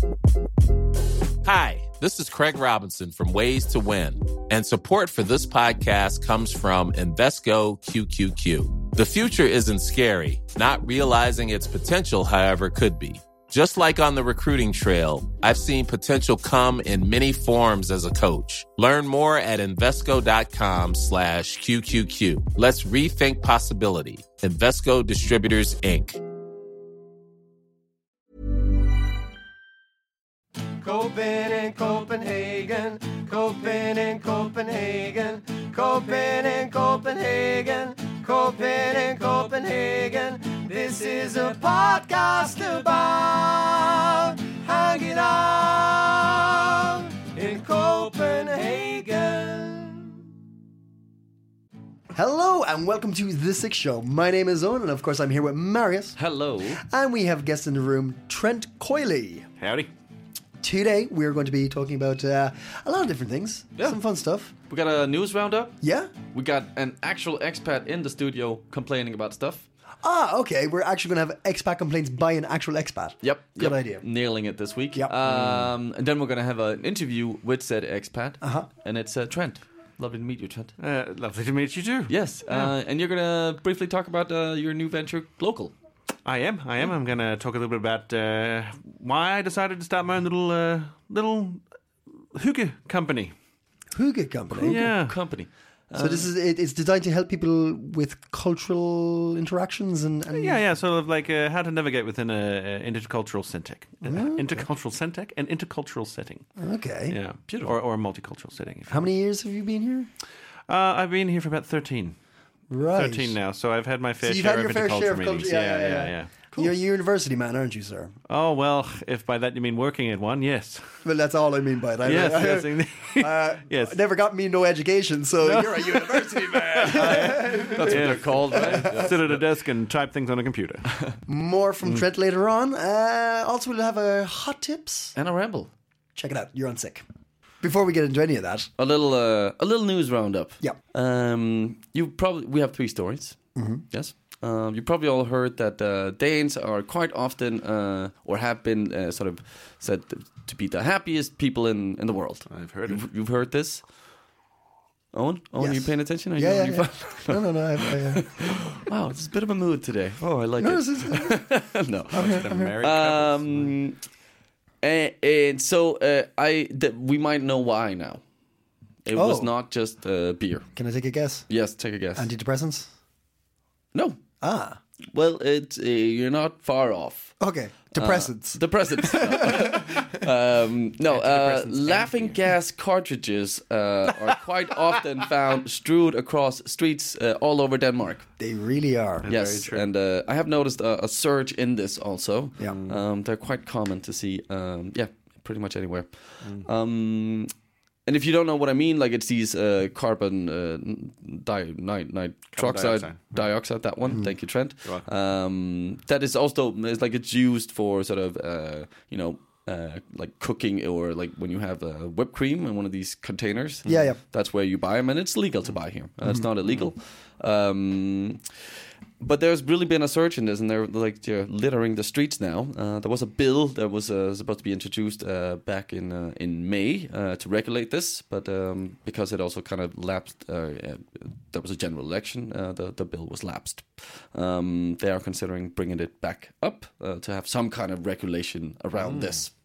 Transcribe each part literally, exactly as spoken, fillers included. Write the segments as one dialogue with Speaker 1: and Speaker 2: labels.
Speaker 1: Hi, this is Craig Robinson from Ways to Win, and support for this podcast comes from Invesco Q Q Q. The future isn't scary. Not realizing its potential, however, could be. Just like on the recruiting trail, I've seen potential come in many forms as a coach. Learn more at Invesco.com slash QQQ. Let's rethink possibility. Invesco Distributors, Incorporated.
Speaker 2: Copen in Copenhagen, Copen in Copenhagen, Copen in Copenhagen, Copen in Copenhagen. This is a podcast about hanging out in Copenhagen.
Speaker 3: Hello and welcome to The Six Show. My name is Owen and of course I'm here with Marius.
Speaker 4: Hello.
Speaker 3: And we have guests in the room, Trent Coyley.
Speaker 4: Howdy.
Speaker 3: Today we're going to be talking about uh, a lot of different things.
Speaker 4: Yeah.
Speaker 3: Some fun stuff.
Speaker 4: We got a news roundup.
Speaker 3: Yeah?
Speaker 4: We got an actual expat in the studio complaining about stuff.
Speaker 3: Ah, okay. We're actually going to have expat complaints by an actual expat.
Speaker 4: Yep.
Speaker 3: Good
Speaker 4: yep.
Speaker 3: idea.
Speaker 4: Nailing it this week.
Speaker 3: Yep.
Speaker 4: Um, and then we're going to have an interview with said expat.
Speaker 3: Uh-huh.
Speaker 4: And it's uh, Trent. Lovely to meet you, Trent.
Speaker 5: Uh, lovely to meet you too.
Speaker 4: Yes.
Speaker 5: Yeah.
Speaker 4: Uh, and you're going to briefly talk about uh, your new venture, Glocal.
Speaker 5: I am. I am. I'm going to talk a little bit about uh, why I decided to start my own little uh, little hygge company.
Speaker 3: Hygge company.
Speaker 5: Yeah.
Speaker 4: Company.
Speaker 3: So this is it, it's designed to help people with cultural interactions and, and
Speaker 5: Yeah, yeah. Sort of like uh, how to navigate within a, a intercultural setting, uh,
Speaker 3: Oh.
Speaker 5: intercultural setting, an intercultural setting.
Speaker 3: Okay.
Speaker 5: Yeah, beautiful. Or, or a multicultural setting. If you
Speaker 3: How many years have you been here?
Speaker 5: Uh, I've been here for about thirteen.
Speaker 3: Right.
Speaker 5: Thirteen now, so I've had my fair
Speaker 3: So you've
Speaker 5: share
Speaker 3: had
Speaker 5: of
Speaker 3: your fair
Speaker 5: intercultural
Speaker 3: share of
Speaker 5: meetings.
Speaker 3: culture.
Speaker 5: Yeah, yeah, yeah.
Speaker 3: You're a university man, aren't you, sir?
Speaker 5: Oh well, if by that you mean working at one, yes.
Speaker 3: Well, that's all I mean by that.
Speaker 5: Yes,
Speaker 3: I,
Speaker 5: yes, indeed.
Speaker 3: uh,
Speaker 5: Yes.
Speaker 3: Never got me no education, so you're a university man.
Speaker 4: That's what they're called, right?
Speaker 5: Sit at a desk and type things on a computer.
Speaker 3: More from Trent later on. Uh, also, we'll have a hot tips.
Speaker 4: And a ramble.
Speaker 3: Check it out. You're on sick. Before we get into any of that,
Speaker 4: A little, uh, a little news roundup.
Speaker 3: Yeah.
Speaker 4: Um, you probably we have three stories. Mm-hmm. Yes. Um, you probably all heard that uh, Danes are quite often, uh, or have been, uh, sort of said to be the happiest people in, in the world.
Speaker 5: I've heard it.
Speaker 4: You've, you've heard this, Owen. Owen, are you
Speaker 3: Yes.
Speaker 4: paying attention? Are
Speaker 3: yeah,
Speaker 4: you,
Speaker 3: yeah,
Speaker 4: are you
Speaker 3: yeah.
Speaker 4: fine?
Speaker 3: no, no, no. I, I, uh,
Speaker 4: Wow, it's a bit of a mood today. Oh, I like
Speaker 3: no,
Speaker 4: it.
Speaker 3: this is,
Speaker 4: no.
Speaker 5: The married couples.
Speaker 4: Um, and, and so uh, I th- we might know why now. It was
Speaker 3: Oh.
Speaker 4: not just uh, beer.
Speaker 3: can I take a guess?
Speaker 4: Yes, take a guess.
Speaker 3: Antidepressants?
Speaker 4: no.
Speaker 3: Ah,
Speaker 4: Well, it's uh, you're not far off.
Speaker 3: okay. Depressants.
Speaker 4: Uh, depressants. No, um, no uh, laughing gas cartridges uh, are quite often found strewed across streets uh, all over Denmark.
Speaker 3: they really are.
Speaker 4: Yes,
Speaker 5: true.
Speaker 4: and uh, I have noticed a, a surge in this also.
Speaker 3: Yeah.
Speaker 4: Um, they're quite common to see. Um, yeah, pretty much anywhere. Um, and if you don't know what I mean, like it's these uh, carbon uh, di- nit- nitroxide
Speaker 5: dioxide.
Speaker 4: dioxide. That one. Thank you, Trent.
Speaker 5: You're
Speaker 4: Um, that is also it's like it's used for sort of uh, you know. Uh, like cooking or like when you have uh, whipped cream in one of these containers.
Speaker 3: Yeah, yeah.
Speaker 4: That's where you buy them, and it's legal to buy here. Uh, It's not illegal. Um, but there's really been a surge in this, and they're like they're littering the streets now. Uh, there was a bill that was uh, supposed to be introduced uh, back in uh, in May uh, to regulate this, but um, because it also kind of lapsed, uh, uh, there was a general election. Uh, the the bill was lapsed. Um, they are considering bringing it back up uh, to have some kind of regulation around this.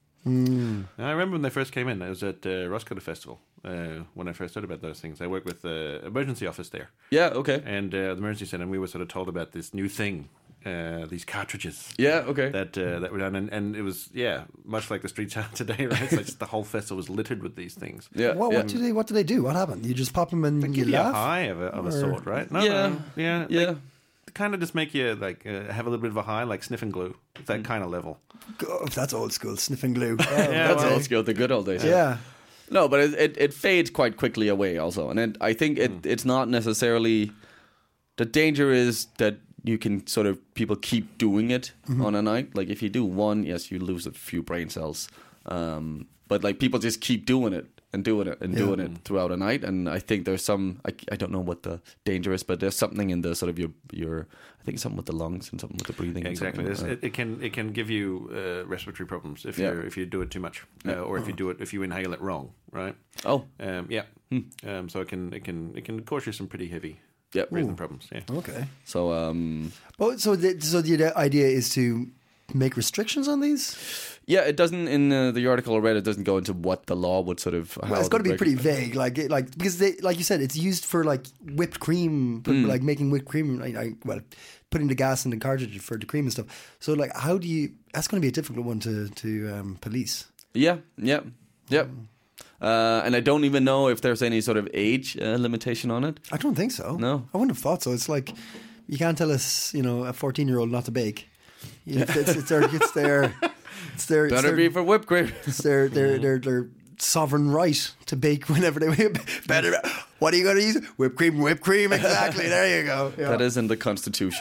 Speaker 5: I remember when they first came in. I was at uh, Roskilde Festival uh, when I first heard about those things. I worked with the emergency office there,
Speaker 4: Yeah. Okay.
Speaker 5: and uh, the emergency center. And we were sort of told about this new thing, uh, these cartridges
Speaker 4: Yeah. Okay.
Speaker 5: that uh, that were done, and, and it was yeah, much like the streets are today, right? It's like just the whole festival was littered with these things.
Speaker 4: yeah.
Speaker 3: What,
Speaker 4: yeah.
Speaker 3: what do they? What do they do? What happened? You just pop them and you
Speaker 5: Give you a
Speaker 3: laugh.
Speaker 5: high of a, of a
Speaker 3: Or-
Speaker 5: sort, right? No,
Speaker 4: Yeah.
Speaker 5: no, yeah,
Speaker 4: Yeah.
Speaker 5: They kind of just make you like uh, have a little bit of a high, like sniffing glue. It's that kind of level.
Speaker 3: God, that's old school sniffing glue. Oh,
Speaker 5: Yeah,
Speaker 4: That's
Speaker 5: well-
Speaker 4: old school, the good old days.
Speaker 3: yeah.
Speaker 4: No, but it, it, it fades quite quickly away also. And it, I think it, it's not necessarily... The danger is that you can sort of people keep doing it mm-hmm. on a night. Like if you do one, yes, you lose a few brain cells. Um, but like people just keep doing it and doing it and yeah. doing it throughout a night. And I think there's some, I, I don't know what the danger is, but there's something in the sort of your, your I think something with the lungs and something with the breathing.
Speaker 5: Yeah, exactly.
Speaker 4: Uh,
Speaker 5: it, it can it can give you uh, respiratory problems if
Speaker 4: yeah.
Speaker 5: you if you do it too much, uh,
Speaker 4: yeah.
Speaker 5: or if you do it if you inhale it wrong, right?
Speaker 4: Oh,
Speaker 5: um, yeah.
Speaker 4: Hmm.
Speaker 5: Um, so it can it can it can cause you some pretty heavy
Speaker 4: yeah.
Speaker 5: breathing problems. Yeah.
Speaker 3: Okay.
Speaker 4: So um.
Speaker 3: Well, so the, so the idea is to make restrictions on these.
Speaker 4: Yeah, it doesn't. In uh, the article I read, it doesn't go into what the law would sort of. How
Speaker 3: well, it's got to be
Speaker 4: reg-
Speaker 3: pretty vague, like it, like because they, like you said, it's used for like whipped cream,
Speaker 4: Mm.
Speaker 3: like making whipped cream. Like, like, well, putting the gas in the cartridge for the cream and stuff. So, like, how do you? That's going to be a difficult one to to um, police.
Speaker 4: Yeah, yeah, yeah. Uh, and I don't even know if there's any sort of age uh, limitation on it.
Speaker 3: I don't think so.
Speaker 4: No,
Speaker 3: I wouldn't have thought so. It's like you can't tell us, you know, a fourteen-year-old not to bake. You know, it's, it's their, it's their, it's their.
Speaker 4: Better
Speaker 3: it's their,
Speaker 4: be for whipped cream.
Speaker 3: It's their, their, their, their sovereign right to bake whenever they better. What are you going to use? Whipped cream, whipped cream. Exactly. There you go. Yeah.
Speaker 4: That is in the Constitution.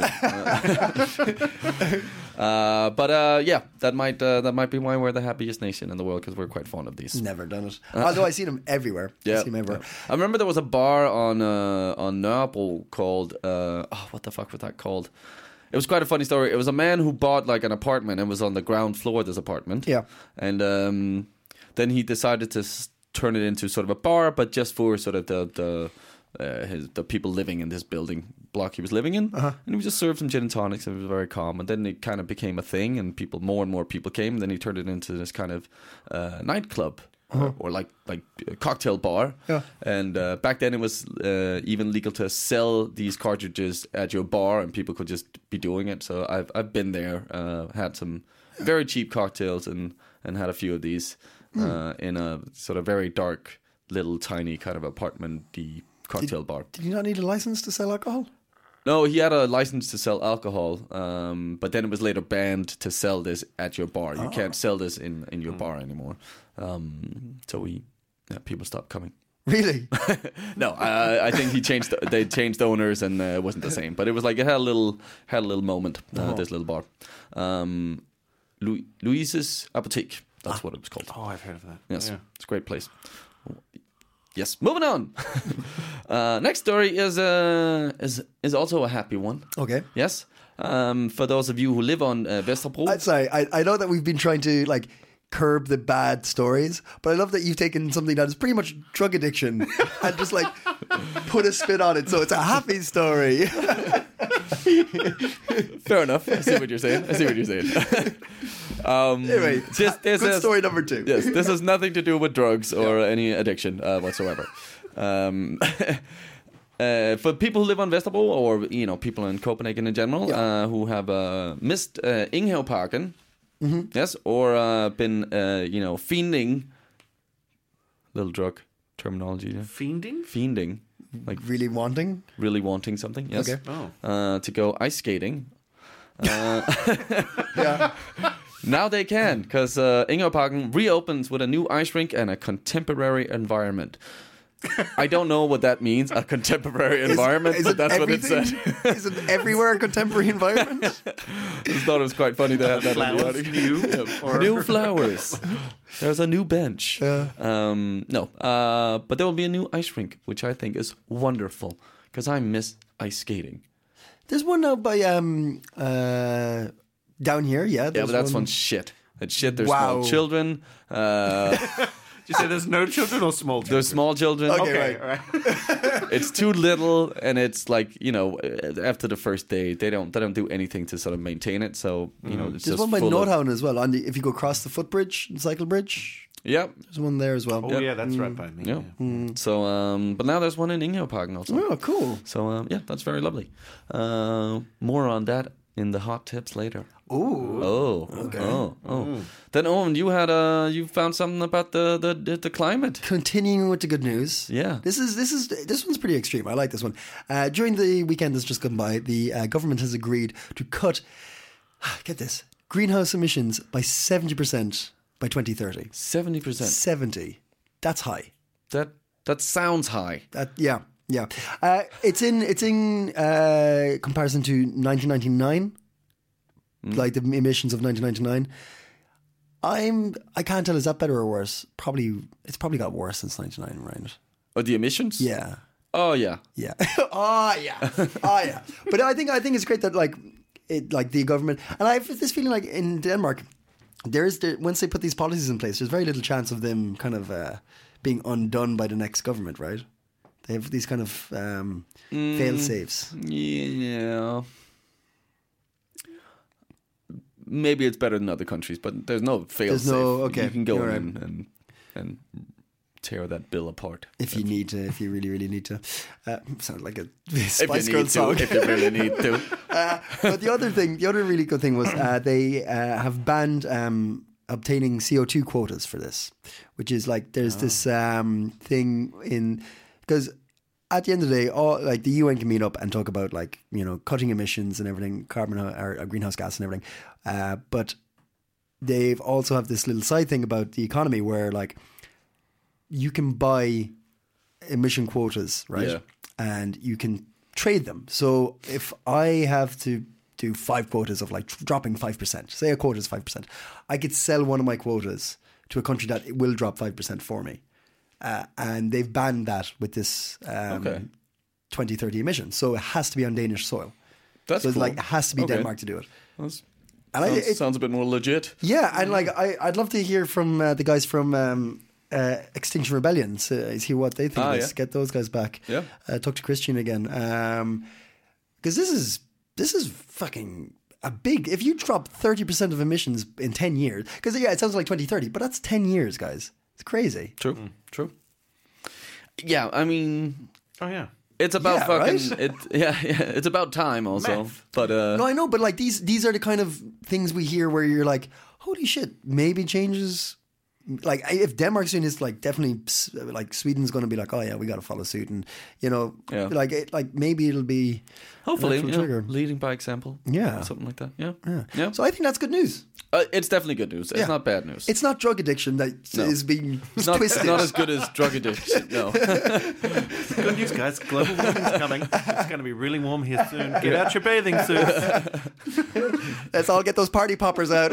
Speaker 4: uh, but uh, yeah, that might uh, that might be why we're the happiest nation in the world, because we're quite fond of these.
Speaker 3: Never done it. Although I see them everywhere.
Speaker 4: Yeah,
Speaker 3: I see them everywhere.
Speaker 4: Yeah. I remember there was a bar on uh, on Nørrebro called uh, oh, what the fuck was that called? It was quite a funny story. It was a man who bought like an apartment and was on the ground floor of this apartment.
Speaker 3: Yeah,
Speaker 4: and um, then he decided to s- turn it into sort of a bar, but just for sort of the the uh, his the people living in this building block he was living in.
Speaker 3: Uh-huh.
Speaker 4: And he would just serve some gin and tonics, and it was very calm. And then it kind of became a thing, and people more and more people came. And then he turned it into this kind of uh, nightclub. Uh-huh. Or, or like like a cocktail bar,
Speaker 3: yeah.
Speaker 4: And uh, back then it was uh, even legal to sell these cartridges at your bar, and people could just be doing it. So I've I've been there, uh, had some very cheap cocktails, and, and had a few of these mm. uh, in a sort of very dark, little tiny kind of apartment-y cocktail
Speaker 3: did,
Speaker 4: bar.
Speaker 3: Did you not need a license to sell alcohol?
Speaker 4: No, he had a license to sell alcohol, um, but then it was later banned to sell this at your bar. You oh. can't sell this in, in your mm. bar anymore. Um, so we, yeah, people stopped coming.
Speaker 3: Really?
Speaker 4: No, I, I think he changed. They changed owners, and uh, it wasn't the same. But it was like it had a little had a little moment. Uh, oh. This little bar, um, Lu- Louise's Apotheke. That's ah. what it was called.
Speaker 5: Oh, I've heard of that.
Speaker 4: Yes,
Speaker 5: yeah.
Speaker 4: It's a great place. Yes, moving on. uh, next story is uh, is is also a happy one.
Speaker 3: Okay.
Speaker 4: Yes. Um, for those of you who live on uh, Vesterbro.
Speaker 3: I'm sorry. I, I know that we've been trying to like curb the bad stories, but I love that you've taken something that is pretty much drug addiction and just like put a spin on it, so it's a happy story.
Speaker 4: Fair enough. I see what you're saying. I see what you're saying. Um,
Speaker 3: anyway,
Speaker 4: this, this
Speaker 3: good
Speaker 4: is,
Speaker 3: story number two.
Speaker 4: Yes, this has nothing to do with drugs or yeah. any addiction uh, whatsoever. Um, uh, for people who live on Vesterbro, or you know, people in Copenhagen in general, yeah. uh, who have uh, missed uh, Inghavparken, mm-hmm. yes, or uh, been uh, you know fiending, little drug terminology, yeah.
Speaker 5: fiending,
Speaker 4: fiending, like
Speaker 3: really wanting,
Speaker 4: really wanting something, yes,
Speaker 3: okay.
Speaker 4: oh. uh, to go ice skating. Uh,
Speaker 3: yeah.
Speaker 4: Now they can, because uh, Inghavparken reopens with a new ice rink and a contemporary environment. I don't know what that means, a contemporary environment,
Speaker 3: is, is
Speaker 4: but that's
Speaker 3: everything?
Speaker 4: what it said.
Speaker 3: Is it everywhere a contemporary environment?
Speaker 4: I just thought it was quite funny to have that in the article.
Speaker 5: New,
Speaker 4: yeah. New flowers. There's a new bench.
Speaker 3: Yeah.
Speaker 4: Um, no, uh, but there will be a new ice rink, which I think is wonderful, because I miss ice skating.
Speaker 3: There's one out by um uh down here, yeah.
Speaker 4: Yeah, but that's one, one shit. It's shit. There's wow. small children. Uh,
Speaker 5: Did you say there's no children or small children?
Speaker 4: There's small children.
Speaker 3: Okay,
Speaker 5: okay
Speaker 3: right.
Speaker 5: right.
Speaker 4: It's too little, and it's like, you know, after the first day, they don't they don't do anything to sort of maintain it. So you mm. know, it's
Speaker 3: there's
Speaker 4: just
Speaker 3: one by
Speaker 4: full
Speaker 3: Nordhavn
Speaker 4: of...
Speaker 3: as well. On the, if you go across the footbridge, the cycle bridge.
Speaker 4: Yeah,
Speaker 3: there's one there as well.
Speaker 5: Oh
Speaker 4: yeah,
Speaker 5: yeah that's
Speaker 3: mm.
Speaker 5: right by me.
Speaker 4: Yeah. yeah. Mm. So, um, but now there's one in Inghavparken also.
Speaker 3: Oh, cool.
Speaker 4: So um, yeah, that's very lovely. Uh, more on that in the hot tips later.
Speaker 3: Ooh.
Speaker 4: Oh.
Speaker 3: Okay.
Speaker 4: Oh. Oh.
Speaker 5: Mm.
Speaker 4: Then Owen, you had uh, you found something about the, the the climate.
Speaker 3: Continuing with the good news.
Speaker 4: Yeah.
Speaker 3: This is this is this one's pretty extreme. I like this one. Uh, during the weekend that's just gone by, the uh, government has agreed to cut, get this, greenhouse emissions by seventy percent by twenty thirty.
Speaker 4: Seventy percent.
Speaker 3: Seventy. That's high.
Speaker 4: That that sounds high.
Speaker 3: That yeah. Yeah, uh, it's in it's in uh, comparison to nineteen ninety-nine, mm. like the emissions of nineteen ninety-nine. I'm I can't tell, is that better or worse? Probably it's probably got worse since ninety-nine, right?
Speaker 4: Oh, the emissions?
Speaker 3: Yeah.
Speaker 4: Oh yeah.
Speaker 3: Yeah. oh yeah. Oh yeah. But I think I think it's great that like it like the government, and I have this feeling like in Denmark, there is the, once they put these policies in place, there's very little chance of them kind of uh, being undone by the next government, right? They have these kind of um, mm, fail safes.
Speaker 4: Yeah. Maybe it's better than other countries, but there's no fail
Speaker 3: there's
Speaker 4: safe.
Speaker 3: No, okay.
Speaker 4: You can go
Speaker 3: You're
Speaker 4: in
Speaker 3: right.
Speaker 4: and, and and tear that bill apart.
Speaker 3: If you need to, if you really, really need to. Uh, sounds like a Spice
Speaker 4: if you
Speaker 3: Girl
Speaker 4: need
Speaker 3: song.
Speaker 4: to, if you really need to.
Speaker 3: uh, but the other thing, the other really good thing was uh, they uh, have banned um, obtaining C O two quotas for this, which is like there's oh. this um, thing in because at the end of the day, all like the U N can meet up and talk about like you know cutting emissions and everything, carbon or, or greenhouse gas and everything, uh, but they've also have this little side thing about the economy where like you can buy emission quotas, right?
Speaker 4: Yeah.
Speaker 3: And you can trade them. So if I have to do five quotas of like dropping five percent, say a quota is five percent, I could sell one of my quotas to a country that will drop five percent for me. Uh, and they've banned that with this um,
Speaker 4: okay.
Speaker 3: twenty thirty emission. So it has to be on Danish soil.
Speaker 4: That's
Speaker 3: so it's
Speaker 4: cool.
Speaker 3: like it has to be
Speaker 4: okay.
Speaker 3: Denmark to do it.
Speaker 4: That's,
Speaker 3: and
Speaker 4: sounds,
Speaker 3: I, it,
Speaker 4: sounds a bit more legit.
Speaker 3: Yeah, and like I, I'd love to hear from uh, the guys from um, uh, Extinction Rebellion. So hear what they think
Speaker 4: ah,
Speaker 3: of this.
Speaker 4: Yeah.
Speaker 3: Get those guys back.
Speaker 4: Yeah.
Speaker 3: Uh, talk to Christian again. Because um, this is this is fucking a big. If you drop thirty percent of emissions in ten years, because yeah, it sounds like twenty thirty, but that's ten years, guys. It's crazy.
Speaker 4: True. Mm. True. Yeah, I mean,
Speaker 5: oh yeah,
Speaker 4: it's about
Speaker 3: yeah,
Speaker 4: fucking
Speaker 3: right?
Speaker 4: it. Yeah, yeah, it's about time also.
Speaker 5: Math.
Speaker 4: But uh,
Speaker 3: no, I know, but like these these are the kind of things we hear where you're like, holy shit, maybe changes. Like if Denmark's doing this, like definitely, like Sweden's going to be like, oh yeah, we got to follow suit, and you know,
Speaker 4: yeah.
Speaker 3: like it, like maybe it'll be
Speaker 4: hopefully
Speaker 3: an
Speaker 4: yeah,
Speaker 3: trigger.
Speaker 4: leading by example,
Speaker 3: yeah,
Speaker 4: something like that. Yeah,
Speaker 3: yeah.
Speaker 4: yeah.
Speaker 3: So I think that's good news.
Speaker 4: Uh, it's definitely good news. It's
Speaker 3: yeah.
Speaker 4: not bad news.
Speaker 3: It's not drug addiction that
Speaker 4: no.
Speaker 3: is being
Speaker 4: it's not,
Speaker 3: twisted.
Speaker 4: It's not as good as drug addiction. No.
Speaker 5: Good news, guys. Global warming's coming. It's going to be really warm here soon. Get out your bathing suits.
Speaker 3: Let's all get those party poppers out.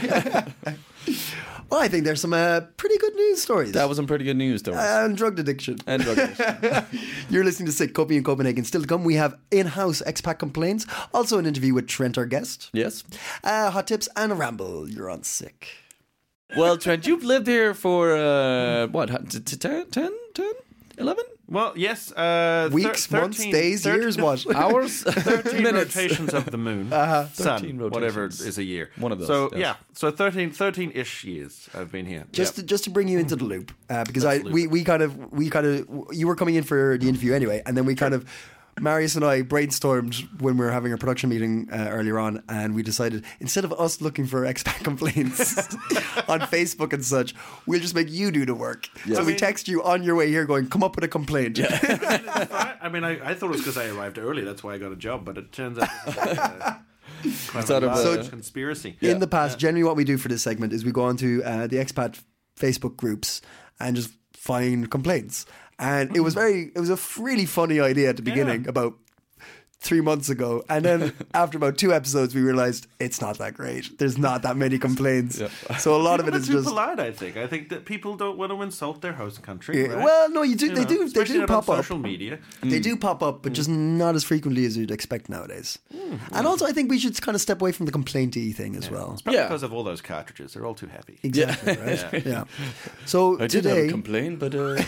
Speaker 3: Well, I think there's some uh, pretty good news stories.
Speaker 4: That was some pretty good news, though.
Speaker 3: Uh, and drug addiction.
Speaker 4: And drug addiction.
Speaker 3: You're listening to Sick Copy in Copenhagen. Still to come, we have in-house expat complaints. Also an interview with Trent, our guest.
Speaker 4: Yes.
Speaker 3: Uh, hot tips and a ramble. You're on Sick.
Speaker 4: Well, Trent, you've lived here for, uh, what, ten, ten, ten, eleven?
Speaker 5: Well, yes. Uh,
Speaker 3: Weeks,
Speaker 5: thir-
Speaker 3: months, days,
Speaker 5: thirteen
Speaker 3: years, what?
Speaker 4: Hours?
Speaker 5: thirteen
Speaker 4: Minutes.
Speaker 5: rotations of the moon.
Speaker 3: Uh-huh.
Speaker 5: Sun,
Speaker 4: thirteen
Speaker 5: whatever
Speaker 4: rotations.
Speaker 5: is a year.
Speaker 4: One of those,
Speaker 5: So,
Speaker 4: yes.
Speaker 5: yeah. So thirteen, thirteen-ish years I've been here.
Speaker 3: Just
Speaker 5: Yep.
Speaker 3: to, just to bring you into the loop, uh, because I
Speaker 5: Loop.
Speaker 3: we, we kind of we kind of you were coming in for the interview anyway, and then we kind of Marius and I brainstormed when we were having a production meeting uh, earlier on, and we decided instead of us looking for expat complaints on Facebook and such, we'll just make you do the work.
Speaker 4: Yeah.
Speaker 3: So
Speaker 5: I
Speaker 3: we
Speaker 5: mean-
Speaker 3: text you on your way here, going, "Come up with a complaint." Yeah.
Speaker 5: I, I mean, I, I thought it was because I arrived early. That's why I got a job. But it turns out this is like, uh, quite
Speaker 4: It's
Speaker 5: a
Speaker 4: out of,
Speaker 5: large
Speaker 4: uh,
Speaker 5: conspiracy.
Speaker 3: In the past, generally what we do for this segment is we go on to uh, the expat Facebook groups and just find complaints. And it was very, it was a really funny idea at the beginning
Speaker 5: Yeah.
Speaker 3: about three months ago. And then after about two episodes, we realized it's not that great. There's not that many complaints.
Speaker 4: Yeah.
Speaker 3: So a lot of
Speaker 5: People
Speaker 3: it
Speaker 5: are
Speaker 3: is
Speaker 5: too
Speaker 3: just...
Speaker 5: polite, I think. I think that people don't want to insult their host country.
Speaker 3: Yeah,
Speaker 5: right?
Speaker 3: well, no, you do.
Speaker 5: You
Speaker 3: they
Speaker 5: know,
Speaker 3: do. They
Speaker 5: especially
Speaker 3: do
Speaker 5: not
Speaker 3: pop
Speaker 5: on
Speaker 3: up.
Speaker 5: social media.
Speaker 3: They do pop up, but just not as frequently as you'd expect nowadays. And also, I think we should kind of step away from the complainty thing as well.
Speaker 5: It's probably
Speaker 4: Yeah.
Speaker 5: because of all those cartridges. They're all too heavy.
Speaker 3: Exactly. Right. Yeah. So
Speaker 4: I did have
Speaker 3: today,
Speaker 4: a complaint, but uh,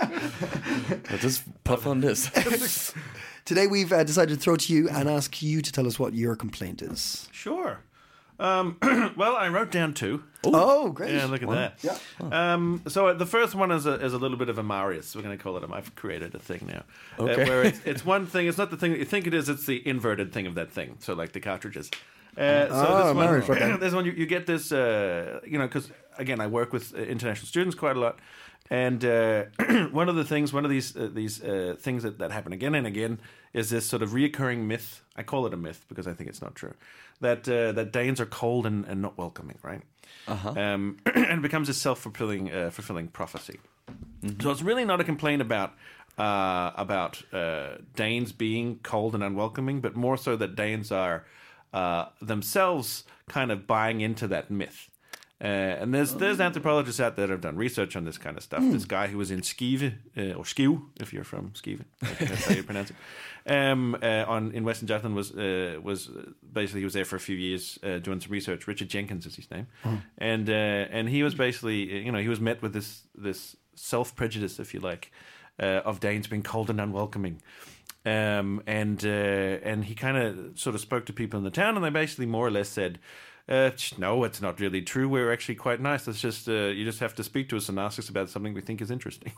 Speaker 4: I'll just puff on this.
Speaker 3: today we've uh, decided to throw to you and ask you to tell us what your complaint is.
Speaker 5: Sure. Um, well, I wrote down two.
Speaker 3: Oh, great!
Speaker 5: Yeah, look at that.
Speaker 3: Yeah.
Speaker 5: Um, so uh, the first one is a, is a little bit of a Marius. We're going to call it. A, I've created a thing now.
Speaker 4: Okay.
Speaker 5: Uh, where it's, it's one thing. It's not the thing that you think it is. It's the inverted thing of that thing. So like the cartridges. Uh, so
Speaker 3: Ah,
Speaker 5: this one,
Speaker 3: Marius, okay.
Speaker 5: this one you, you get this. Uh, you know, because again, I work with uh, international students quite a lot. And uh, one of the things, one of these uh, these uh, things that, that happen again and again is this sort of reoccurring myth. I call it a myth because I think it's not true. That uh, that Danes are cold and, and not welcoming, right? Uh-huh. Um, and it becomes a self-fulfilling uh, fulfilling prophecy. Mm-hmm. So it's really not a complaint about uh, about uh, Danes being cold and unwelcoming, but more so that Danes are uh, themselves kind of buying into that myth. Uh, and there's there's anthropologists out there that have done research on this kind of stuff. Mm. This guy who was in Skive, uh, or Skive, if you're from Skive, that's how you pronounce it, um, uh, on in Western Jutland was uh, was basically he was there for a few years uh, doing some research. Richard Jenkins is his name, mm. and uh, and he was basically you know he was met with this this self prejudice, if you like, uh, of Danes being cold and unwelcoming. Um, and uh, and he kind of sort of spoke to people in the town, and they basically more or less said, uh, "No, it's not really true. We're actually quite nice. It's just uh, you just have to speak to us and ask us about something we think is interesting."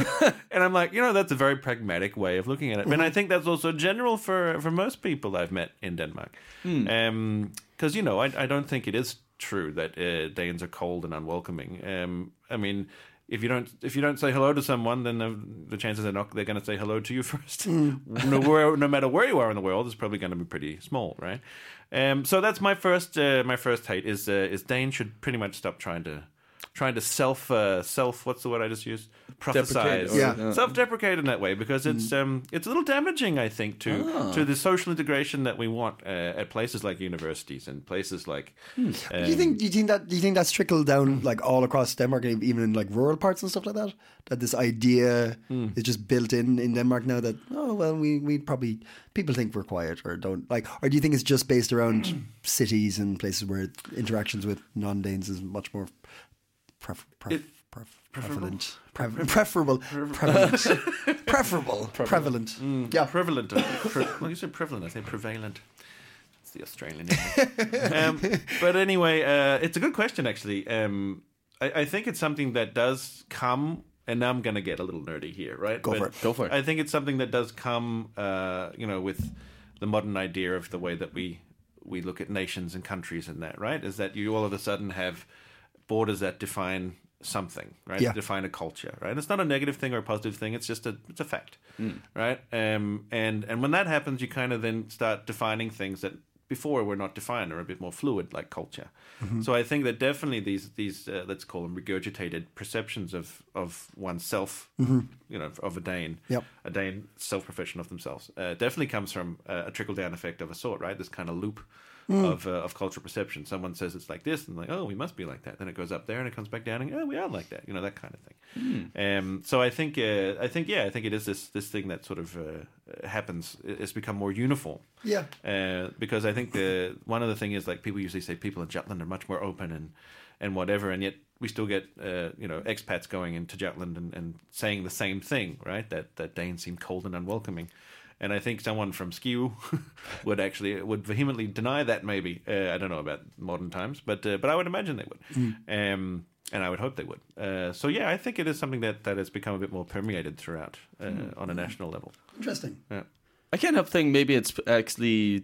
Speaker 5: And I'm like, you know, that's a very pragmatic way of looking at it. Mm-hmm. And I think that's also general for for most people I've met in Denmark, because mm. um, you know, I, I don't think it is true that uh, Danes are cold and unwelcoming. Um, I mean. If you don't, if you don't say hello to someone, then the, the chances are not they're going to say hello to you first. Mm. no, where, no matter where you are in the world, it's probably going to be pretty small, right? Um, so that's my first, uh, my first hate is uh, is Danes should pretty much stop trying to, trying to self, uh, self. What's the word I just used? Prophesize,
Speaker 3: yeah,
Speaker 5: yeah. self-deprecate in that way because it's mm. um, it's a little damaging, I think, to ah. to the social integration that we want uh, at places like universities and places like.
Speaker 3: Hmm. Um, do you think? Do you think that? Do you think that's trickled down like all across Denmark, even in like rural parts and stuff like that? That this idea mm. is just built in in Denmark now. That oh well, we we probably people think we're quiet or don't like, or do you think it's just based around cities and places where interactions with non-Danes is much more pref- pref-
Speaker 5: it,
Speaker 3: pref- prevalent, pre- preferable, prevalent, preferable, prevalent.
Speaker 5: Mm, yeah, prevalent. Pre- well, you said prevalent. I say prevalent. It's the Australian name. um, but anyway, uh, it's a good question actually. Um, I, I think it's something that does come. And now I'm going to get a little nerdy here, right?
Speaker 3: Go
Speaker 5: but
Speaker 3: for it. Go for it.
Speaker 5: I think it's something that does come, uh, you know, with the modern idea of the way that we we look at nations and countries and that, right? Is that you all of a sudden have borders that define something, right?
Speaker 3: Yeah.
Speaker 5: Define a culture, right? It's not a negative thing or a positive thing. It's just a it's a fact, mm. right? Um, and and when that happens, you kind of then start defining things that before were not defined or a bit more fluid, like culture. Mm-hmm. So I think that definitely these these uh, let's call them regurgitated perceptions of of oneself, mm-hmm. you know, of a Dane,
Speaker 3: yep.
Speaker 5: a Dane self-profession of themselves, uh, definitely comes from uh, a trickle-down effect of a sort, right? This kind of loop. Mm. Of uh, of cultural perception. Someone says it's like this, and like, oh, we must be like that. Then it goes up there, and it comes back down, and oh, we are like that. You know, that kind of thing. Mm. Um, so I think, uh, I think, yeah, I think it is this this thing that sort of uh, happens. It's become more uniform.
Speaker 3: Yeah.
Speaker 5: Uh, because I think the one of the thing is like people usually say people in Jutland are much more open and and whatever, and yet we still get uh, you know expats going into Jutland and, and saying the same thing, right? That that Danes seem cold and unwelcoming. And I think someone from Skive would actually would vehemently deny that. Maybe uh, I don't know about modern times, but uh, but I would imagine they would, mm. um, and I would hope they would. Uh, so yeah, I think it is something that, that has become a bit more permeated throughout uh, mm. on a national level.
Speaker 3: Interesting.
Speaker 5: Yeah,
Speaker 4: I can't help thinking maybe it's actually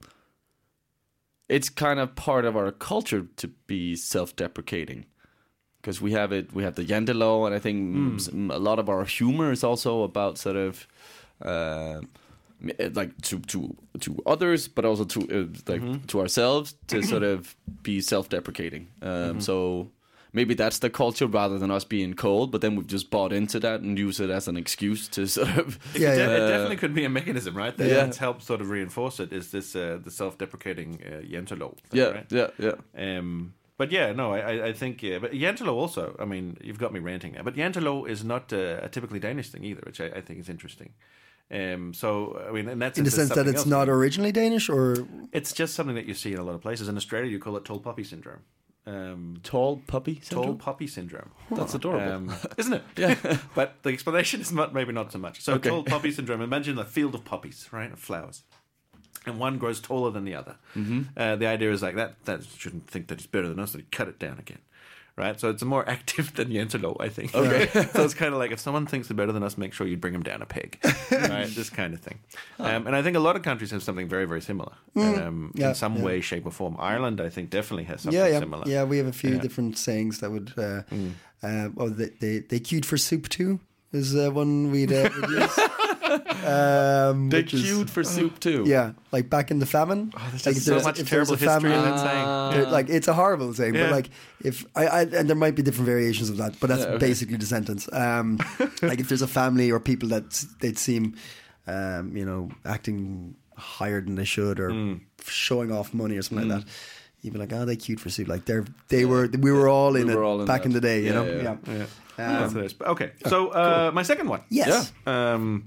Speaker 4: it's kind of part of our culture to be self-deprecating. Because we have it, we have the Jantelov, and I think mm. a lot of our humor is also about sort of. Uh, like to to to others, but also to uh, like mm-hmm. to ourselves, to sort of be self-deprecating. Um, mm-hmm. So maybe that's the culture rather than us being cold. But then we've just bought into that and use it as an excuse to sort of.
Speaker 5: It, yeah, yeah. Uh, it definitely could be a mechanism, right? That yeah. helps sort of reinforce it. Is this uh, the self-deprecating uh, Jantelov?
Speaker 4: Yeah,
Speaker 5: right?
Speaker 4: yeah, yeah.
Speaker 5: Um, but yeah, no, I I think yeah, but Jantelov also. I mean, you've got me ranting now. But Jantelov is not uh, a typically Danish thing either, which I, I think is interesting. Um, so I mean, and that's
Speaker 3: in the sense that it's else. not originally Danish, or
Speaker 5: it's just something that you see in a lot of places. In Australia, you call it tall puppy syndrome. Um,
Speaker 4: tall puppy syndrome.
Speaker 5: Tall puppy syndrome.
Speaker 4: That's adorable,
Speaker 5: um, isn't it? Yeah. But the explanation is not maybe not so much. So okay. Tall puppy syndrome. Imagine a field of poppies, right, of flowers, and one grows taller than the other. Mm-hmm. Uh, the idea is like that. That shouldn't think that it's better than us. So you cut it down again. Right, so it's more active than Jantelov, I think. Okay, so it's kind of like if someone thinks they're better than us, make sure you bring them down a peg, right? This kind of thing. Um, and I think a lot of countries have something very, very similar mm. um, yeah, in some yeah. way, shape, or form. Ireland, I think, definitely has something
Speaker 3: yeah, yeah.
Speaker 5: similar.
Speaker 3: Yeah, we have a few yeah. different sayings that would. Uh, mm. uh, oh, they, they they queued for soup too is uh, one we'd, uh, we'd use. Um,
Speaker 4: They
Speaker 3: which is-
Speaker 4: queued for soup too.
Speaker 3: Yeah, like back in the famine. Oh,
Speaker 5: There's just so much terrible history in that saying.
Speaker 3: There- like it's a horrible saying,
Speaker 5: Yeah.
Speaker 3: but like if I, I and there might be different variations of that, but that's
Speaker 4: Yeah, okay.
Speaker 3: basically the sentence. Um, like if there's a family or people that s- they'd seem, um, you know, acting higher than they should or
Speaker 5: Mm.
Speaker 3: showing off money or something like that. You'd be like, oh, they cute for soup. Like they're they were we were all in
Speaker 4: We
Speaker 3: it
Speaker 4: were all in
Speaker 3: back
Speaker 4: that.
Speaker 3: in the day, you
Speaker 4: Yeah,
Speaker 3: know.
Speaker 4: yeah.
Speaker 5: Yeah.
Speaker 3: Um,
Speaker 5: That's nice. Okay, so uh, my second one.
Speaker 3: yes.
Speaker 5: um,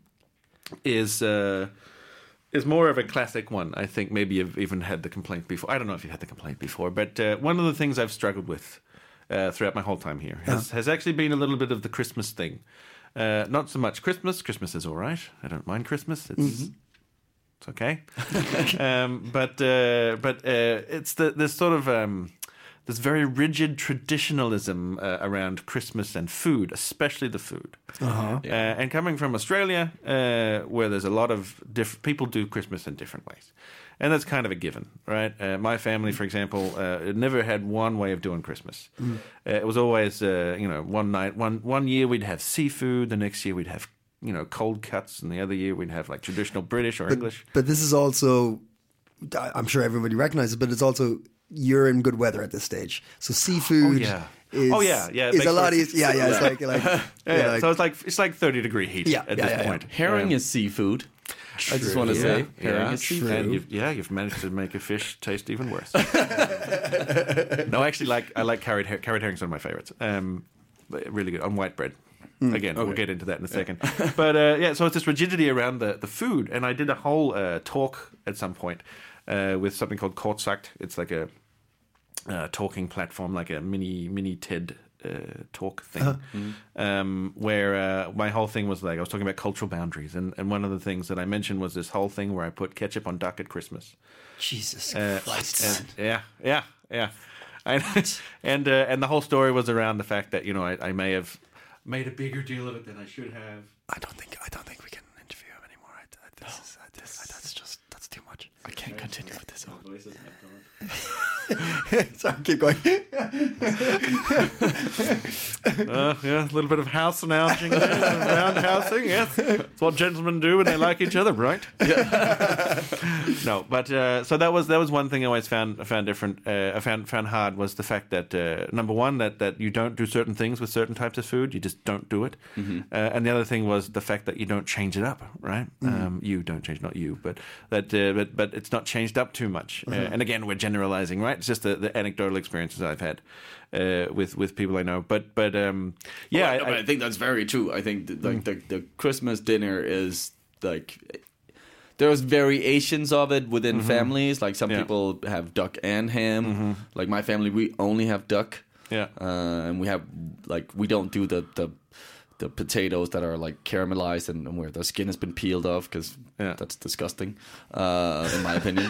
Speaker 5: is uh, is more of a classic one. I think maybe you've even had the complaint before. I don't know if you had the complaint before, but uh, one of the things I've struggled with uh, throughout my whole time here has, has actually been a little bit of the Christmas thing. Uh, not so much Christmas. Christmas is all right. I don't mind Christmas. It's
Speaker 3: Mm-hmm.
Speaker 5: it's okay. um, but uh, but uh, it's the this sort of um, this very rigid traditionalism uh, around Christmas and food, especially the food.
Speaker 3: Uh-huh.
Speaker 5: Uh, and coming from Australia, uh, where there's a lot of diff- people do Christmas in different ways, and that's kind of a given, right? Uh, my family, for example, uh, never had one way of doing Christmas.
Speaker 3: Mm.
Speaker 5: Uh, it was always, uh, you know, one night, one one year we'd have seafood, the next year we'd have, you know, cold cuts, and the other year we'd have like traditional British or
Speaker 3: But,
Speaker 5: English.
Speaker 3: but this is also, I- I'm sure everybody recognizes, but it's also you're in good weather at this stage, so seafood.
Speaker 5: Oh, yeah.
Speaker 3: Is,
Speaker 5: Oh, yeah, yeah, it
Speaker 3: is
Speaker 5: makes
Speaker 3: a lot
Speaker 5: for-
Speaker 3: easier. Yeah, yeah, it's like like
Speaker 5: Yeah,
Speaker 3: yeah,
Speaker 5: yeah,
Speaker 3: like-
Speaker 5: so it's like it's like thirty degree heat
Speaker 3: Yeah,
Speaker 5: at
Speaker 3: yeah,
Speaker 5: this
Speaker 3: yeah,
Speaker 5: point.
Speaker 4: Herring
Speaker 5: Um,
Speaker 4: is seafood. I just want to
Speaker 5: yeah,
Speaker 4: say, herring
Speaker 5: yeah,
Speaker 4: is seafood.
Speaker 5: And you've, yeah, you've managed to make a fish taste even worse. No, actually, like I like carrot her- carrot herring's one of my favorites. Um, but really good on white bread. Again, we'll get into that in a second. But uh, yeah, so it's this rigidity around the, the food, and I did a whole uh, talk at some point uh, with something called Kortsagt. It's like a uh, talking platform, like a mini mini TED uh, talk thing, um, where uh, my whole thing was like I was talking about cultural boundaries, and, and one of the things that I mentioned was this whole thing where I put ketchup on duck at Christmas.
Speaker 3: Jesus
Speaker 5: Uh,
Speaker 3: Christ.
Speaker 5: and, yeah, yeah, yeah. And and, uh, and the whole story was around the fact that you know I, I may have made a bigger deal of it than I should have.
Speaker 3: I don't think I don't think we can interview him anymore. I, I, this is, I, this, that's just that's too much.
Speaker 4: I can't continue with this.
Speaker 3: Sorry, keep going.
Speaker 5: Uh, yeah, a little bit of house announcing, round housing. Yes, it's what gentlemen do when they like each other, right? Yeah. No, but uh, so that was that was one thing I always found I found different. Uh, I found found hard was the fact that uh, number one that, that you don't do certain things with certain types of food. You just don't do it. Uh, and the other thing was the fact that you don't change it up, right? Um, you don't change, not you, but that uh, but but it's not changed up too much. Uh, and again, we're generalizing, right? It's just the, the anecdotal experiences I've had uh, with with people I know. But but um, yeah,
Speaker 4: Well,
Speaker 5: I,
Speaker 4: but I think that's very true. I think that, like the the Christmas dinner is like there's variations of it within families. Like some
Speaker 5: Yeah.
Speaker 4: people have duck and ham. Like my family, we only have duck.
Speaker 5: Yeah.
Speaker 4: uh, and we have like we don't do the the. The potatoes that are like caramelized and, and where the skin has been peeled off because
Speaker 5: Yeah.
Speaker 4: that's disgusting, uh, in my opinion.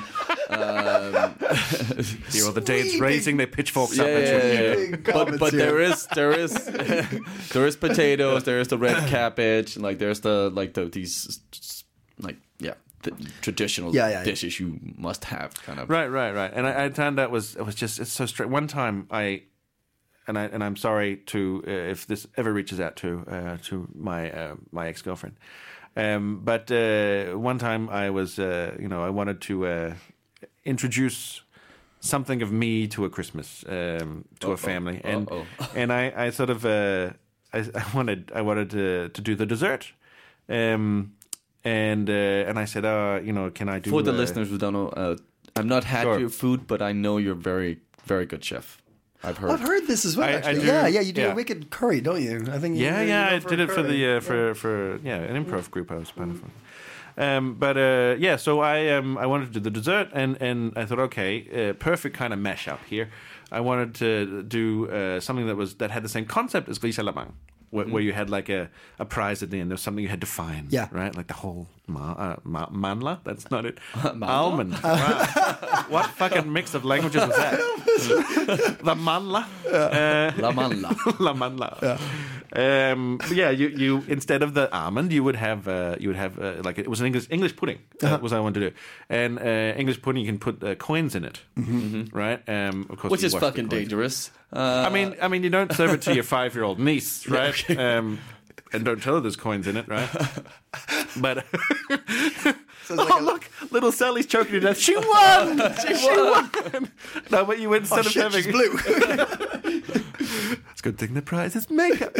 Speaker 4: um,
Speaker 5: you know, the day it's raising, they pitchforks
Speaker 4: yeah,
Speaker 5: up at
Speaker 4: yeah,
Speaker 5: you.
Speaker 4: yeah,
Speaker 3: Big
Speaker 4: yeah. But
Speaker 3: comments
Speaker 4: but
Speaker 3: here.
Speaker 4: there is there is there is potatoes. There is the red cabbage. And like there's the like the these like yeah the traditional
Speaker 3: Yeah, yeah, yeah.
Speaker 4: dishes you must have kind of.
Speaker 5: Right, right, right. And I, I found that was it was just it's so straight. One time I. And I and I'm sorry to uh, if this ever reaches out to uh, to my uh, my ex girlfriend, um, but uh, one time I was uh, you know I wanted to uh, introduce something of me to a Christmas um, to
Speaker 4: Uh-oh.
Speaker 5: a family, and
Speaker 4: Uh-oh.
Speaker 5: and I, I sort of uh, I, I wanted I wanted to to do the dessert, um, and uh, and I said, uh, you know, can I do
Speaker 4: For the
Speaker 5: uh,
Speaker 4: listeners who don't know, uh, I've not had
Speaker 5: Sure.
Speaker 4: your food, but I know you're very very good chef. I've heard.
Speaker 3: I've heard this as well.
Speaker 5: I- I
Speaker 3: actually,
Speaker 5: do-
Speaker 3: yeah, yeah. You do
Speaker 5: yeah.
Speaker 3: a wicked curry, don't you? I think. You,
Speaker 5: Yeah,
Speaker 3: you
Speaker 5: yeah,
Speaker 3: go
Speaker 5: I
Speaker 3: for
Speaker 5: did
Speaker 3: a
Speaker 5: it for
Speaker 3: curry.
Speaker 5: the uh, for for yeah an improv group I was part of. Um, but uh, yeah, so I um, I wanted to do the dessert, and, and I thought, okay, uh, perfect kind of mashup here. I wanted to do uh, something that was that had the same concept as Grisalamang, where, where you had like a, a prize at the end. There was something you had to find,
Speaker 3: Yeah.
Speaker 5: right? Like the whole ma- uh, ma- manla. That's not it. Almond. Wow. What fucking mix of languages was that? The manla. Uh,
Speaker 4: La manla.
Speaker 5: La manla. Um, but yeah, you, you instead of the almond, you would have uh, you would have uh, like it was an English English pudding. Uh, was what I wanted to do, and uh, English pudding you can put uh, coins in it, right? Um, of course,
Speaker 4: Which
Speaker 5: you
Speaker 4: is
Speaker 5: wash the
Speaker 4: fucking
Speaker 5: coins.
Speaker 4: dangerous. Uh,
Speaker 5: I mean, I mean, you don't serve it to your five-year-old niece, right? Um, and don't tell her there's coins in it, right? But
Speaker 3: So it's
Speaker 5: oh
Speaker 3: like a-
Speaker 5: look, little Sally's choking to death. She won. She, she won. No, but you went instead
Speaker 3: oh
Speaker 5: of
Speaker 3: shit,
Speaker 5: having.
Speaker 3: she's blue.
Speaker 5: It's a good thing the prize is makeup.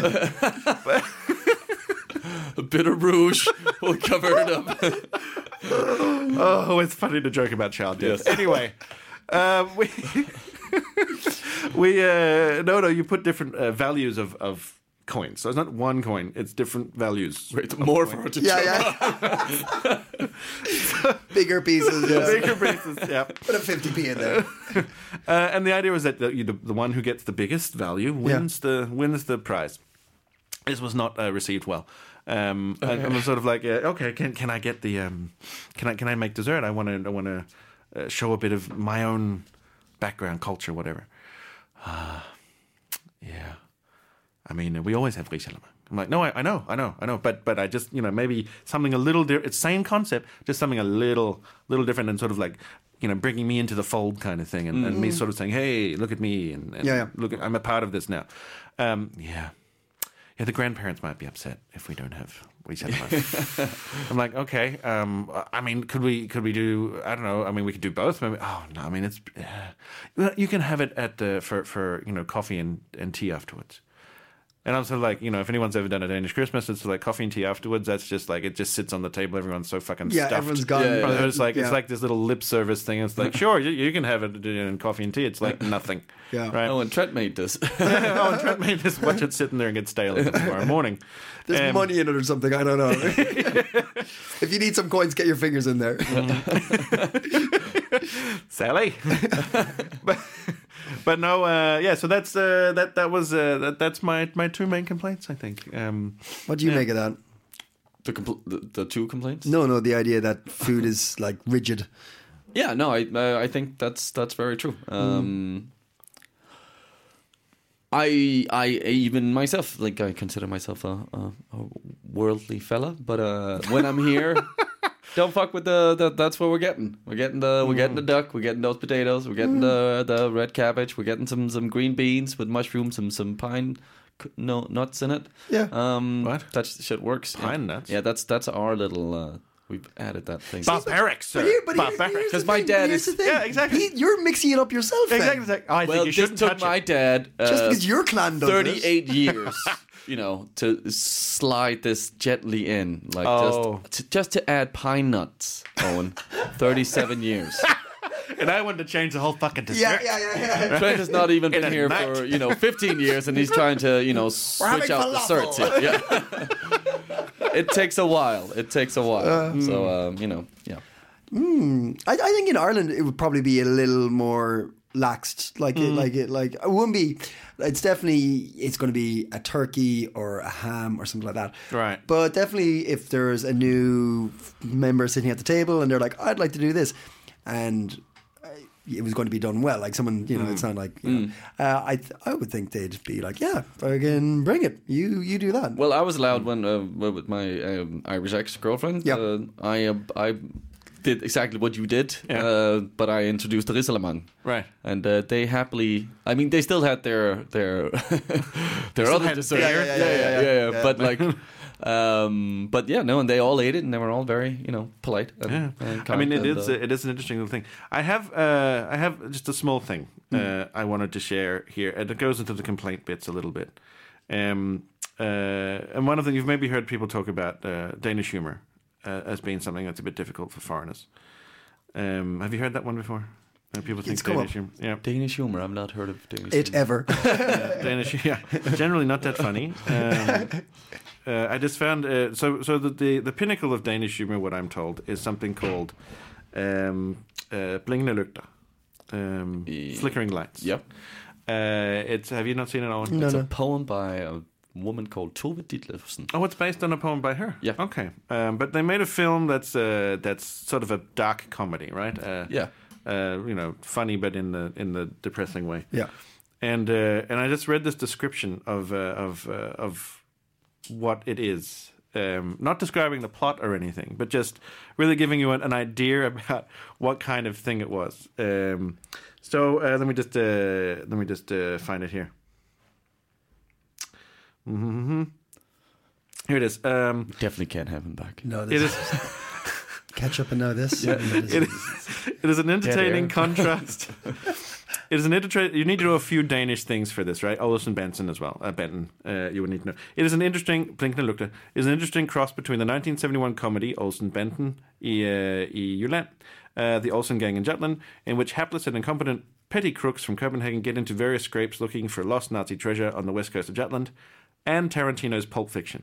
Speaker 4: A bit of rouge will cover it up.
Speaker 5: Oh, it's funny to joke about child death.
Speaker 4: Yes.
Speaker 5: Anyway, uh, we we uh, no no you put different uh, values of of coins. So it's not one coin; it's different values.
Speaker 4: Wait, more for her to
Speaker 3: yeah,
Speaker 4: jump.
Speaker 3: yeah. Bigger pieces. Yeah.
Speaker 5: Bigger pieces, yeah.
Speaker 3: Put a fifty p in there.
Speaker 5: Uh, and the idea was that the, you, the the one who gets the biggest value wins the wins the prize. This was not uh, received well. Um, and I was sort of like, uh, okay, can can I get the um, can I can I make dessert? I want to I want to uh, show a bit of my own background, culture, whatever. Uh, yeah, I mean, we always have risalamande. I'm like, no, I, I know, I know, I know, but but I just, you know, maybe something a little different. It's same concept, just something a little little different, and sort of like, you know, bringing me into the fold kind of thing, and, mm. and me sort of saying, hey, look at me, and, and
Speaker 3: Yeah, yeah.
Speaker 5: look, at, I'm a part of this now. Um, yeah. Yeah, the grandparents might be upset if we don't have risalamande. I'm like, okay. Um, I mean, could we could we do? I don't know. I mean, we could do both. Maybe. Oh no. I mean, it's uh, you can have it at the for for you know coffee and, and tea afterwards. And I'm sort of like, you know, if anyone's ever done a Danish Christmas, it's like coffee and tea afterwards. That's just like, it just sits on the table. Everyone's so fucking
Speaker 3: Yeah,
Speaker 5: stuffed.
Speaker 3: everyone's gone.
Speaker 4: Yeah, yeah,
Speaker 5: But it's like
Speaker 3: Yeah.
Speaker 5: it's like this little lip service thing. It's like, sure, you, you can have it in coffee and tea. It's like nothing.
Speaker 3: Yeah.
Speaker 5: Right.
Speaker 4: Oh, and Trent made this.
Speaker 5: oh, and Trent made this. Watch it sitting there and get stale tomorrow morning.
Speaker 3: There's
Speaker 5: Um,
Speaker 3: money in it or something. I don't know. If you need some coins, get your fingers in there.
Speaker 5: Sally. but, but no, uh, yeah. So that's uh, that. That was uh, that, that's my my two main complaints. I think. Um,
Speaker 3: What do you
Speaker 5: Yeah.
Speaker 3: make of that?
Speaker 4: the, compl- the the two complaints.
Speaker 3: No, no, the idea that food is like rigid.
Speaker 4: Yeah, no, I uh, I think that's that's very true. Um, I I even myself, like, I consider myself a, a, a worldly fella, but uh, when I'm here, don't fuck with the, the. That's what we're getting. We're getting the we're getting the duck. We're getting those potatoes. We're getting the the red cabbage. We're getting some some green beans with mushrooms, some some pine. No nuts in it.
Speaker 3: Yeah.
Speaker 4: Um,
Speaker 5: What?
Speaker 4: That shit works.
Speaker 5: Pine
Speaker 4: yeah.
Speaker 5: nuts?
Speaker 4: Yeah, that's that's our little. Uh, we've added that thing.
Speaker 5: barbaric, sir.
Speaker 3: But here, but here,
Speaker 5: barbaric.
Speaker 3: here's the
Speaker 4: 'Cause my
Speaker 3: thing,
Speaker 4: dad
Speaker 3: here's
Speaker 4: is-
Speaker 3: the thing.
Speaker 5: Yeah, exactly.
Speaker 3: He- you're mixing it up yourself. then.
Speaker 5: Exactly. It's like, oh, I
Speaker 4: well,
Speaker 5: think you
Speaker 4: this
Speaker 5: shouldn't
Speaker 4: took
Speaker 5: touch
Speaker 4: my
Speaker 5: it.
Speaker 4: dad uh,
Speaker 3: Just because your clan does this.
Speaker 4: thirty-eight years, you know, to slide this gently in, like
Speaker 5: Oh.
Speaker 4: just to, just to add pine nuts, Owen. thirty-seven years.
Speaker 5: And I wanted to change the whole fucking dessert.
Speaker 3: Yeah, yeah, yeah, yeah.
Speaker 4: Trent has not even
Speaker 5: In
Speaker 4: been
Speaker 5: a
Speaker 4: here
Speaker 5: night.
Speaker 4: for, you know, fifteen years, and he's trying to, you know, switch
Speaker 3: having
Speaker 4: out the
Speaker 3: falafel.
Speaker 4: certs. Yeah. yeah. It takes a while. It takes a while. so, um, you know, yeah.
Speaker 3: I, I think in Ireland it would probably be a little more laxed. Like it, like it, like it wouldn't be. It's definitely it's going to be a turkey or a ham or something like that.
Speaker 5: Right.
Speaker 3: But definitely, if there's a new member sitting at the table and they're like, "I'd like to do this," and uh, it was going to be done well, like someone, you know, it's not like you know, uh, I th- I would think they'd be like, "Yeah, fucking bring it. You you do that."
Speaker 4: Well, I was allowed when uh, with my um, Irish ex-girlfriend.
Speaker 3: Yeah.
Speaker 4: Uh, I uh, I did exactly what you did,
Speaker 5: Yeah.
Speaker 4: uh, but I introduced the risalamande.
Speaker 5: Right.
Speaker 4: And uh, they happily, I mean, they still had their their their other
Speaker 5: had
Speaker 4: dessert.
Speaker 5: theirs.
Speaker 3: Yeah, yeah, yeah, yeah, yeah.
Speaker 4: But like, um, but yeah, no, and they all ate it, and they were all very, you know, polite. And,
Speaker 5: Yeah.
Speaker 4: and
Speaker 5: I
Speaker 4: kind
Speaker 5: mean, it
Speaker 4: and,
Speaker 5: is
Speaker 4: uh,
Speaker 5: a, it is an interesting little thing. I have uh, I have just a small thing uh, I wanted to share here, and it goes into the complaint bits a little bit. Um, uh, and one of the you've maybe heard people talk about uh, Danish humor uh, as being something that's a bit difficult for foreigners. Um, have you heard that one before? Uh, people think
Speaker 3: It's come
Speaker 5: Danish
Speaker 3: up.
Speaker 5: humor. Yeah.
Speaker 4: Danish humor. I've not heard of Danish.
Speaker 3: it
Speaker 4: humor.
Speaker 3: ever.
Speaker 5: Uh, Danish, yeah, generally not that funny. Um, uh, I just found uh, so so the, the the pinnacle of Danish humor, what I'm told, is something called um, uh, blinkende lygter, um,
Speaker 4: Yeah.
Speaker 5: flickering lights.
Speaker 4: Yep.
Speaker 5: Uh, it's have you not seen it, Owen?
Speaker 3: No,
Speaker 4: It's
Speaker 3: no.
Speaker 4: a poem by a woman called Tove Ditlevsen.
Speaker 5: Oh, it's based on a poem by her.
Speaker 4: Yeah.
Speaker 5: Okay. Um, but they made a film that's uh, that's sort of a dark comedy, right? Uh,
Speaker 4: Yeah.
Speaker 5: Uh, you know, funny but in the in the depressing way.
Speaker 3: Yeah.
Speaker 5: And uh, and I just read this description of uh, of uh, of what it is. Um, not describing the plot or anything, but just really giving you an, an idea about what kind of thing it was. Um, so uh, let me just uh, let me just uh, find it here. Mm-hmm. Here it is. Um,
Speaker 4: Definitely can't have him back.
Speaker 3: No,
Speaker 5: it
Speaker 3: this
Speaker 5: is.
Speaker 3: catch up and now this. Yeah.
Speaker 5: It is. It is an entertaining
Speaker 4: air.
Speaker 5: contrast. It is an entertaining. You need to know a few Danish things for this, right? Olsen Benson as well. Uh, Benton. Uh, you would need to know. It is an interesting. Blinkende Lugte is an interesting cross between the nineteen seventy-one comedy Olsen Benton i, uh, i Jylland, uh, the Olsen Gang in Jutland, in which hapless and incompetent petty crooks from Copenhagen get into various scrapes looking for lost Nazi treasure on the west coast of Jutland, and Tarantino's Pulp Fiction.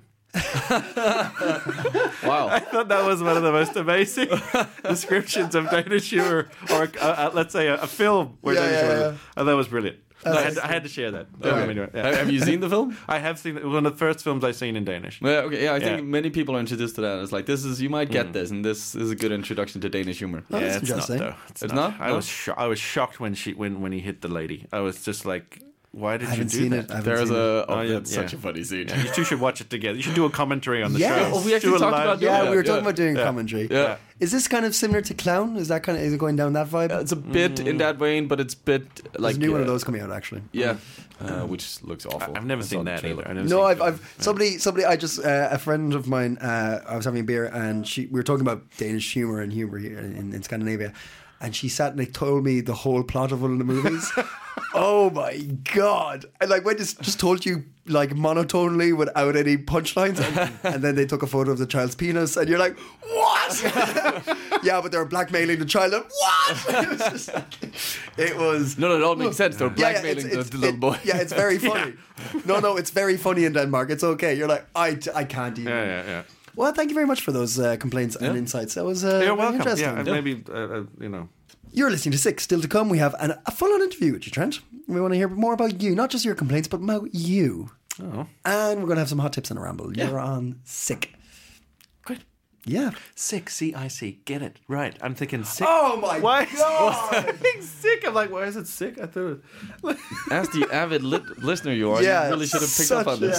Speaker 4: Wow.
Speaker 5: I thought that was one of the most amazing descriptions of Danish humor, or uh, uh, let's say a, a film where
Speaker 3: Yeah,
Speaker 5: Danish
Speaker 3: yeah,
Speaker 5: humor.
Speaker 3: yeah.
Speaker 5: Oh, that was brilliant. I had, to, I had to share that.
Speaker 4: Okay.
Speaker 5: Anyway, yeah.
Speaker 4: Have have you seen the film?
Speaker 5: I have seen it. It was one of the first films I've seen in Danish.
Speaker 4: Yeah, okay. Yeah, I think
Speaker 5: Yeah.
Speaker 4: many people are introduced to that. It's like this is you might get this, and this is a good introduction to Danish humor.
Speaker 3: Oh,
Speaker 5: yeah,
Speaker 3: that's
Speaker 5: it's not
Speaker 3: interesting.
Speaker 5: though. It's,
Speaker 4: It's
Speaker 5: not.
Speaker 4: not?
Speaker 5: I
Speaker 4: No?
Speaker 5: was sho- I was shocked when she when when he hit the lady. I was just like, why did
Speaker 3: I
Speaker 5: you
Speaker 3: haven't
Speaker 5: do
Speaker 3: seen
Speaker 5: that?
Speaker 3: it. I haven't
Speaker 4: There's
Speaker 3: seen
Speaker 4: a
Speaker 3: it.
Speaker 4: oh,
Speaker 5: Oh, yeah,
Speaker 4: that's such
Speaker 5: yeah.
Speaker 4: a funny scene.
Speaker 5: You two should watch it together. You should do a commentary on the
Speaker 3: Yeah.
Speaker 5: show.
Speaker 3: Oh,
Speaker 4: we actually
Speaker 5: Do a
Speaker 4: talked
Speaker 5: live-
Speaker 4: about
Speaker 3: Yeah,
Speaker 4: Yeah,
Speaker 3: we were talking
Speaker 4: yeah.
Speaker 3: about doing
Speaker 5: Yeah.
Speaker 3: commentary.
Speaker 4: Yeah.
Speaker 3: Is this kind of similar to Clown? Is that kind of is it going down that vibe?
Speaker 4: It's a bit in that vein, but it's bit
Speaker 3: There's
Speaker 4: like
Speaker 3: a new one of
Speaker 4: uh,
Speaker 3: those coming out actually.
Speaker 4: Yeah, uh, which looks awful.
Speaker 5: I've never
Speaker 4: I saw
Speaker 5: seen
Speaker 4: the
Speaker 5: that
Speaker 4: trailer.
Speaker 5: either. I've never
Speaker 3: No,
Speaker 5: seen
Speaker 3: I've, I've somebody, somebody. I just uh, a friend of mine. Uh, I was having a beer, and she we were talking about Danish humor and humor here in, in Scandinavia, and she sat and like, told me the whole plot of one of the movies. Oh my god! And like when just just told you like monotonely without any punchlines, and, and then they took a photo of the child's penis, and you're like, what? Yeah, but they were blackmailing the child. And, what? It was just like, it was.
Speaker 4: No, no, it all makes sense. They're
Speaker 3: Yeah, yeah,
Speaker 4: blackmailing
Speaker 3: it's- it's-
Speaker 4: the, the little
Speaker 3: it-
Speaker 4: boy.
Speaker 3: Yeah, it's very funny. No, no, it's very funny in Denmark. It's okay. You're like, I, I can't even.
Speaker 5: Yeah, yeah, yeah.
Speaker 3: Well, thank you very much for those uh, complaints and
Speaker 4: Yeah.
Speaker 3: insights. That was uh,
Speaker 5: You're
Speaker 3: very
Speaker 5: welcome.
Speaker 3: interesting.
Speaker 5: Yeah, and maybe uh, uh, you know.
Speaker 3: You're listening to Six. Still to come, we have an, a full-on interview with you, Trent. We want to hear more about you, not just your complaints, but about you.
Speaker 5: Oh,
Speaker 3: And we're going to have some hot tips on a ramble.
Speaker 4: Yeah.
Speaker 3: You're on Sick.
Speaker 5: great.
Speaker 3: Yeah.
Speaker 5: Sick, C I C. Get it right. I'm thinking sick.
Speaker 3: Oh my
Speaker 5: Why?
Speaker 3: God.
Speaker 5: Sick. I'm like, why is it sick? I thought. It...
Speaker 4: As the avid li- listener you are,
Speaker 3: Yeah,
Speaker 4: you really should have picked up on
Speaker 3: such
Speaker 4: this.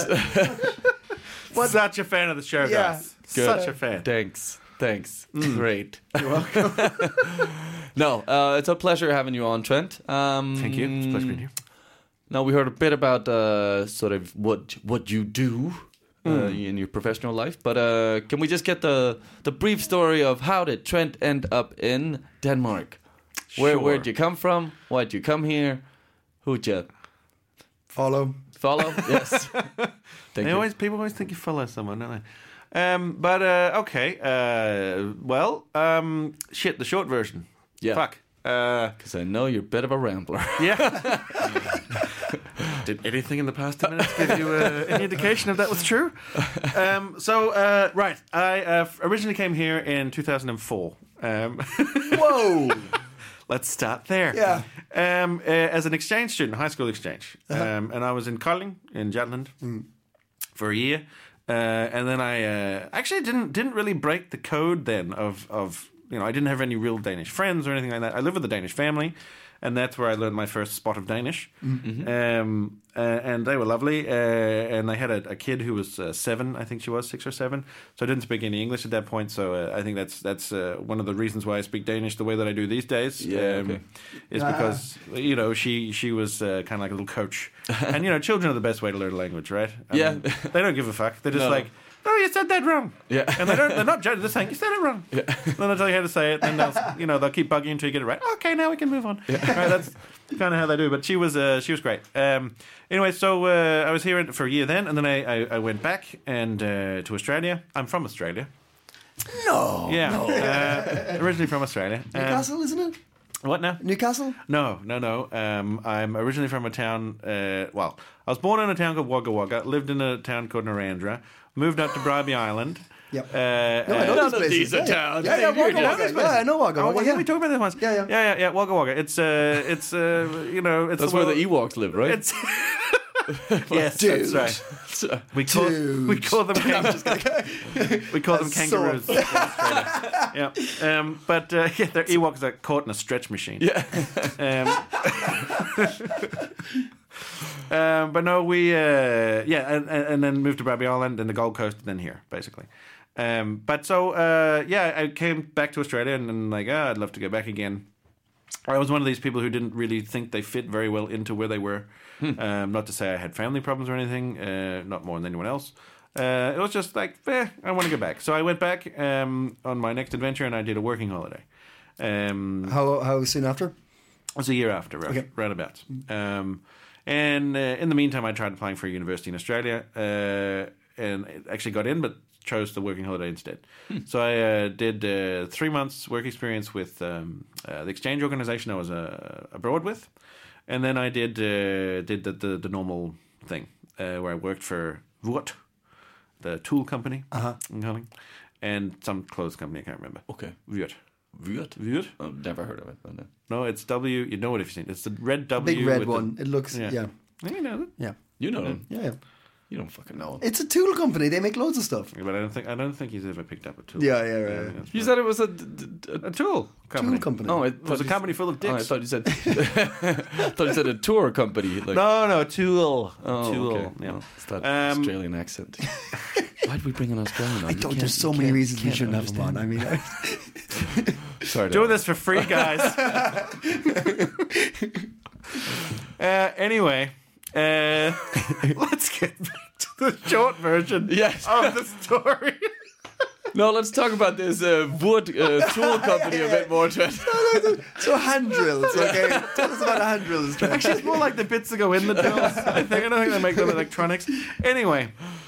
Speaker 5: What? Such a fan of the show,
Speaker 3: Yeah.
Speaker 5: guys.
Speaker 4: Good.
Speaker 5: Such a fan.
Speaker 4: Thanks. Thanks. Great. You're welcome. No, uh, it's a pleasure having you on, Trent. Um,
Speaker 5: Thank you. It's a pleasure being here.
Speaker 4: Now we heard a bit about uh, sort of what what you do uh, in your professional life, but uh, can we just get the the brief story of how did Trent end up in Denmark? Where
Speaker 5: Sure.
Speaker 4: where'd you come from? Why'd you come here? Who'd you
Speaker 3: Follow.
Speaker 4: follow? Yes. Thank
Speaker 5: They
Speaker 4: you.
Speaker 5: always people always think you follow someone, don't they? Um, but uh, okay. Uh, well, um, shit. The short version.
Speaker 4: Yeah.
Speaker 5: Fuck. Uh,
Speaker 4: Because I know you're a bit of a rambler.
Speaker 5: yeah. Did anything in the past ten minutes give you uh, any indication if that was true? Um, so, uh, right. I uh, originally came here in two thousand four. Um,
Speaker 3: Whoa.
Speaker 5: let's start there.
Speaker 3: Yeah.
Speaker 5: Um, uh, as an exchange student, high school exchange, um, and I was in Kolding in Jutland for a year, uh, and then I uh, actually didn't didn't really break the code then of of you know I didn't have any real Danish friends or anything like that. I lived with a Danish family, and that's where I learned my first spot of Danish. Mm-hmm. Um, uh, and they were lovely, uh, and I had a, a kid who was uh, seven, I think she was six or seven, so I didn't speak any English at that point. So uh, I think that's that's uh, one of the reasons why I speak Danish the way that I do these days.
Speaker 4: Yeah, okay.
Speaker 5: Is because you know she she was uh, kind of like a little coach, and you know children are the best way to learn a language, right? I
Speaker 4: Yeah.
Speaker 5: mean, they don't give a fuck. They're just
Speaker 4: No.
Speaker 5: like, oh, you said that wrong.
Speaker 4: Yeah.
Speaker 5: And they don't. They're not judging. They're saying you said it wrong. Yeah. Then they'll tell you how to say it. Then they'll, you know, they'll keep bugging you until you get it right. Okay, now we can move on. Yeah. Right. That's kind of how they do. But she was, uh, she was great. Um, anyway, so uh, I was here for a year then, and then I, I, I went back and uh, to Australia. I'm from Australia.
Speaker 3: No.
Speaker 5: Yeah. Uh, originally from Australia. Um,
Speaker 3: Newcastle, isn't it?
Speaker 5: what now?
Speaker 3: Newcastle?
Speaker 5: No, no, no. Um, I'm originally from a town. Uh, well, I was born in a town called Wagga Wagga. Lived in a town called Narendra. Moved up to Bribie Island.
Speaker 3: Yep.
Speaker 5: Uh,
Speaker 3: No, I know
Speaker 5: uh,
Speaker 3: these places.
Speaker 4: these are
Speaker 3: yeah.
Speaker 4: towns.
Speaker 3: Yeah, yeah,
Speaker 4: You're
Speaker 3: Wagga
Speaker 4: just-
Speaker 3: Wagga. Yeah, I know Wagga
Speaker 5: Oh,
Speaker 3: Wagga.
Speaker 5: yeah, we talked about this once.
Speaker 3: Yeah, yeah.
Speaker 5: yeah, yeah, yeah. Wagga Wagga. It's uh, it's uh, you know, it's
Speaker 4: That's
Speaker 5: the
Speaker 4: where
Speaker 5: world-
Speaker 4: the Ewoks live, right?
Speaker 5: It's yes,
Speaker 3: Dude.
Speaker 5: that's right. We call
Speaker 3: Dude.
Speaker 5: we call them kang- we call them
Speaker 3: That's so-
Speaker 5: kangaroos. in Australia. Yeah, um, but uh, yeah, they're Ewoks are caught in a stretch machine.
Speaker 4: Yeah.
Speaker 5: Um, um, but no, we uh, yeah, and, and and then moved to Bribie Island and the Gold Coast, and then here basically. Um, but so uh, yeah, I came back to Australia and, and like, ah, I'd love to go back again. I was one of these people who didn't really think they fit very well into where they were. Um, not to say I had family problems or anything, uh, not more than anyone else. Uh, it was just like, eh, I want to go back. So I went back um, on my next adventure, and I did a working holiday. Um,
Speaker 3: How how soon after?
Speaker 5: It was a year after, right,
Speaker 3: Okay.
Speaker 5: roundabout. Um, and uh, in the meantime, I tried applying for a university in Australia, uh, and actually got in, but chose the working holiday instead. Hmm. So I uh, did uh, three months work experience with um, uh, the exchange organization I was uh, abroad with, and then I did uh, did the, the the normal thing uh, where I worked for Vurt, the tool company, uh-huh. and some clothes company, I can't remember.
Speaker 4: Okay.
Speaker 5: Vurt.
Speaker 4: Vurt?
Speaker 5: Vurt?
Speaker 4: I've never heard of it. But no.
Speaker 5: No, it's W. You know it if you've seen it. It's the red W.
Speaker 3: Big red
Speaker 5: with
Speaker 3: one.
Speaker 5: The,
Speaker 3: It looks yeah. yeah.
Speaker 5: You know it.
Speaker 3: Yeah.
Speaker 4: You know them.
Speaker 3: Yeah.
Speaker 4: You don't fucking know.
Speaker 3: It's a tool company. They make loads of stuff.
Speaker 5: But I don't think I don't think he's ever picked up a tool.
Speaker 3: Yeah, yeah, right.
Speaker 5: that's
Speaker 4: You
Speaker 5: right.
Speaker 4: said it was a, d- d-
Speaker 5: a tool company.
Speaker 3: Tool company.
Speaker 4: Oh, I
Speaker 5: It was a company full of dicks.
Speaker 4: Oh, I thought you said. I thought you said a tour company. Like,
Speaker 5: No, no, tool.
Speaker 4: Oh,
Speaker 5: tool.
Speaker 4: okay.
Speaker 5: Yeah.
Speaker 4: Oh, it's that
Speaker 5: Um,
Speaker 4: Australian accent. Why'd we bring an Australian on?
Speaker 3: I
Speaker 4: You
Speaker 3: don't.
Speaker 4: can't-
Speaker 3: There's so
Speaker 4: you
Speaker 3: many
Speaker 4: can't-
Speaker 3: reasons we
Speaker 4: can't
Speaker 3: shouldn't have them on.
Speaker 4: understand.
Speaker 3: I mean, I,
Speaker 4: Sorry.
Speaker 5: Doing
Speaker 4: to-
Speaker 5: this for free, guys. uh, anyway, uh, let's get back to the short version
Speaker 4: Yes.
Speaker 5: of the story.
Speaker 4: No, let's talk about this uh, wood uh, tool company a bit more. Trent.
Speaker 3: so hand drills. Okay, tell us about hand drills. Trent.
Speaker 5: Actually, it's more like the bits that go in the drills. I think I don't think they make them electronics. Anyway,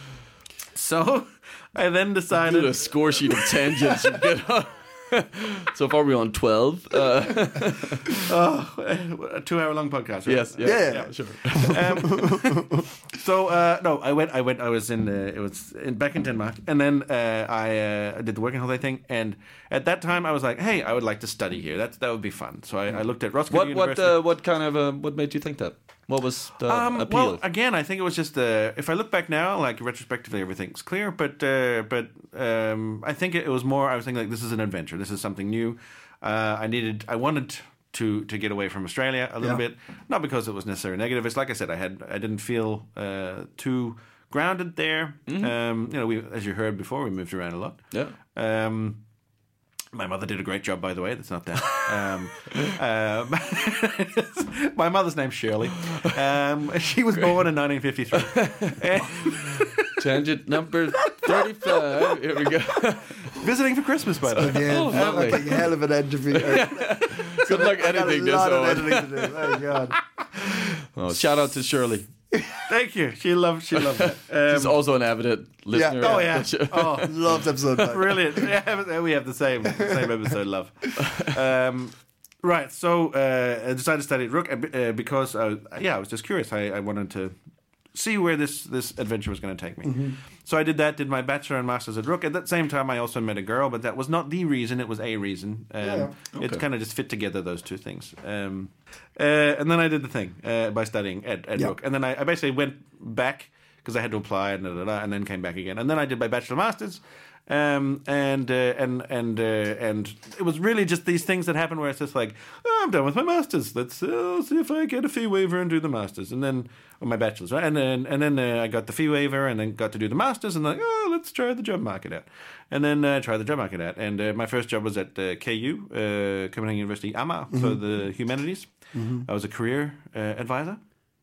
Speaker 5: so I then
Speaker 4: Do
Speaker 5: decided.
Speaker 4: a score sheet of tangents. You get on. So far, we're on twelve. Uh,
Speaker 5: Oh, a two-hour-long podcast. Right?
Speaker 4: yes, yeah,
Speaker 3: Yeah.
Speaker 4: yeah, sure.
Speaker 5: Um, so uh, no, I went. I went. I was in. Uh, it was in, back in Denmark, and then uh, I uh, did the working holiday thing. And at that time, I was like, "Hey, I would like to study here. That that would be fun." So I, I looked at Roskilde
Speaker 4: What what
Speaker 5: University.
Speaker 4: uh, what kind of uh, what made you think that? What was the
Speaker 5: Um,
Speaker 4: appeal?
Speaker 5: well, again, I think it was just uh, if I look back now, like retrospectively, everything's clear. But uh, but um, I think it was more. I was thinking like this is an adventure. This is something new. Uh, I needed. I wanted to to get away from Australia a little
Speaker 3: Yeah.
Speaker 5: bit, not because it was necessarily negative. It's like I said, I had I didn't feel uh, too grounded there. Um, you know, we as you heard before, we moved around a lot.
Speaker 4: yeah.
Speaker 5: Um, my mother did a great job, by the way. That's not that. Um, um, my mother's name's Shirley. Um, she was born in nineteen fifty-three. And
Speaker 4: Tangent number thirty-five. Here we go.
Speaker 5: visiting for Christmas, by the way.
Speaker 3: Yeah,
Speaker 4: Oh,
Speaker 3: that
Speaker 4: lovely.
Speaker 3: looked like a hell of an interview.
Speaker 4: Good luck
Speaker 3: I got a
Speaker 4: editing this.
Speaker 3: lot of
Speaker 4: Owen.
Speaker 3: editing to do. My God.
Speaker 4: Oh, shout out to Shirley.
Speaker 5: Thank you. She loved. She loved that.
Speaker 4: She's
Speaker 5: Um,
Speaker 4: also an avid listener.
Speaker 5: oh yeah. Oh,
Speaker 3: Loved episode five.
Speaker 5: brilliant. Yeah, we have the same same episode. Love. Um, right. So uh, I decided to study at Rook uh, because I was, yeah, I was just curious. I, I wanted to see where this this adventure was going to take me.
Speaker 3: Mm-hmm.
Speaker 5: So I did that. Did my bachelor and masters at Rook. At that same time, I also met a girl, but that was not the reason. It was a reason. Um,
Speaker 3: Yeah.
Speaker 5: It
Speaker 4: Okay.
Speaker 5: kind of just fit together those two things. Um, uh, and then I did the thing uh, by studying at, at
Speaker 3: Yeah.
Speaker 5: Rook, and then I, I basically went back because I had to apply and da, da, da, and then came back again. And then I did my bachelor masters. Um, and uh, and and uh, and it was really just these things that happen where it's just like, oh, I'm done with my masters. Let's uh, see if I get a fee waiver and do the masters, and then or my bachelor's, right? And then and then uh, I got the fee waiver, and then got to do the masters, and like, oh, let's try the job market out, and then uh, try the job market out. And uh, my first job was at uh, K U, uh, Copenhagen University, Amager, for the humanities. I was a career uh, advisor.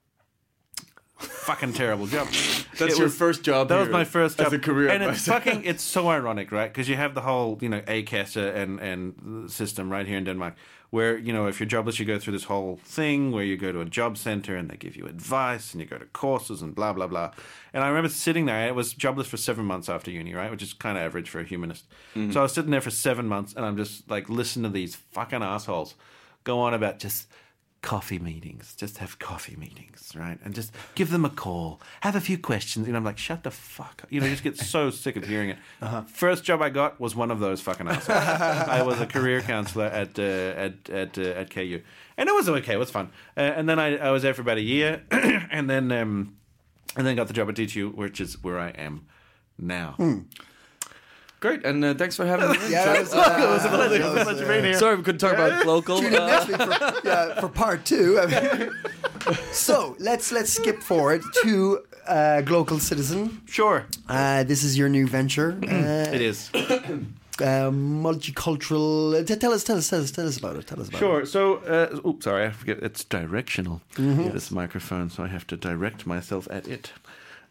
Speaker 5: Fucking terrible job.
Speaker 4: That's
Speaker 5: It
Speaker 4: your
Speaker 5: was-
Speaker 4: first job.
Speaker 5: That was
Speaker 4: here
Speaker 5: my first job
Speaker 4: as a career
Speaker 5: and
Speaker 4: advisor.
Speaker 5: it's fucking. It's so ironic, right? Because you have the whole, you know, A C A S A and and system right here in Denmark, where you know if you're jobless, you go through this whole thing where you go to a job center and they give you advice and you go to courses and blah blah blah. And I remember sitting there. I was jobless for seven months after uni, right, which is kind of average for a humanist.
Speaker 4: Mm-hmm.
Speaker 5: So I was sitting there for seven months, and I'm just like listening to these fucking assholes go on about just coffee meetings, just have coffee meetings, right? And just give them a call, have a few questions. You know, I'm like, shut the fuck up. You know, you just get so sick of hearing it. Uh-huh. First job I got was one of those fucking assholes. I was a career counselor at uh, at at uh, at K U, and it was okay. It was fun. Uh, and then I, I was there for about a year, and then um, and then got the job at D T U, which is where I am now.
Speaker 3: Hmm.
Speaker 4: Great, and uh, thanks for having me.
Speaker 3: Yeah, that was, uh,
Speaker 5: It was a pleasure. It was a
Speaker 3: that was,
Speaker 5: pleasure
Speaker 3: uh,
Speaker 5: being here.
Speaker 4: Sorry we couldn't talk about local.
Speaker 3: Tune in
Speaker 4: Uh,
Speaker 3: next week for, yeah, for part two. I mean, so let's let's skip forward to uh, Global Citizen.
Speaker 5: Sure,
Speaker 3: Uh, this is your new venture. Uh,
Speaker 5: it is.
Speaker 3: uh, multicultural. Uh, t- tell us, tell us, tell us, tell us about it. Tell us about
Speaker 5: Sure.
Speaker 3: it.
Speaker 5: So, uh, oops, sorry, I forget. It's directional. This microphone, so I have to direct myself at it.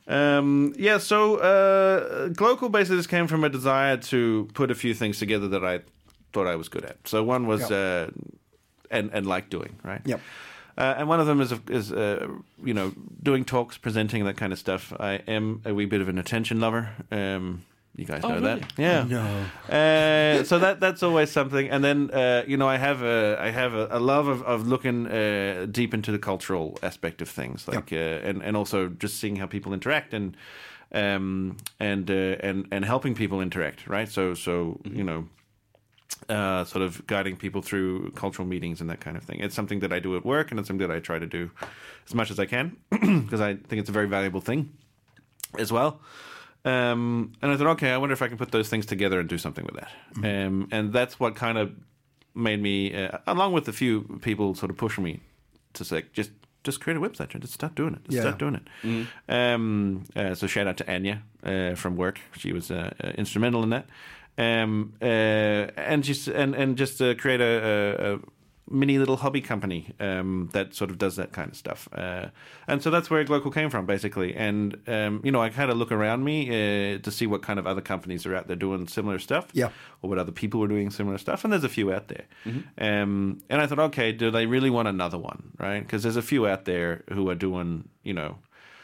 Speaker 5: Um, yeah, so uh, Glocal basically just came from a desire to put a few things together that I thought I was good at. So one was,
Speaker 3: Yep.
Speaker 5: uh, and, and like doing, right?
Speaker 3: Yep.
Speaker 5: Uh, and one of them is, is uh, you know, doing talks, presenting, that kind of stuff. I am a wee bit of an attention lover. Um, you guys know
Speaker 4: really?
Speaker 5: that, yeah.
Speaker 3: No.
Speaker 5: Uh, so that that's always something. And then uh, you know, I have a I have a, a love of of looking uh, deep into the cultural aspect of things, like uh, and and also just seeing how people interact and um and uh, and and helping people interact, right? So so mm-hmm. you know. Uh, sort of guiding people through cultural meetings and that kind of thing. It's something that I do at work, and it's something that I try to do as much as I can because I think it's a very valuable thing as well. Um, and I thought, okay, I wonder if I can put those things together and do something with that. Mm-hmm. Um, and that's what kind of made me, uh, along with a few people, sort of pushing me to say, just just create a website and just start doing it. Just
Speaker 3: Yeah.
Speaker 5: start doing it. Mm-hmm. Um, uh, so shout out to Anya uh, from work. She was uh, uh, instrumental in that. Um, uh, and just and and just uh, create a, a, a mini little hobby company um, that sort of does that kind of stuff. Uh, and so that's where Glocal came from, basically. And um, you know, I kind of look around me uh, to see what kind of other companies are out there doing similar stuff,
Speaker 3: Yeah.
Speaker 5: or what other people are doing similar stuff. And there's a few out there.
Speaker 4: Mm-hmm.
Speaker 5: Um, and I thought, okay, do they really want another one, right? Because there's a few out there who are doing, you know,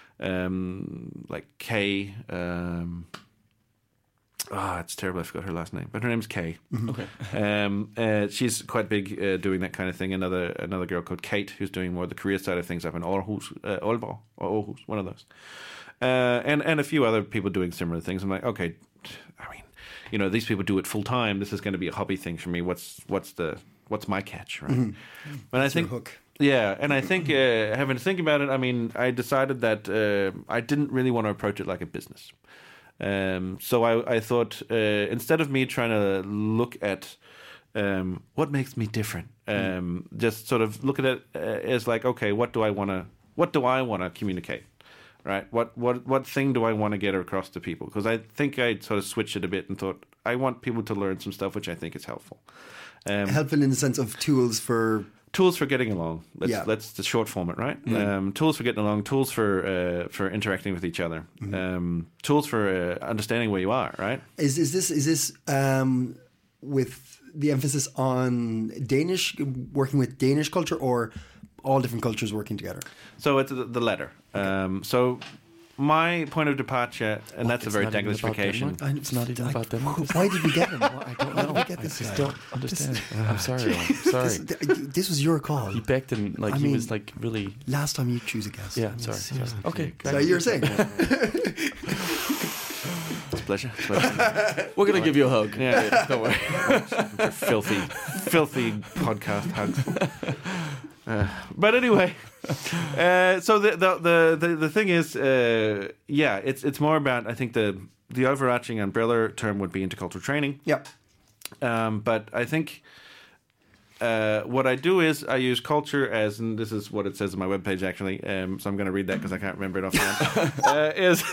Speaker 5: um, like Kay. Um, Ah, oh, it's terrible. I forgot her last name, but her name's Kay.
Speaker 3: Mm-hmm.
Speaker 4: Okay.
Speaker 5: Um, uh, she's quite big uh, doing that kind of thing. Another another girl called Kate, who's doing more of the career side of things up in Aarhus, uh, Aalborg, or Aarhus, one of those. Uh, and and a few other people doing similar things. I'm like, okay, I mean, you know, these people do it full time. This is going to be a hobby thing for me. What's what's the what's my catch, right? Mm-hmm. And I think.
Speaker 3: Hook.
Speaker 5: Yeah, and I think uh, having to think about it, I mean, I decided that uh, I didn't really want to approach it like a business. Um, so I, I thought uh, instead of me trying to look at um, what makes me different, um, mm. just sort of look at it uh, as like, okay, what do I want to, what do I want to communicate, right? What what what thing do I want to get across to people? Because I think I sort of switched it a bit and thought I want people to learn some stuff which I think is helpful. Um,
Speaker 3: Helpful in the sense of tools for.
Speaker 5: Tools for getting along. Let's
Speaker 3: Yeah.
Speaker 5: let's the short form it, right?
Speaker 3: Mm.
Speaker 5: Um, tools for getting along. Tools for uh, for interacting with each other.
Speaker 3: Mm-hmm.
Speaker 5: Um, tools for uh, understanding where you are, right?
Speaker 3: Is is this is this um, with the emphasis on Danish, working with Danish culture, or all different cultures working together?
Speaker 5: So it's the, the latter. Um, so my point of departure, and that's a
Speaker 4: It's
Speaker 5: very
Speaker 4: not even about
Speaker 5: Daglification.
Speaker 4: Denmark? It's not even about Denmark.
Speaker 3: Why did we get him?
Speaker 4: I don't
Speaker 3: Why
Speaker 4: know.
Speaker 3: did we get
Speaker 4: I
Speaker 3: this
Speaker 4: just
Speaker 3: guy?
Speaker 4: don't understand. I'm sorry. I'm sorry.
Speaker 3: This, this was your call.
Speaker 4: He begged and like
Speaker 3: I
Speaker 4: he
Speaker 3: mean,
Speaker 4: was like really.
Speaker 3: Last time you choose a guest.
Speaker 4: Yeah. Sorry. sorry. Okay.
Speaker 3: So you're saying
Speaker 5: It's a pleasure. It's a pleasure.
Speaker 4: We're gonna give you a hug.
Speaker 5: Yeah.
Speaker 4: Don't worry.
Speaker 5: filthy, filthy podcast hugs. Uh, but anyway, uh, so the, the the the the thing is, uh, yeah, it's it's more about, I think the the overarching umbrella term would be intercultural training.
Speaker 3: Yep.
Speaker 5: Um, but I think uh, what I do is I use culture as, and this is what it says on my webpage actually. Um, so I'm going to read that because I can't remember it offhand. uh, is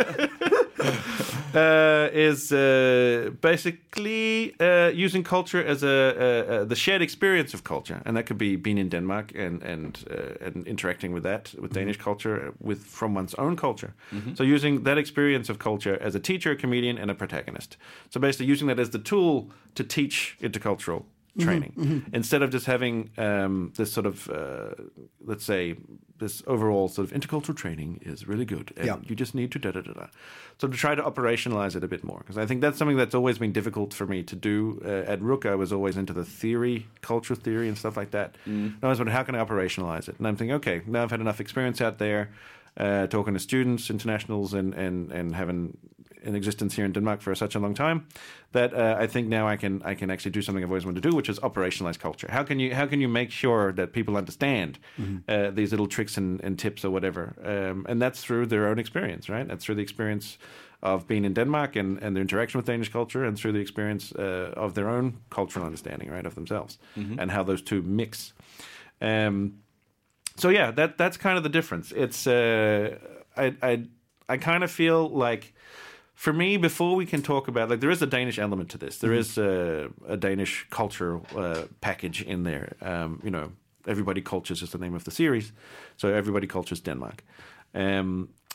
Speaker 5: uh, is uh, basically uh, using culture as a, a, a the shared experience of culture, and that could be being in Denmark and and uh, and interacting with that with Danish culture with from one's own culture. Mm-hmm. So using that experience of culture as a teacher, a comedian, and a protagonist. So basically using that as the tool to teach intercultural training, mm-hmm, mm-hmm. instead of just having um, this sort of, uh, let's say, this overall sort of intercultural training is really good, and
Speaker 3: yeah.
Speaker 5: you just need to da da da da. So to try to operationalize it a bit more, because I think that's something that's always been difficult for me to do. Uh, at Rook, I was always into the theory, cultural theory, and stuff like that. Mm. And I was wondering, how can I operationalize it? And I'm thinking, okay, now I've had enough experience out there, uh, talking to students, internationals, and and and having in existence here in Denmark for such a long time, that uh, I think now I can I can actually do something I've always wanted to do, which is operationalize culture. How can you how can you make sure that people understand mm-hmm. uh, these little tricks and, and tips or whatever? Um, and that's through their own experience, right? That's through the experience of being in Denmark and, and their interaction with Danish culture, and through the experience uh, of their own cultural understanding, right, of themselves, mm-hmm. and how those two mix. Um, so yeah, that that's kind of the difference. It's uh, I I I kind of feel like, for me, before we can talk about, like, there is a Danish element to this. There mm-hmm. is a, a Danish culture uh, package in there. Um, you know, Everybody Cultures is the name of the series. So Everybody Cultures Denmark. Um,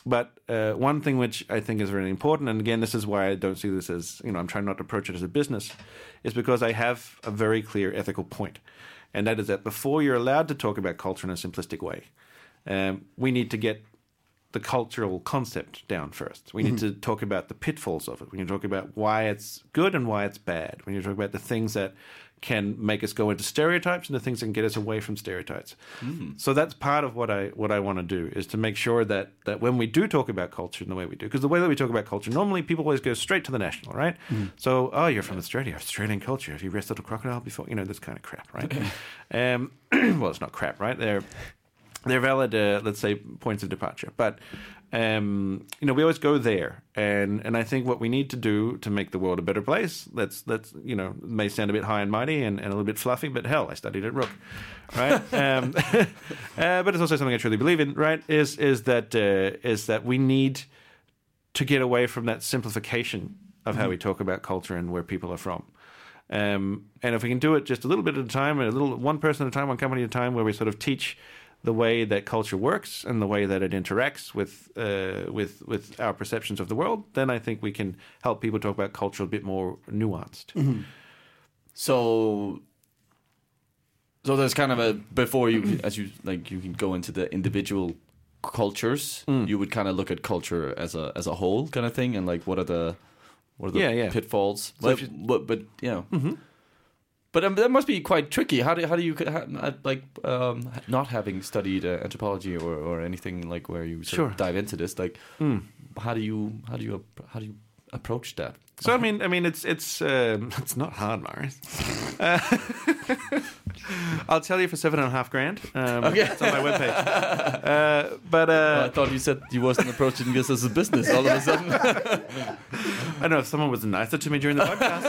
Speaker 5: But uh, one thing which I think is really important, and again, this is why I don't see this as, you know, I'm trying not to approach it as a business, is because I have a very clear ethical point. And that is that before you're allowed to talk about culture in a simplistic way, um, we need to get the cultural concept down first. We need mm-hmm. to talk about the pitfalls of it. We need to talk about why it's good and why it's bad. We need to talk about the things that can make us go into stereotypes and the things that can get us away from stereotypes. Mm. So that's part of what I what I want to do, is to make sure that that when we do talk about culture in the way we do, because the way that we talk about culture, normally people always go straight to the national, right? Mm. So, oh, you're from Australia, Australian culture. Have you wrestled a crocodile before? You know, this kind of crap, right? um, well, it's not crap, right? They're they're valid, uh, let's say, points of departure, but. Um, you know, we always go there, and, and I think what we need to do to make the world a better place, let's, let's you know, it may sound a bit high and mighty and, and a little bit fluffy, but hell, I studied at Rook, right? um, uh, but it's also something I truly believe in, right, is is that uh, is that we need to get away from that simplification of mm-hmm. how we talk about culture and where people are from. Um, and if we can do it just a little bit at a time, a little one person at a time, one company at a time, where we sort of teach the way that culture works and the way that it interacts with uh, with with our perceptions of the world, then I think we can help people talk about culture a bit more nuanced. Mm-hmm.
Speaker 4: So, so there's kind of a before you, as you like, you can go into the individual cultures. Mm. You would kind of look at culture as a as a whole kind of thing, and like what are the what are the
Speaker 5: yeah, yeah.
Speaker 4: pitfalls?
Speaker 5: So
Speaker 4: but, you, but but you know. Mm-hmm. But um, that must be quite tricky. How do how do you how, like um, not having studied uh, anthropology or, or anything like where you sort
Speaker 5: sure.
Speaker 4: of dive into this? Like, mm. how do you how do you how do you approach that?
Speaker 5: So I mean, I mean, it's it's um, it's not hard, Marius. Uh, I'll tell you for seven and a half grand. Um,
Speaker 4: okay,
Speaker 5: it's on my webpage. Uh, but uh,
Speaker 4: well, I thought you said you wasn't approaching this as a business. All of a sudden,
Speaker 5: I know if someone was nicer to me during the podcast.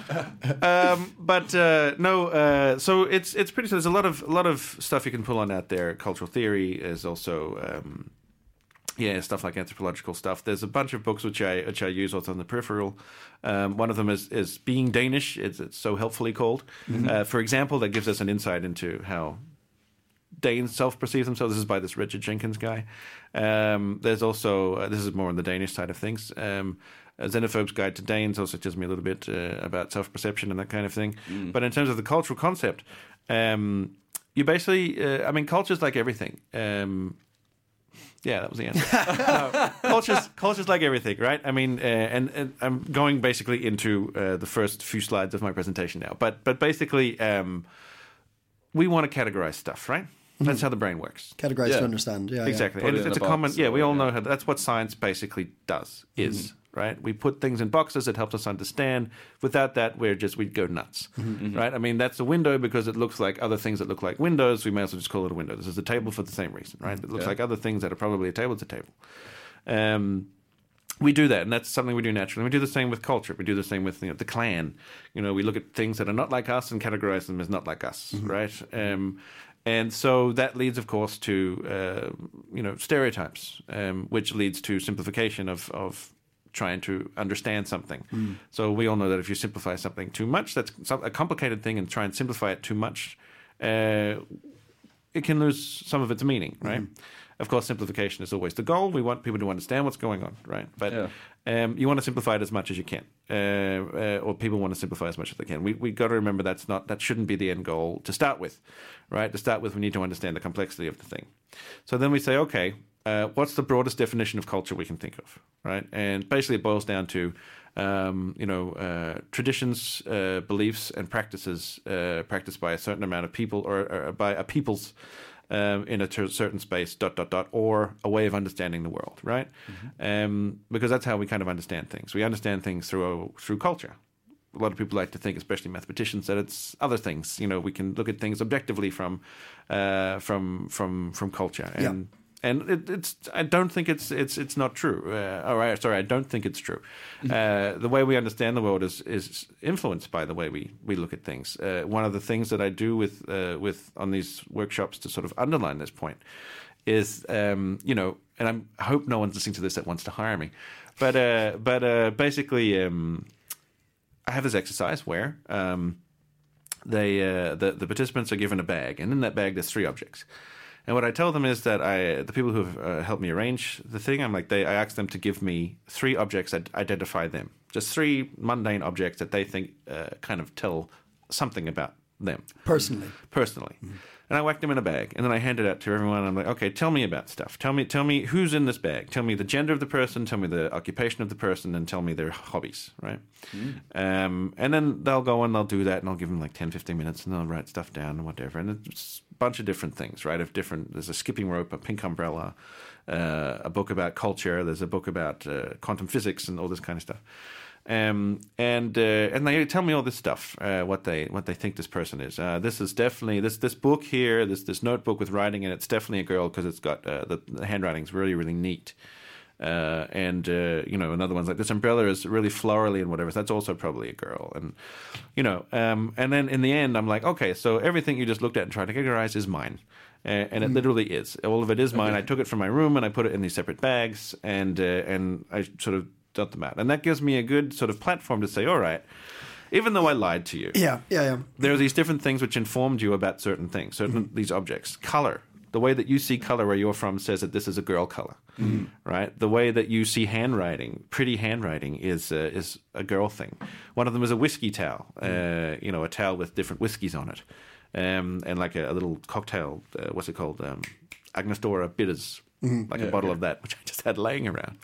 Speaker 5: um, but uh, no, uh, so it's it's pretty. So there's a lot of a lot of stuff you can pull on out there. Cultural theory is also. Um, Yeah, stuff like anthropological stuff. There's a bunch of books which I which I use also on the peripheral. Um, one of them is is Being Danish. It's, it's so helpfully called. Mm-hmm. Uh, for example, that gives us an insight into how Danes self-perceive themselves. This is by this Richard Jenkins guy. Um, there's also uh, this is more on the Danish side of things. Um, A Xenophobe's Guide to Danes also tells me a little bit uh, about self-perception and that kind of thing. Mm. But in terms of the cultural concept, um, you basically, uh, I mean, culture's like everything. Um, Yeah, that was the answer. no, culture's, culture's like everything, right? I mean, uh, and, and I'm going basically into uh, the first few slides of my presentation now. But but basically, um, we want to categorize stuff, right? Mm-hmm. That's how the brain works.
Speaker 3: Categorize
Speaker 4: yeah.
Speaker 3: to understand. Yeah,
Speaker 5: exactly.
Speaker 3: Yeah.
Speaker 5: And it's,
Speaker 4: it
Speaker 5: it's a
Speaker 4: box,
Speaker 5: common. Yeah, we all
Speaker 4: yeah.
Speaker 5: know how. That's what science basically does. Is mm-hmm. right? We put things in boxes. It helps us understand. Without that, we're just we'd go nuts, mm-hmm. right? I mean, that's a window because it looks like other things that look like windows. We may as well just call it a window. This is a table for the same reason, right? It looks
Speaker 4: yeah.
Speaker 5: like other things that are probably a table. It's a table. Um, we do that, and that's something we do naturally. We do the same with culture. We do the same with you know, the clan. You know, we look at things that are not like us and categorize them as not like us, mm-hmm. right? Um, and so that leads, of course, to uh, you know stereotypes, um, which leads to simplification of of trying to understand something. Mm. So we all know that if you simplify something too much, that's a complicated thing, and try and simplify it too much, uh, it can lose some of its meaning, right? Mm-hmm. Of course, simplification is always the goal. We want people to understand what's going on, right? But yeah. um, you want to simplify it as much as you can, uh, uh, or people want to simplify as much as they can. We we got to remember that's not that shouldn't be the end goal to start with, right? To start with, we need to understand the complexity of the thing. So then we say, okay, uh, what's the broadest definition of culture we can think of, right? And basically, it boils down to um, you know uh, traditions, uh, beliefs, and practices uh, practiced by a certain amount of people, or, or by a people's. Um, in a ter- certain space, dot, dot, dot, or a way of understanding the world, right? Mm-hmm. Um, because that's how we kind of understand things. We understand things through through culture. A lot of people like to think, especially mathematicians, that it's other things. You know, we can look at things objectively from uh, from from from culture, and yeah. and it, it's. I don't think it's it's it's not true. Uh, all right, sorry, I don't think it's true. Mm-hmm. Uh, the way we understand the world is is influenced by the way we, we look at things. Uh, one of the things that I do with uh, with on these workshops to sort of underline this point is, um, you know, and I'm, I hope no one's listening to this that wants to hire me, but uh, but uh, basically, um, I have this exercise where um, they uh, the the participants are given a bag, and in that bag there's three objects. And what I tell them is that I, the people who have uh, helped me arrange the thing, I'm like, they, I ask them to give me three objects that identify them. Just three mundane objects that they think uh, kind of tell something about them.
Speaker 3: Personally.
Speaker 5: Personally. Mm-hmm. And I whack them in a bag, and then I hand it out to everyone. I'm like, okay, tell me about stuff. Tell me, tell me who's in this bag. Tell me the gender of the person. Tell me the occupation of the person, and tell me their hobbies. Right? Mm. Um, and then they'll go and they'll do that, and I'll give them like ten, fifteen minutes, and they'll write stuff down and whatever. And it's a bunch of different things, right? Of different. There's a skipping rope, a pink umbrella, uh, a book about culture. There's a book about uh, quantum physics and all this kind of stuff. Um, and uh, and they tell me all this stuff, uh, what they what they think this person is. Uh, this is definitely this this book here, this this notebook with writing, and it's definitely a girl because it's got uh, the, the handwriting's really really neat. Uh, and uh, you know, another one's like this umbrella is really florally and whatever. So that's also probably a girl. And you know, um, and then in the end, I'm like, okay, so everything you just looked at and tried to categorize is mine. Uh, and it mm. literally is. All of it is mine. Okay. I took it from my room and I put it in these separate bags, and uh, and I sort of dot them out. And that gives me a good sort of platform to say, all right, even though I lied to you,
Speaker 3: yeah, yeah, yeah.
Speaker 5: there are these different things which informed you about certain things, certain mm-hmm. these objects. Color. The way that you see color where you're from says that this is a girl color, mm-hmm. right? The way that you see handwriting, pretty handwriting, is uh, is a girl thing. One of them is a whiskey towel, mm-hmm. uh, you know, a towel with different whiskies on it, um, and like a, a little cocktail, uh, what's it called? Um, Agnostora Bitters. Mm-hmm. Like yeah, a bottle yeah. of that, which I just had laying around,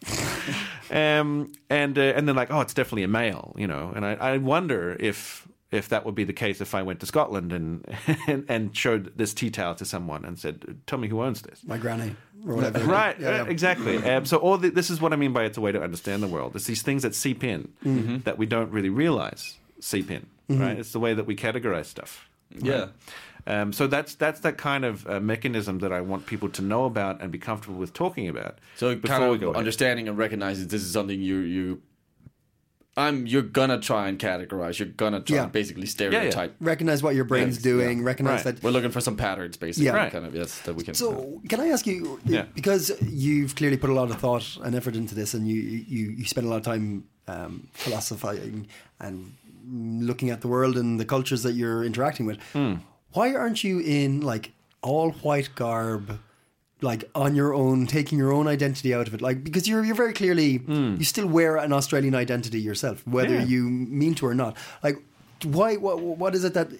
Speaker 5: um, and uh, and then like, oh, it's definitely a male, you know. And I, I wonder if if that would be the case if I went to Scotland and and, and showed this tea towel to someone and said, "Tell me who owns this."
Speaker 3: My granny, or whatever.
Speaker 5: Right?
Speaker 3: Yeah, yeah.
Speaker 5: Uh, exactly. Um, so all the, this is what I mean by it's a way to understand the world. It's these things that seep in mm-hmm. that we don't really realize seep in. Mm-hmm. Right? It's the way that we categorize stuff. Right?
Speaker 4: Yeah.
Speaker 5: Um, so that's that's that kind of uh, mechanism that I want people to know about and be comfortable with talking about.
Speaker 4: So kind of understanding ahead. And recognizing this is something you you, I'm you're gonna try and categorize. You're gonna try
Speaker 3: yeah.
Speaker 4: and basically stereotype.
Speaker 3: Yeah, yeah. Recognize what your brain's yeah. doing.
Speaker 4: Yeah.
Speaker 3: Recognize
Speaker 4: right.
Speaker 3: that
Speaker 4: we're looking for some patterns, basically.
Speaker 3: Yeah.
Speaker 4: Right. Kind of yes that we can.
Speaker 3: So
Speaker 4: uh,
Speaker 3: can I ask you?
Speaker 5: Yeah.
Speaker 3: Because you've clearly put a lot of thought and effort into this, and you you you spend a lot of time um, philosophizing and looking at the world and the cultures that you're interacting with.
Speaker 5: Mm.
Speaker 3: Why aren't you in like all white garb, like on your own, taking your own identity out of it? Like because you're you're very clearly mm. you still wear an Australian identity yourself, whether yeah. you mean to or not. Like why? What what is it that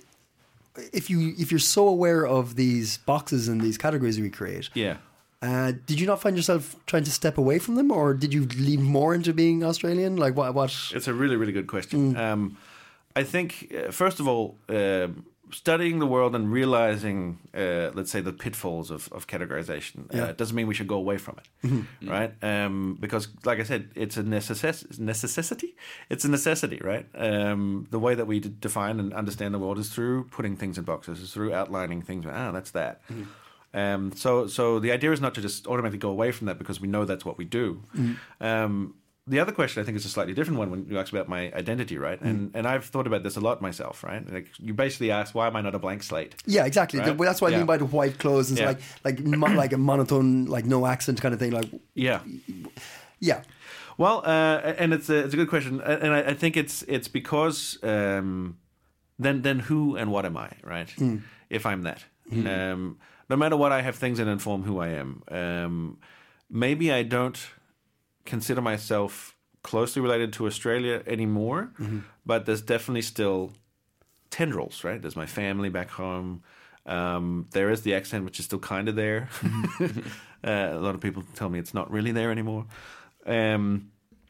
Speaker 3: if you if you're so aware of these boxes and these categories we create?
Speaker 5: Yeah.
Speaker 3: Uh, did you not find yourself trying to step away from them, or did you lean more into being Australian? Like what? What?
Speaker 5: It's a really really good question. Mm. Um, I think uh, first of all. Uh, Studying the world and realizing, uh, let's say, the pitfalls of, of categorization uh, yeah. doesn't mean we should go away from it, mm-hmm. right? Um, because, like I said, it's a necess- necessity. It's a necessity, right? Um, the way that we d- define and understand the world is through putting things in boxes, is through outlining things. Ah, that's that. Mm-hmm. Um, so, so the idea is not to just automatically go away from that because we know that's what we do. Mm-hmm. Um, The other question, I think, is a slightly different one when you ask about my identity, right? And mm. and I've thought about this a lot myself, right? Like you basically ask, why am I not a blank slate?
Speaker 3: Yeah, exactly.
Speaker 5: Right?
Speaker 3: That's what I
Speaker 5: yeah.
Speaker 3: mean by the white clothes. It's
Speaker 5: yeah.
Speaker 3: like like mo- like a monotone, like no accent kind of thing. Like
Speaker 5: yeah,
Speaker 3: yeah.
Speaker 5: Well, uh, and it's a it's a good question, and I, I think it's it's because um, then then who and what am I, right? Mm. If I'm that, mm. um, no matter what, I have things that inform who I am. Um, maybe I don't consider myself closely related to Australia anymore, mm-hmm. but there's definitely still tendrils, right? There's my family back home. Um, there is the accent, which is still kind of there. Mm-hmm. uh, a lot of people tell me it's not really there anymore. Um,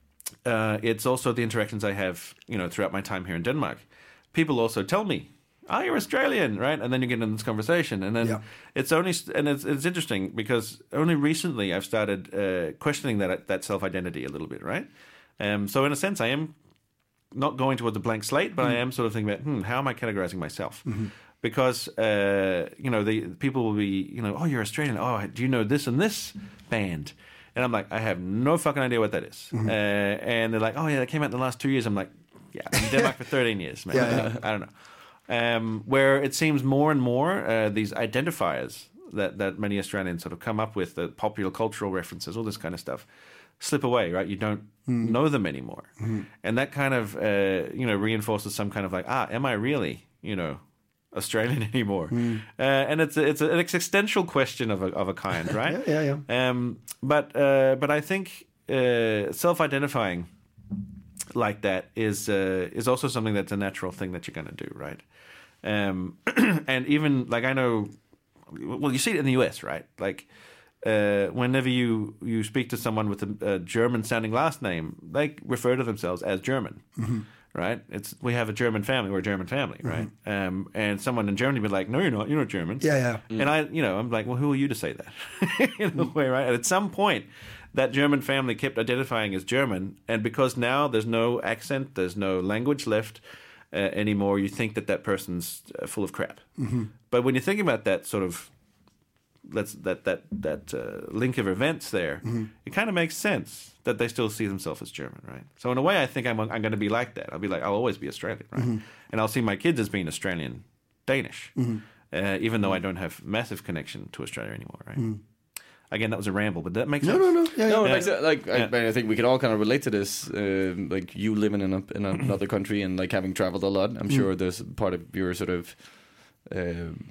Speaker 5: uh, it's also the interactions I have, you know, throughout my time here in Denmark. People also tell me, "Oh, you're Australian, right?" And then you get in this conversation, and then yeah. it's only and it's it's interesting because only recently I've started uh, questioning that that self identity a little bit, right? Um, so in a sense, I am not going towards a blank slate, but mm. I am sort of thinking about, hmm, how am I categorizing myself? Mm-hmm. Because uh, you know, the people will be, you know, "Oh, you're Australian. Oh, do you know this and this band?" And I'm like, I have no fucking idea what that is. Mm-hmm. Uh, and they're like, "Oh yeah, that came out in the last two years." I'm like, "Yeah, I've been in Denmark for thirteen years, man.
Speaker 3: Yeah, yeah.
Speaker 5: I don't know." Um, where it seems more and more uh, these identifiers that, that many Australians sort of come up with, the popular cultural references, all this kind of stuff, slip away, right? You don't mm. know them anymore. Mm. And that kind of, uh, you know, reinforces some kind of like, ah, am I really, you know, Australian anymore, uh, and it's a, it's an existential question of a of a kind, right?
Speaker 3: Yeah, yeah,
Speaker 5: yeah. Um, but uh, but I think uh, self-identifying like that is uh, is also something that's a natural thing that you're going to do, right? Um, and even like I know, well, you see it in the U S, right? Like uh, whenever you you speak to someone with a, a German-sounding last name, they refer to themselves as German. Mm-hmm. Right, it's we have a German family. We're a German family, right? Mm-hmm. Um, and someone in Germany would be like, "No, you're not. You're not German."
Speaker 3: Yeah, yeah.
Speaker 5: Mm. And I, you know, I'm like, "Well, who are you to say that?" In a way, right? And at some point, that German family kept identifying as German, and because now there's no accent, there's no language left uh, anymore, you think that that person's uh, full of crap. Mm-hmm. But when you're thinking about that sort of let's that that that uh, link of events there, mm-hmm. it kind of makes sense that they still see themselves as German, right? So in a way, I think I'm I'm going to be like that. I'll be like, I'll always be Australian, right? Mm-hmm. And I'll see my kids as being Australian Danish, mm-hmm. uh, even though I don't have massive connection to Australia anymore, right? Mm-hmm. Again, that was a ramble, but that makes
Speaker 3: no,
Speaker 5: sense.
Speaker 3: No, no, yeah,
Speaker 4: no.
Speaker 3: yeah.
Speaker 4: It makes, like yeah. I, I think we can all kind of relate to this. Uh, like you living in a, in another country and like having traveled a lot. I'm mm. sure there's part of your sort of. Um,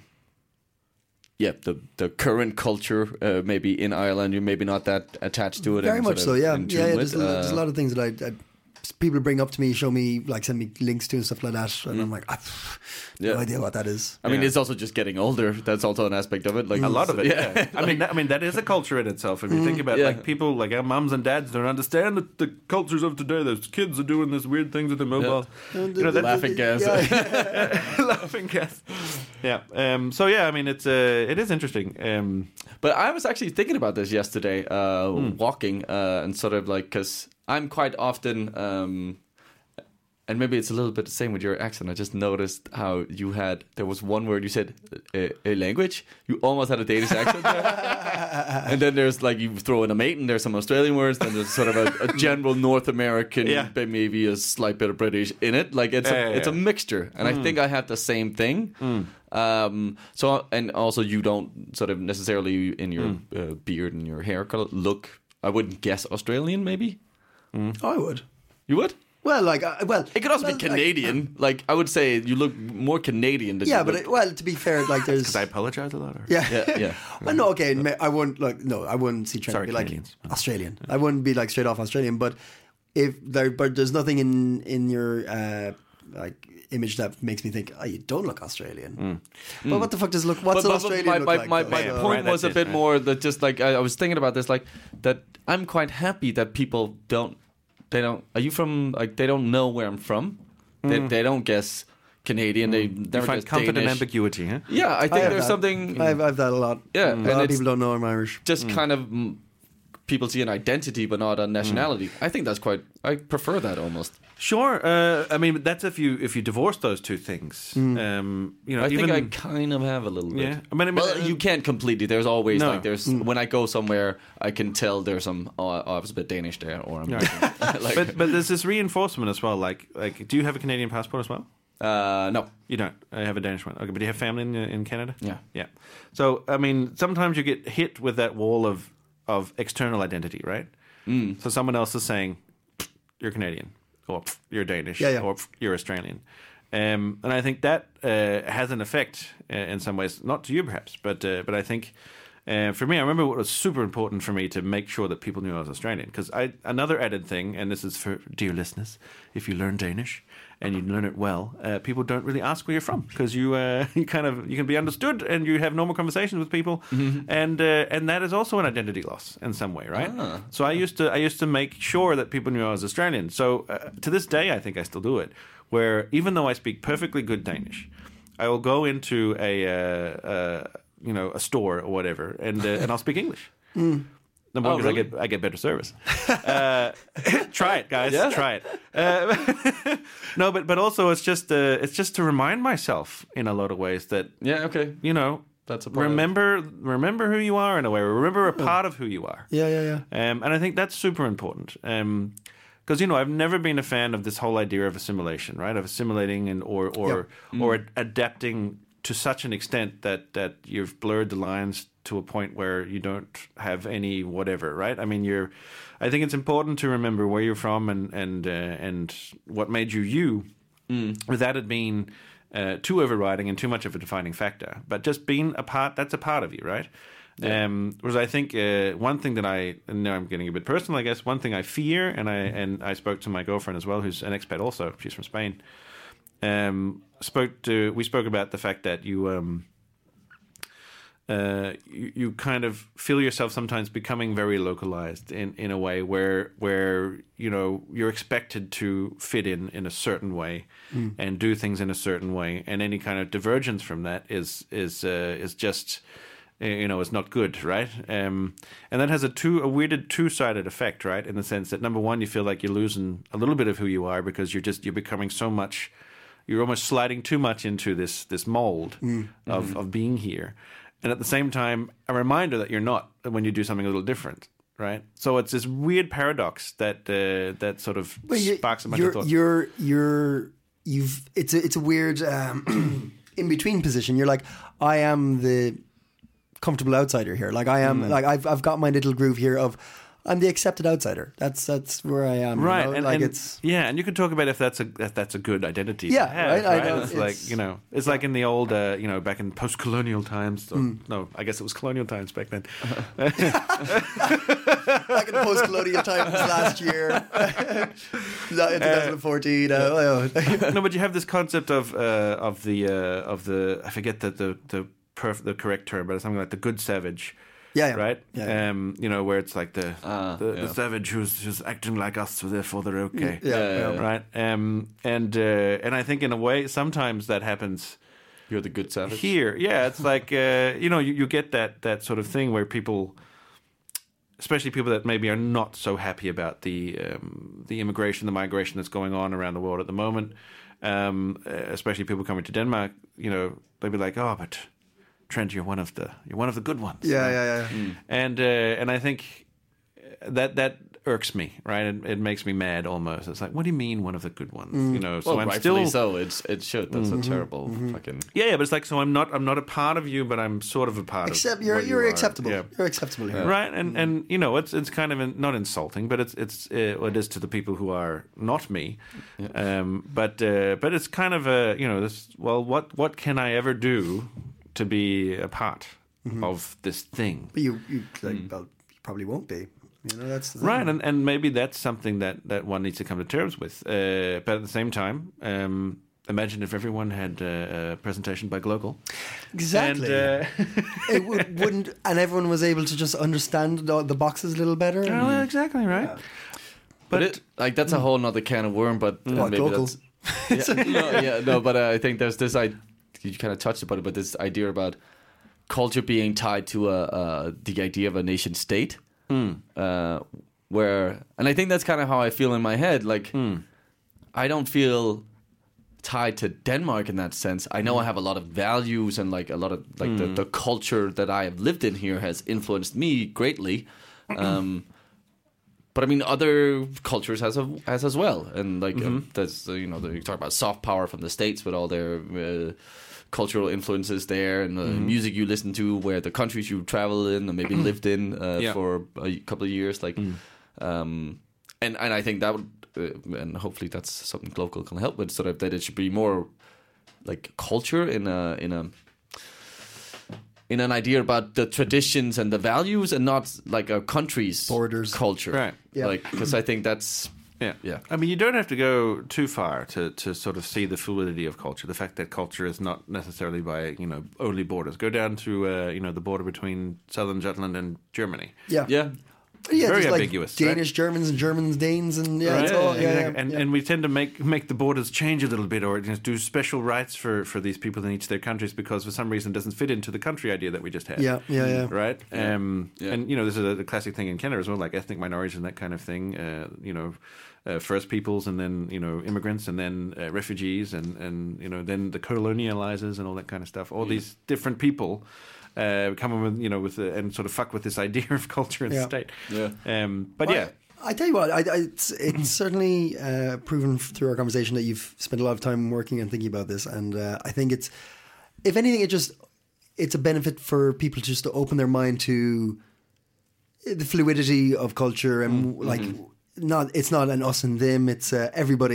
Speaker 4: Yeah, the the current culture, uh, maybe in Ireland, you're maybe not that attached to it.
Speaker 3: Very much so, yeah. Yeah, yeah there's,
Speaker 4: uh,
Speaker 3: a, there's a lot of things that I, I people bring up to me, show me, like send me links to and stuff like that, and mm. I'm like, I have
Speaker 4: yeah.
Speaker 3: no idea what that is.
Speaker 4: I mean,
Speaker 5: yeah.
Speaker 4: it's also just getting older. That's also an aspect of it. Like
Speaker 5: mm. a lot of it. Yeah, yeah.
Speaker 4: like,
Speaker 5: I mean, that, I mean, that is a culture in itself. If you mm. think about
Speaker 4: yeah.
Speaker 5: like people, like our mums and dads don't understand the, the cultures of today. Those kids are doing this weird things with their mobiles.
Speaker 4: Yeah. You know, laughing gas,
Speaker 5: yeah. laughing gas. Yeah. Um, so yeah, I mean, it's uh, it is interesting. Um,
Speaker 4: but I was actually thinking about this yesterday, uh, mm. walking, uh, and sort of like because I'm quite often. Um, And maybe it's a little bit the same with your accent. I just noticed how you had, there was one word you said, a, a language. You almost had a Danish accent there. And then there's like, you throw in a mate and there's some Australian words. Then there's sort of a, a general North American,
Speaker 5: yeah.
Speaker 4: but maybe a slight bit of British in it. Like it's,
Speaker 5: yeah,
Speaker 4: a,
Speaker 5: yeah,
Speaker 4: it's
Speaker 5: yeah.
Speaker 4: a mixture. And mm. I think I had the same thing. Mm. Um, so, and also you don't sort of necessarily in your mm. uh, beard and your hair color look, I wouldn't guess Australian maybe.
Speaker 3: Mm. I would.
Speaker 4: You would?
Speaker 3: Well, like, uh, well,
Speaker 4: it could also
Speaker 3: well,
Speaker 4: be Canadian. Like, like, I would say, you look more Canadian than
Speaker 3: yeah,
Speaker 4: you
Speaker 3: but
Speaker 4: look.
Speaker 3: it, well, to be fair, like, there's
Speaker 5: because I apologize a lot. Or?
Speaker 3: Yeah,
Speaker 4: yeah, yeah.
Speaker 3: Well, no, okay, I wouldn't like, no, I wouldn't see Trent
Speaker 5: Sorry,
Speaker 3: be like
Speaker 5: Canadians.
Speaker 3: Australian. I wouldn't be like straight off Australian, but if there, but there's nothing in in your uh, like image that makes me think, oh, you don't look Australian. Mm. But mm. what the fuck does look? What's
Speaker 4: but,
Speaker 3: an
Speaker 4: but,
Speaker 3: Australian
Speaker 4: my,
Speaker 3: look
Speaker 4: my,
Speaker 3: like?
Speaker 4: My,
Speaker 3: though?
Speaker 4: my
Speaker 5: yeah,
Speaker 4: point
Speaker 5: right,
Speaker 4: was a
Speaker 5: it,
Speaker 4: bit
Speaker 5: right.
Speaker 4: more that just like I, I was thinking about this, like that I'm quite happy that people don't. They don't. Are you from? Like they don't know where I'm from. Mm. They, they don't guess Canadian. Mm. They never
Speaker 5: you find
Speaker 4: guess
Speaker 5: comfort
Speaker 4: Danish.
Speaker 5: in ambiguity, huh?
Speaker 4: Yeah, I think
Speaker 3: I
Speaker 4: there's
Speaker 3: that.
Speaker 4: something.
Speaker 3: I've, I've that a lot.
Speaker 4: Yeah,
Speaker 3: mm.
Speaker 4: and
Speaker 3: a lot of
Speaker 4: it's
Speaker 3: people don't know I'm Irish.
Speaker 4: Just
Speaker 3: mm.
Speaker 4: kind of mm, people see an identity, but not a nationality. Mm. I think that's quite. I prefer that almost.
Speaker 5: Sure. Uh, I mean, that's if you if you divorce those two things. Mm. Um, you know,
Speaker 4: I
Speaker 5: even,
Speaker 4: think I kind of have a little bit.
Speaker 5: Yeah. I mean, I mean
Speaker 4: well,
Speaker 5: uh,
Speaker 4: you can't completely. There's always
Speaker 5: no.
Speaker 4: like there's mm. when I go somewhere, I can tell there's some. Oh, I was a bit Danish there, or I'm.
Speaker 5: Right.
Speaker 4: like,
Speaker 5: but but there's this reinforcement as well. Like like, do you have a Canadian passport as well?
Speaker 4: Uh, no,
Speaker 5: you don't. I have a Danish one. Okay, but do you have family in in Canada?
Speaker 4: Yeah,
Speaker 5: yeah. So I mean, sometimes you get hit with that wall of of external identity, right? Mm. So someone else is saying, "You're Canadian," or "You're Danish,"
Speaker 3: yeah, yeah.
Speaker 5: or "You're Australian," um, and I think that uh, has an effect uh, in some ways. Not to you, perhaps, but uh, but I think. Uh, for me, I remember what was super important for me to make sure that people knew I was Australian. Because I another added thing, and this is for dear listeners, if you learn Danish and you learn it well, uh, people don't really ask where you're from because you uh, you kind of you can be understood and you have normal conversations with people, mm-hmm. and uh, and that is also an identity loss in some way, right? Ah. So I used to I used to make sure that people knew I was Australian. So uh, to this day, I think I still do it. Where even though I speak perfectly good Danish, I will go into a uh, uh, you know, a store or whatever, and uh, and I'll speak English. Mm. Number one, because oh, really? I get I get better service. uh, try it, guys. Yeah. Try it. Uh, no, but but also it's just uh, it's just to remind myself in a lot of ways that
Speaker 4: yeah, okay,
Speaker 5: you know,
Speaker 4: that's a part
Speaker 5: remember remember who you are in a way. Remember a part of who you are.
Speaker 3: Yeah, yeah, yeah.
Speaker 5: Um, and I think that's super important. Um, Because you know, I've never been a fan of this whole idea of assimilation, right? Of assimilating and or or
Speaker 3: yep. mm.
Speaker 5: or ad- adapting to such an extent that that you've blurred the lines to a point where you don't have any whatever, right? I mean, you're. I think it's important to remember where you're from and and uh, and what made you you, mm. without it being uh, too overriding and too much of a defining factor. But just being a part, that's a part of you, right? Yeah. Um, whereas I think uh, one thing that I, now I'm getting a bit personal, I guess, one thing I fear, and I and I spoke to my girlfriend as well, who's an expat also, she's from Spain, um, spoke to, we spoke about the fact that you, um, uh, you, you kind of feel yourself sometimes becoming very localized in, in a way where, where, you know, you're expected to fit in in a certain way mm. and do things in a certain way. And any kind of divergence from that is, is, uh, is just, you know, it's not good, right? Um, and that has a two a weirded two-sided effect, right? In the sense that number one, you feel like you're losing a little bit of who you are because you're just you're becoming so much, you're almost sliding too much into this this mold mm. of mm-hmm. of being here, and at the same time, a reminder that you're not when you do something a little different, right? So it's this weird paradox that uh, that sort of well, sparks a bunch
Speaker 3: you're,
Speaker 5: of thoughts.
Speaker 3: You're you're you've it's a it's a weird um, in between position. You're like, I am the comfortable outsider here. Like I am, mm. like I've I've got my little groove here of I'm the accepted outsider. That's that's where I am,
Speaker 5: right?
Speaker 3: You know?
Speaker 5: And,
Speaker 3: like
Speaker 5: and,
Speaker 3: it's
Speaker 5: yeah, and you can talk about if that's a if that's a good identity.
Speaker 3: Yeah,
Speaker 5: to have,
Speaker 3: right.
Speaker 5: right?
Speaker 3: I know,
Speaker 5: it's,
Speaker 3: it's
Speaker 5: like you know, it's yeah. like in the old, uh, you know, back in post-colonial times. Or, mm. No, I guess it was colonial times back then.
Speaker 3: Back in post-colonial times last year, in twenty fourteen. Uh, uh,
Speaker 5: no, but you have this concept of uh, of the uh, of the I forget the the the, perf- the correct term, but it's something like the good savage.
Speaker 3: Yeah, yeah,
Speaker 5: right.
Speaker 3: Yeah.
Speaker 5: Um, you know, where it's like the
Speaker 4: uh,
Speaker 5: the,
Speaker 4: yeah.
Speaker 5: the savage who's who's acting like us, so therefore they're okay.
Speaker 3: Yeah, yeah, yeah,
Speaker 5: right. Um, and uh, and I think in a way sometimes that happens.
Speaker 4: You're the good savage
Speaker 5: here. Yeah, it's like uh, you know you, you get that that sort of thing where people, especially people that maybe are not so happy about the um, the immigration, the migration that's going on around the world at the moment. Um, especially people coming to Denmark, you know, they'll be like, oh, but Trent, you're one of the you're one of the good ones.
Speaker 3: Yeah, right? yeah, yeah.
Speaker 5: Mm. And uh, and I think that that irks me, right? It, it makes me mad almost. It's like, what do you mean one of the good ones?
Speaker 3: Mm.
Speaker 5: You know, so
Speaker 4: well,
Speaker 5: I'm
Speaker 4: rightfully
Speaker 5: still
Speaker 4: so. It's it should. That's mm-hmm. a terrible mm-hmm. fucking
Speaker 5: yeah, yeah. But it's like, so I'm not I'm not a part of you, but I'm sort of a part
Speaker 3: Except
Speaker 5: of.
Speaker 3: You're
Speaker 5: what
Speaker 3: you're
Speaker 5: you
Speaker 3: acceptable.
Speaker 5: Yeah.
Speaker 3: You're acceptable here,
Speaker 5: yeah. right? And mm-hmm. and you know, it's it's kind of in, not insulting, but it's it's uh, what it is to the people who are not me. Yeah. Um, but uh, but it's kind of a you know this. Well, what what can I ever do to be a part mm-hmm. of this thing?
Speaker 3: But you you like, mm. well, you probably won't be. You know, that's the
Speaker 5: right, and, and maybe that's something that, that one needs to come to terms with. Uh, but at the same time, um, imagine if everyone had uh, a presentation by Global.
Speaker 3: Exactly.
Speaker 5: And, uh,
Speaker 3: it w- wouldn't, and everyone was able to just understand the, the boxes a little better.
Speaker 5: Oh, well, exactly right.
Speaker 3: Yeah.
Speaker 4: But, but it, like that's a whole nother can of worm. But uh,
Speaker 3: what,
Speaker 4: maybe
Speaker 3: Global?
Speaker 4: that's yeah, no, yeah, no. But uh, I think there's this. I you kind of touched about it, but this idea about culture being tied to a, uh, the idea of a nation state. Mm. Uh, where, and I think that's kind of how I feel in my head. Like, mm. I don't feel tied to Denmark in that sense. I know mm. I have a lot of values and like a lot of like mm. the, the culture that I have lived in here has influenced me greatly. Um, but I mean, other cultures has a, has as well, and like mm-hmm. uh, that's uh, you know the, you talk about soft power from the States with all their. Uh, cultural influences there and the mm-hmm. music you listen to, where the countries you travel in or maybe lived in uh, yeah. for a couple of years, like, mm. um, and and I think that would, uh, and hopefully that's something Global can help with, sort of that it should be more like culture in a in a in an idea about the traditions and the values, and not like a country's
Speaker 3: borders
Speaker 4: culture,
Speaker 5: right?
Speaker 4: Yeah, like because I think that's.
Speaker 5: Yeah,
Speaker 4: yeah.
Speaker 5: I mean, you don't have to go too far to, to sort of see the fluidity of culture. The fact that culture is not necessarily by you know only borders. Go down to uh, you know the border between southern Jutland and Germany.
Speaker 3: Yeah,
Speaker 4: yeah.
Speaker 3: Yeah,
Speaker 5: very
Speaker 3: like
Speaker 5: ambiguous.
Speaker 3: Danish
Speaker 5: right?
Speaker 3: Germans and Germans Danes and yeah,
Speaker 5: right.
Speaker 3: it's all,
Speaker 5: yeah,
Speaker 3: yeah,
Speaker 5: exactly.
Speaker 3: yeah,
Speaker 5: and
Speaker 3: yeah.
Speaker 5: and we tend to make make the borders change a little bit, or you know, do special rights for, for these people in each of their countries because for some reason it doesn't fit into the country idea that we just had.
Speaker 3: Yeah, yeah, yeah.
Speaker 5: Right.
Speaker 4: Yeah.
Speaker 5: Um,
Speaker 4: yeah.
Speaker 5: And you know, this is a, a classic thing in Canada as well, like ethnic minorities and that kind of thing. Uh, you know. Uh, first peoples, and then you know immigrants, and then uh, refugees, and, and you know then the colonializers and all that kind of stuff. All yeah. these different people uh, come with you know with the, and sort of fuck with this idea of culture and
Speaker 3: yeah.
Speaker 5: state.
Speaker 4: Yeah.
Speaker 5: Um, but
Speaker 3: well,
Speaker 5: yeah,
Speaker 3: I, I tell you what, I, I, it's, it's certainly uh, proven through our conversation that you've spent a lot of time working and thinking about this, and uh, I think it's, if anything, it just it's a benefit for people just to open their mind to the fluidity of culture and mm, like. Mm-hmm. Not it's not an us and them. It's uh, everybody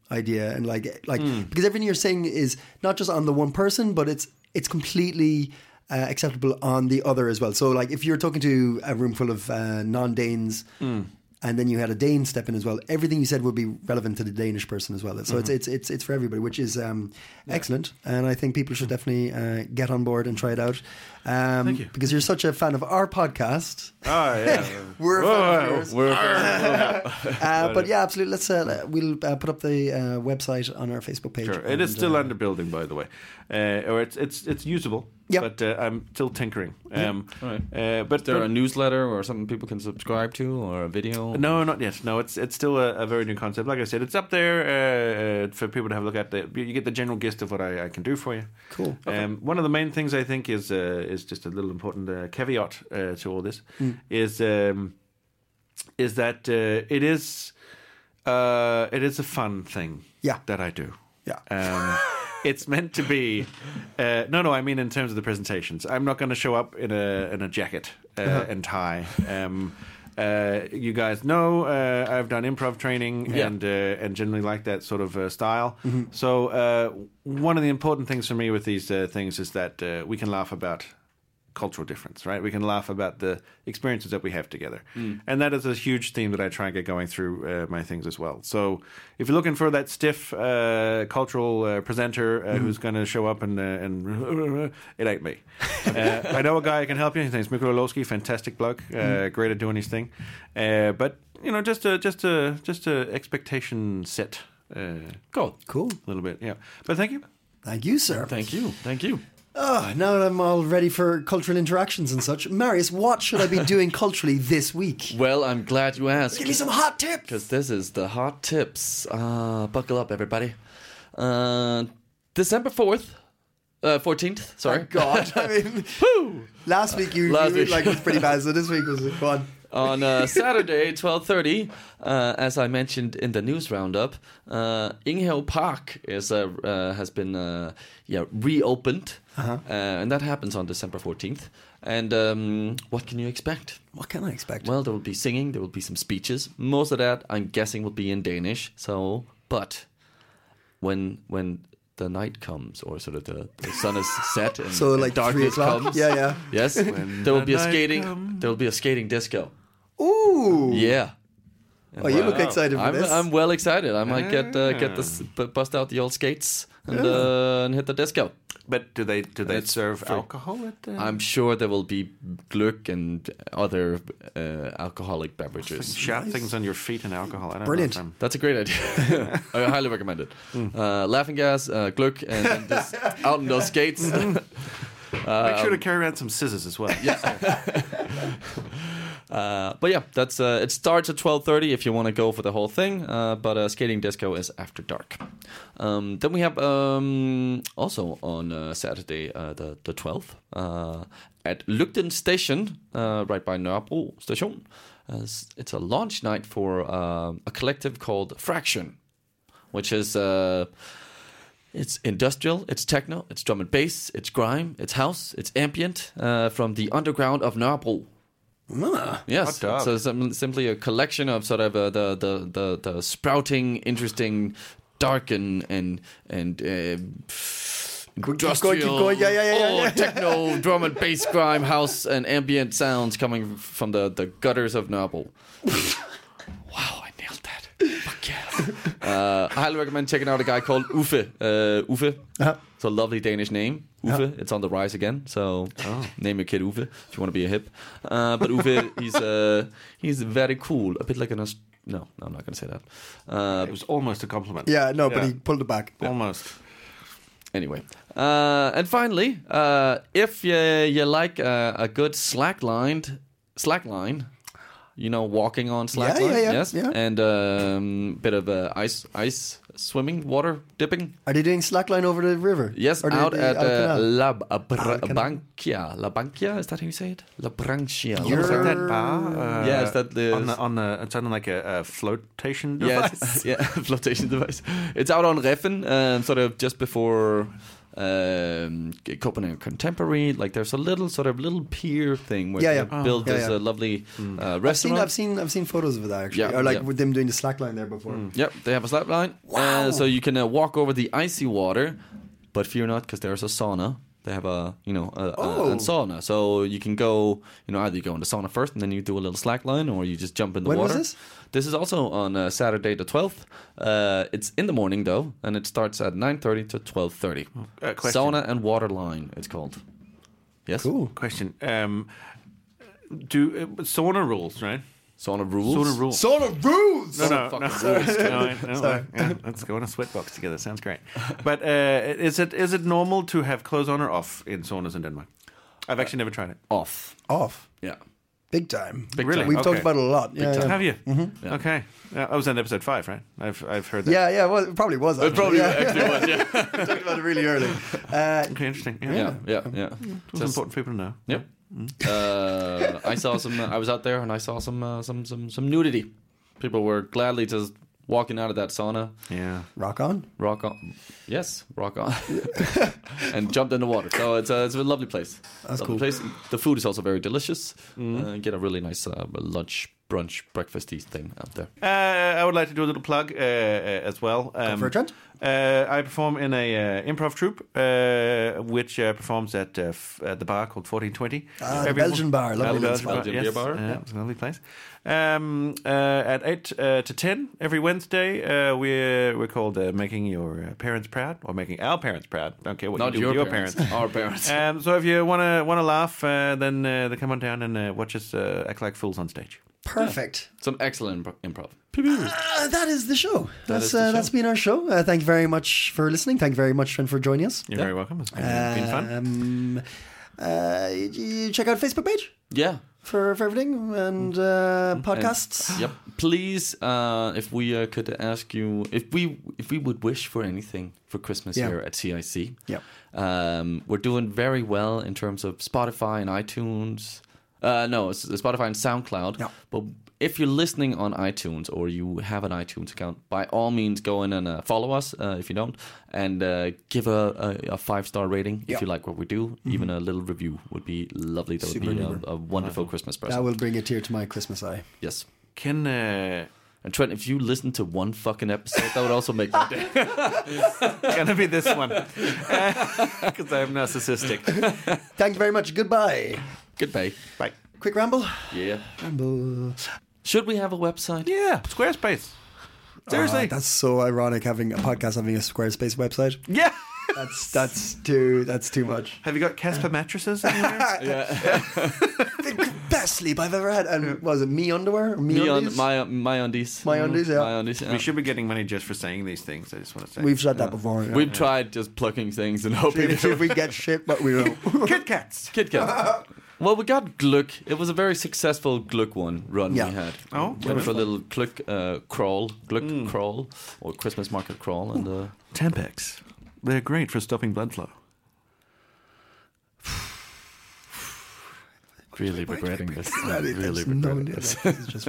Speaker 3: idea, and like like mm. because everything you're saying is not just on the one person, but it's it's completely uh, acceptable on the other as well. So like if you're talking to a room full of uh, non-Danes. Mm. And then you had a Dane step in as well. Everything you said would be relevant to the Danish person as well. So mm-hmm. it's it's it's it's for everybody, which is um, yeah. excellent. And I think people should definitely uh, get on board and try it out. Um,
Speaker 5: Thank you.
Speaker 3: Because you're such a fan of our podcast.
Speaker 5: Oh yeah,
Speaker 3: we're a fan of yours.
Speaker 4: We're a fan of
Speaker 3: uh, But yeah, absolutely. Let's uh, we'll uh, put up the uh, website on our Facebook page.
Speaker 5: Sure, it is still uh, under building, by the way, uh, or it's it's it's usable.
Speaker 3: Yep.
Speaker 5: But uh, I'm still tinkering. Um,
Speaker 4: All right.
Speaker 5: uh, but
Speaker 4: Is there
Speaker 5: but,
Speaker 4: a newsletter or something people can subscribe to, or a video?
Speaker 5: No, not yet. No, it's it's still a, a very new concept. Like I said, it's up there uh, uh, for people to have a look at. The, you get the general gist of what I, I can do for you.
Speaker 3: Cool. Okay.
Speaker 5: Um, one of the main things I think is uh, is just a little important uh, caveat uh, to all this mm. is um, is that uh, it is uh, it is a fun thing.
Speaker 3: Yeah.
Speaker 5: That I do.
Speaker 3: Yeah.
Speaker 5: Um, It's meant to be. Uh, no, no. I mean, in terms of the presentations, I'm not going to show up in a in a jacket uh, uh-huh. and tie. Um, uh, you guys know uh, I've done improv training
Speaker 4: yeah.
Speaker 5: and uh, and generally like that sort of uh, style. Mm-hmm. So uh, one of the important things for me with these uh, things is that uh, we can laugh about cultural difference, right? We can laugh about the experiences that we have together. Mm. And that is a huge theme that I try and get going through uh, my things as well. So if you're looking for that stiff uh, cultural uh, presenter uh, mm. who's going to show up and, uh, and it ain't me. uh, I know a guy who can help you. His name's Mikko Lowski, fantastic bloke, uh, mm. great at doing his thing. Uh, but, you know, just a, just a, just a expectation set. Uh,
Speaker 4: cool.
Speaker 3: Cool.
Speaker 5: A little bit, yeah. But thank you.
Speaker 3: Thank you, sir.
Speaker 4: Thank you. Thank you.
Speaker 3: Oh, now that I'm all ready for cultural interactions and such. Marius, what should I be doing culturally this week?
Speaker 4: Well, I'm glad you asked.
Speaker 3: Give me some hot tips!
Speaker 4: Because this is the hot tips. Uh, buckle up, everybody. Uh, December fourth. Uh, fourteenth, sorry.
Speaker 3: Oh, God. I mean,
Speaker 4: Woo!
Speaker 3: Last week you,
Speaker 4: Last
Speaker 3: you
Speaker 4: week.
Speaker 3: like it was pretty bad, so this week was fun.
Speaker 4: On uh, Saturday, twelve thirty, uh, as I mentioned in the news roundup, uh, Inghave Park is uh, uh, has been uh, yeah reopened, uh-huh. uh, and that happens on December fourteenth. And um, what can you expect?
Speaker 3: What can I expect?
Speaker 4: Well, there will be singing, there will be some speeches. Most of that, I'm guessing, will be in Danish. So, but when when the night comes, or sort of the, the sun is set, and,
Speaker 3: so
Speaker 4: and
Speaker 3: like
Speaker 4: darkness comes,
Speaker 3: yeah, yeah,
Speaker 4: yes,
Speaker 5: when
Speaker 4: there will
Speaker 5: the
Speaker 4: be a
Speaker 5: night
Speaker 4: skating.
Speaker 5: comes.
Speaker 4: There will be a skating disco.
Speaker 3: Ooh,
Speaker 4: Yeah.
Speaker 3: Oh, you look excited for
Speaker 4: I'm,
Speaker 3: this.
Speaker 4: I'm well excited. I might get uh, get the b- bust out the old skates and uh, and hit the disco.
Speaker 5: But do they do they
Speaker 4: It's
Speaker 5: serve
Speaker 4: free.
Speaker 5: alcohol at the...
Speaker 4: I'm sure there will be glögg and other uh, alcoholic beverages.
Speaker 5: Shot things on your feet and alcohol. I don't
Speaker 3: Brilliant.
Speaker 5: Know
Speaker 4: That's a great idea. I highly recommend it. Mm. Uh, laughing gas, uh, glögg, and, and this out in those skates.
Speaker 5: uh, Make sure to carry around some scissors as well.
Speaker 4: Yeah. Uh, but yeah, that's uh, it starts at twelve thirty if you want to go for the whole thing. Uh, but uh, skating disco is after dark. Um, then we have um, also on uh, Saturday uh, the the twelfth uh, at Lygten Station, uh, right by Nørrebro Station. Uh, it's a launch night for uh, a collective called Fraction, which is. Uh, It's industrial, it's techno, it's drum and bass, it's grime, it's house, it's ambient uh, from the underground of Nørrebro.
Speaker 3: Ah,
Speaker 4: Yes, so sim- simply a collection of sort of uh, the, the the the sprouting, interesting, dark and and and uh, industrial,
Speaker 3: keep going, yeah, yeah, yeah,
Speaker 4: oh,
Speaker 3: yeah.
Speaker 4: techno, drum and bass, grime, house, and ambient sounds coming from the, the gutters of Nørrebro. Wow, I nailed that. Fuck yeah. uh, I highly recommend checking out a guy called Uffe. Uh, Uffe.
Speaker 3: Uh-huh.
Speaker 4: It's a lovely Danish name. Uffe.
Speaker 3: Uh-huh.
Speaker 4: It's on the rise again. So oh. name your kid Uffe if you want to be a hip. Uh, but Uffe, he's uh, he's very cool. A bit like an... Aust- no, no, I'm not going to say that. Uh,
Speaker 5: It was almost a compliment.
Speaker 3: Yeah, no, but
Speaker 5: Yeah.
Speaker 3: he pulled it back.
Speaker 5: Almost.
Speaker 4: Anyway, uh, and finally, uh, if you, you like a, a good slacklined slackline, you know, walking on slackline,
Speaker 3: yeah, yeah,
Speaker 4: yes,
Speaker 3: yeah.
Speaker 4: and um, bit of uh, ice, ice swimming, water dipping.
Speaker 3: Are they doing slackline over the river?
Speaker 4: Yes,
Speaker 3: Or the-
Speaker 4: out
Speaker 3: the
Speaker 4: at uh,
Speaker 3: Alcanal?
Speaker 4: La Br-
Speaker 3: Alcanal.
Speaker 4: Bankia. La Bankia, is that how you say it? La Branchia.
Speaker 3: You're-
Speaker 5: Is that that bar? Uh,
Speaker 4: Yeah, is that the-
Speaker 5: on the on the? It's on like a, a flotation device.
Speaker 4: Yes, yeah, flotation device. It's out on Reffen, um, sort of just before um, Copenhagen Contemporary. Like there's a little sort of little pier thing where
Speaker 3: Yeah,
Speaker 4: they
Speaker 3: yeah.
Speaker 4: built
Speaker 3: Yeah,
Speaker 4: this
Speaker 3: yeah.
Speaker 4: uh, lovely uh,
Speaker 3: I've seen,
Speaker 4: restaurant.
Speaker 3: I've seen, I've seen photos of that actually,
Speaker 4: Yeah,
Speaker 3: or like
Speaker 4: yeah.
Speaker 3: with them doing the slack line there before.
Speaker 4: Yep, they have a slap line,
Speaker 3: Wow.
Speaker 4: uh, so you can uh, walk over the icy water, but fear not, because there's a sauna. They have a, you know, a,
Speaker 3: Oh.
Speaker 4: a, a sauna, so you can go, you know, either you go in the sauna first and then you do a little slack line, or you just jump in the
Speaker 3: When was
Speaker 4: water.
Speaker 3: this?
Speaker 4: This is also on uh, Saturday the twelfth. Uh, it's in the morning though, and it starts at nine thirty to twelve thirty.
Speaker 5: Uh, question.
Speaker 4: Sauna and water line, it's called. Yes.
Speaker 3: Cool.
Speaker 5: Question. Um, do uh, sauna rules, right?
Speaker 4: Sauna rules.
Speaker 5: Sauna rules.
Speaker 3: Sauna rules.
Speaker 5: No, no,
Speaker 4: fucking
Speaker 5: no.
Speaker 4: rules.
Speaker 5: no, I- no,
Speaker 3: Sorry.
Speaker 5: yeah, let's go in a sweatbox together. Sounds great. But uh, is it is it normal to have clothes on or off in saunas in Denmark? I've actually never tried it.
Speaker 4: Off.
Speaker 3: Off.
Speaker 4: Yeah.
Speaker 3: Big time.
Speaker 4: Big
Speaker 5: Really?
Speaker 4: time.
Speaker 3: We've
Speaker 5: Okay.
Speaker 3: talked about it a lot. Yeah, yeah.
Speaker 5: Have you?
Speaker 4: Yeah.
Speaker 5: Okay. Yeah, I was on episode five, right? I've I've heard that.
Speaker 3: Yeah, yeah, well, it probably was.
Speaker 4: It probably
Speaker 3: yeah.
Speaker 4: actually was, yeah.
Speaker 3: We talked about it really early. Uh,
Speaker 5: Okay, interesting. Yeah,
Speaker 4: Yeah, yeah, yeah.
Speaker 5: It's important for people to know.
Speaker 4: Yep. Uh, I saw some. Uh, I was out there and I saw some uh, some some some nudity. People were gladly just walking out of that sauna,
Speaker 5: Yeah.
Speaker 3: rock on.
Speaker 4: rock on, yes, rock on, and jumped in the water. So it's a it's a lovely place.
Speaker 3: That's
Speaker 4: lovely
Speaker 3: cool.
Speaker 4: Place. The food is also very delicious. Uh, get a really nice uh, lunch, brunch, breakfasty thing out there.
Speaker 5: Uh, I would like to do a little plug uh, uh, as well. Um,
Speaker 3: for it, Trent.
Speaker 5: Uh, I perform in a uh, improv troupe, uh, which uh, performs at uh, f- at the bar called fourteen twenty.
Speaker 3: Ah, the Belgian bar, lovely
Speaker 5: Uh, the
Speaker 3: little
Speaker 5: Belgian,
Speaker 3: spot.
Speaker 5: bar,
Speaker 4: Belgian
Speaker 5: yes.
Speaker 4: beer bar,
Speaker 5: Yeah,
Speaker 4: yeah.
Speaker 5: it's a lovely place. Um, uh, at eight uh, to ten every Wednesday, uh, we're we're called uh, making your uh, parents proud, or making our parents proud. Don't care what
Speaker 4: Not
Speaker 5: you do
Speaker 4: your,
Speaker 5: with your
Speaker 4: parents,
Speaker 5: parents.
Speaker 4: our parents.
Speaker 5: Um, so if you wanna wanna laugh, uh, then uh, then come on down and uh, watch us uh, act like fools on stage.
Speaker 3: Perfect.
Speaker 4: Some excellent impro- improv.
Speaker 3: Uh, that is the show. That's
Speaker 4: is the
Speaker 3: uh,
Speaker 4: show.
Speaker 3: that's been our show. Uh, thank you very much for listening. Thank you very much, Trent, for joining us.
Speaker 5: You're very welcome. It's been, been fun.
Speaker 3: Um, uh, you check out Facebook page
Speaker 4: Yeah.
Speaker 3: for, for everything and uh, podcasts.
Speaker 4: Yep. Please, uh, if we uh, could ask you, if we if we would wish for anything for Christmas
Speaker 3: Yeah.
Speaker 4: here at C I C,
Speaker 3: Yep.
Speaker 4: um, we're doing very well in terms of Spotify and iTunes. Uh, no, it's Spotify and SoundCloud.
Speaker 3: Yeah.
Speaker 4: But if you're listening on iTunes or you have an iTunes account, by all means, go in and uh, follow us uh, if you don't, and uh, give a, a, a five star rating
Speaker 3: Yeah.
Speaker 4: if you like what we do. Even a little review would be lovely. That
Speaker 3: Super
Speaker 4: would be
Speaker 3: duper.
Speaker 4: a, a wonderful Christmas present.
Speaker 3: That will bring a tear to my Christmas eye.
Speaker 4: Yes.
Speaker 5: Can uh,
Speaker 4: And Trent, if you listen to one fucking episode, that would also make my day.
Speaker 5: gonna be this one because I'm narcissistic.
Speaker 3: Thank you very much. Goodbye.
Speaker 4: Goodbye.
Speaker 5: Bye.
Speaker 3: Quick ramble.
Speaker 4: Yeah.
Speaker 3: Ramble.
Speaker 4: Should we have a website?
Speaker 5: Yeah, Squarespace. Seriously.
Speaker 3: Ah, that's so ironic having a podcast having a Squarespace website.
Speaker 5: yeah.
Speaker 3: That's that's too that's too much.
Speaker 5: Have you got Casper mattresses anywhere?
Speaker 3: The best sleep I've ever had. And was it me underwear? Or me,
Speaker 4: Me on
Speaker 3: undies?
Speaker 4: my my undies.
Speaker 3: My undies, yeah.
Speaker 4: My undies. Yeah.
Speaker 5: We should be getting money just for saying these things. I just want to say.
Speaker 3: We've said that before. Yeah.
Speaker 4: We've tried just plucking things and hoping.
Speaker 3: See if we get shit, but we don't.
Speaker 5: Kit Kats.
Speaker 4: Kit Kat. Well, we got Gluck. It was a very successful Gluck one run
Speaker 3: Yeah.
Speaker 4: we had.
Speaker 5: Oh,
Speaker 4: went for a little Gluck uh, crawl, Gluck crawl, or Christmas market crawl, and uh,
Speaker 5: Tampax. They're great for stopping blood flow.
Speaker 4: really regretting this. I'm
Speaker 3: Really,
Speaker 4: really
Speaker 3: there's no
Speaker 4: regretting
Speaker 3: idea.
Speaker 4: this.
Speaker 3: This is just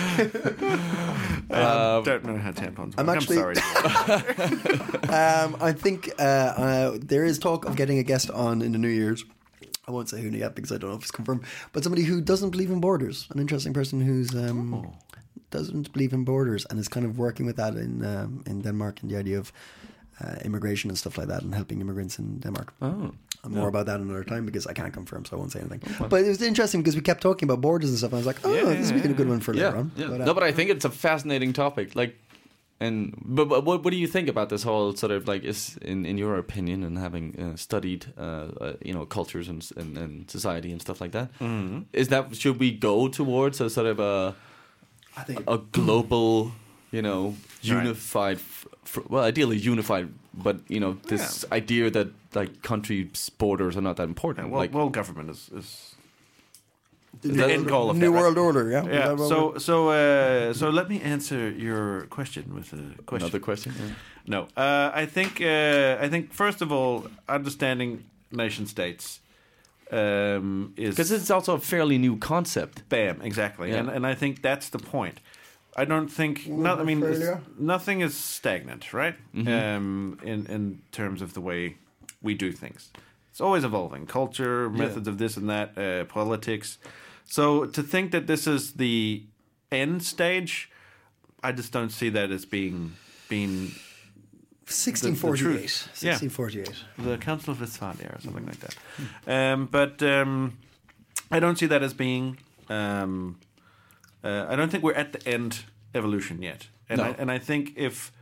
Speaker 5: I don't know how tampons work.
Speaker 3: I'm
Speaker 5: I'm,
Speaker 3: actually-
Speaker 5: sorry.
Speaker 3: Um, I think uh, uh, there is talk of getting a guest on in the New Year's. I won't say who yet because I don't know if it's confirmed. But somebody who doesn't believe in borders, an interesting person who's um,
Speaker 4: Oh.
Speaker 3: doesn't believe in borders and is kind of working with that in um, in Denmark and the idea of uh, immigration and stuff like that and helping immigrants in Denmark.
Speaker 4: Oh.
Speaker 3: And more about that another time because I can't confirm, so I won't say anything. But it was interesting because we kept talking about borders and stuff. And I was like, oh,
Speaker 5: Yeah,
Speaker 3: this would be a good one for
Speaker 4: Yeah,
Speaker 3: later on.
Speaker 4: yeah.
Speaker 3: But, uh,
Speaker 4: no, but I think it's a fascinating topic. Like, and but, but what what do you think about this whole sort of like is in, in your opinion and having uh, studied uh, uh, you know cultures and, and and society and stuff like that?
Speaker 5: Mm-hmm.
Speaker 4: Is that should we go towards a sort of a
Speaker 3: I think
Speaker 4: a global you know unified f- f- well ideally unified but you know this idea that like countries borders are not that important
Speaker 5: well,
Speaker 4: like
Speaker 5: world government is, is
Speaker 3: the
Speaker 5: the
Speaker 3: New
Speaker 5: end goal of
Speaker 3: New
Speaker 5: that, right?
Speaker 3: World Order, yeah. Is
Speaker 5: Yeah.
Speaker 3: that what
Speaker 5: So
Speaker 3: we're-
Speaker 5: so uh, so let me answer your question with a question.
Speaker 4: another question. Yeah.
Speaker 5: No, uh, I think uh, I think first of all, understanding nation states um, is
Speaker 4: Because it's also a fairly new concept.
Speaker 5: bam exactly,
Speaker 4: Yeah.
Speaker 5: and and I think that's the point. I don't think not. I mean,
Speaker 3: Australia?
Speaker 5: it's- nothing is stagnant, right?
Speaker 4: Mm-hmm.
Speaker 5: Um, in in terms of the way we do things. It's always evolving. Culture, methods of this and that, uh, politics. So to think that this is the end stage, I just don't see that as being being
Speaker 3: sixteen forty-eight. sixteen forty-eight.
Speaker 5: The Council of Westphalia or something like that. Um, but um, I don't see that as being. Um, uh, I don't think we're at the end evolution yet, and
Speaker 4: No.
Speaker 5: I, and I think if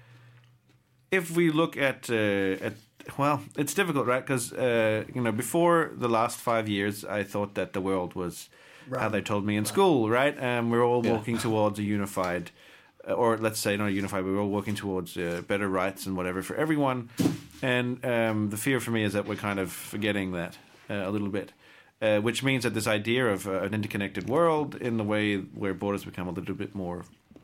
Speaker 5: if we look at uh, at well, it's difficult, right? Because uh, you know, before the last five years, I thought that the world was
Speaker 3: Right.
Speaker 5: how they told me in school, right? Um, we're all
Speaker 4: Yeah.
Speaker 5: walking towards a unified. Or let's say not unified, but we're all working towards uh, better rights and whatever for everyone. And um, the fear for me is that we're kind of forgetting that uh, a little bit, uh, which means that this idea of uh, an interconnected world in the way where borders become a little bit more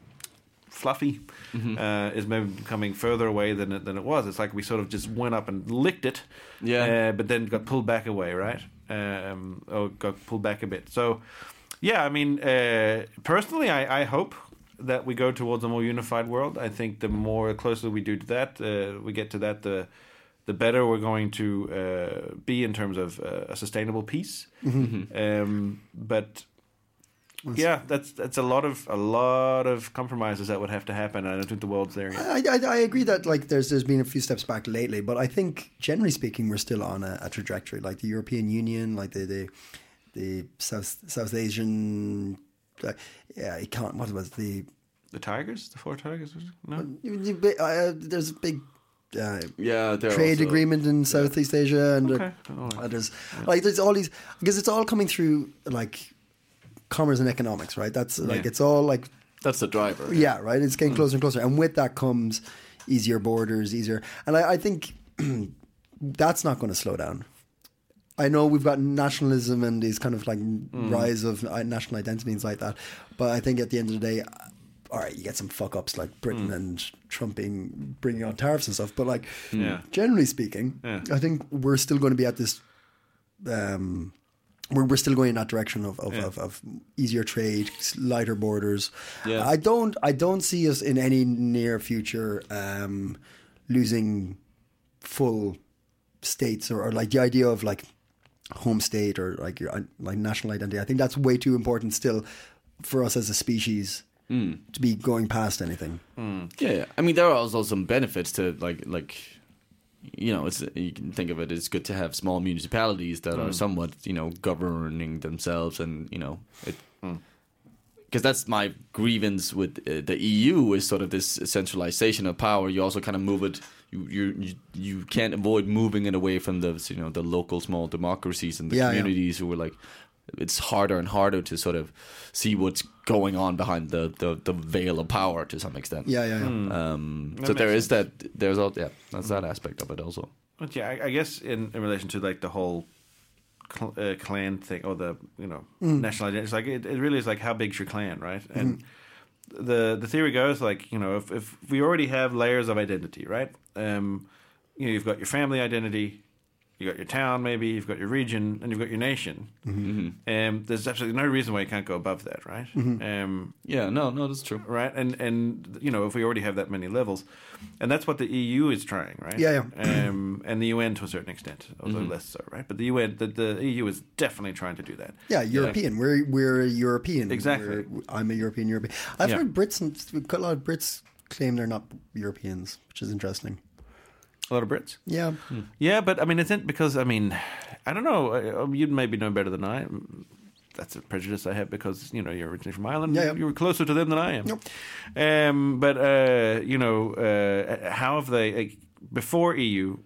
Speaker 5: fluffy
Speaker 4: Mm-hmm.
Speaker 5: uh, is maybe becoming further away than it, than it was. It's like we sort of just went up and licked it,
Speaker 4: Yeah.
Speaker 5: uh, but then got pulled back away, right? Um, or got pulled back a bit. So, yeah, I mean, uh, personally, I, I hope that we go towards a more unified world. I think the more closer we do to that, uh, we get to that, the the better we're going to uh, be in terms of uh, a sustainable peace.
Speaker 4: Mm-hmm.
Speaker 5: Um, but yeah, that's that's a lot of a lot of compromises that would have to happen. I don't think the world's there yet.
Speaker 3: I, I, I agree that like there's there's been a few steps back lately, but I think generally speaking we're still on a, a trajectory. Like the European Union, like the the, the South South Asian, uh, yeah, it can't. What was the?
Speaker 5: The tigers, the four tigers. No,
Speaker 3: Uh, there's a big uh,
Speaker 4: Yeah, they're
Speaker 3: trade
Speaker 4: also-
Speaker 3: agreement in Southeast Asia, and
Speaker 5: okay.
Speaker 3: uh,
Speaker 5: All right.
Speaker 3: uh, there's like there's all these because it's all coming through like commerce and economics, right? That's like
Speaker 5: Yeah.
Speaker 3: it's all like
Speaker 4: That's the driver.
Speaker 3: yeah, right. It's getting closer and closer, and with that comes easier borders, easier, and I, I think that's not going to slow down. I know we've got nationalism and these kind of like rise of uh, national identity and things like that, but I think at the end of the day, all right, you get some fuck ups like Britain and Trump being bringing on tariffs and stuff, but like
Speaker 5: Yeah.
Speaker 3: generally speaking,
Speaker 5: Yeah.
Speaker 3: I think we're still going to be at this. Um, we're we're still going in that direction of of,
Speaker 5: Yeah.
Speaker 3: of of easier trade, lighter borders.
Speaker 4: Yeah.
Speaker 3: I don't I don't see us in any near future um, losing full states or, or like the idea of like home state or like your like national identity. I think that's way too important still for us as a species to be going past anything.
Speaker 4: Yeah, yeah. I mean, there are also some benefits to like like you know, it's you can think of it as good to have small municipalities that are somewhat you know governing themselves, and you know it. Because that's my grievance with uh, the E U is sort of this centralization of power. You also kind of move it. You you you, you can't avoid moving it away from the you know the local small democracies and the
Speaker 3: Yeah, yeah.
Speaker 4: communities who are like. It's harder and harder to sort of see what's going on behind the, the, the veil of power to some extent.
Speaker 3: Yeah, yeah, yeah.
Speaker 4: Um,
Speaker 5: That
Speaker 4: so there
Speaker 5: makes
Speaker 4: is that. There's all. Yeah, that's that aspect of it also.
Speaker 5: But yeah, I, I guess in, in relation to like the whole cl- uh, clan thing or the you know national identity, it's like it, it really is like how big's your clan, right? And the the theory goes like you know if if we already have layers of identity, right? Um, you know you've got your family identity, you got your town, maybe you've got your region, and you've got your nation. Um, there's absolutely no reason why you can't go above that, right? Um,
Speaker 4: Yeah, no, no, that's true.
Speaker 5: right? And and you know, if we already have that many levels, and that's what the E U is trying, right?
Speaker 3: Yeah,
Speaker 5: Um, and the U N to a certain extent, although less so, right? But the U N, the, the E U is definitely trying to do that.
Speaker 3: Yeah, European. We're we're European.
Speaker 5: Exactly.
Speaker 3: We're, I'm a European. European. I've
Speaker 5: Yeah.
Speaker 3: heard Brits and a lot of Brits claim they're not Europeans, which is interesting.
Speaker 5: A lot of Brits.
Speaker 3: Yeah,
Speaker 5: Yeah, but I mean, it's in, because I mean, I don't know. uh, You'd maybe know better than I. That's a prejudice I have because you know you're originally from Ireland.
Speaker 3: Yeah, yeah.
Speaker 5: You were closer to them than I am.
Speaker 3: Yep.
Speaker 5: Um, but uh, you know, uh, how have they like, before E U?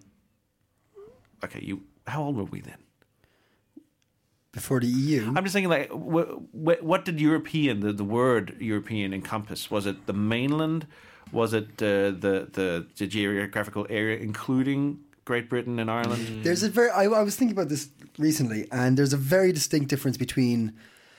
Speaker 5: Okay, you. How old were we then?
Speaker 3: before the E U.
Speaker 5: I'm just thinking, like, wh- wh- what did European, the, the word European, encompass? Was it the mainland? Was it uh, the, the the geographical area, including Great Britain and Ireland?
Speaker 3: There's a very. I, I was thinking about this recently, and there's a very distinct difference between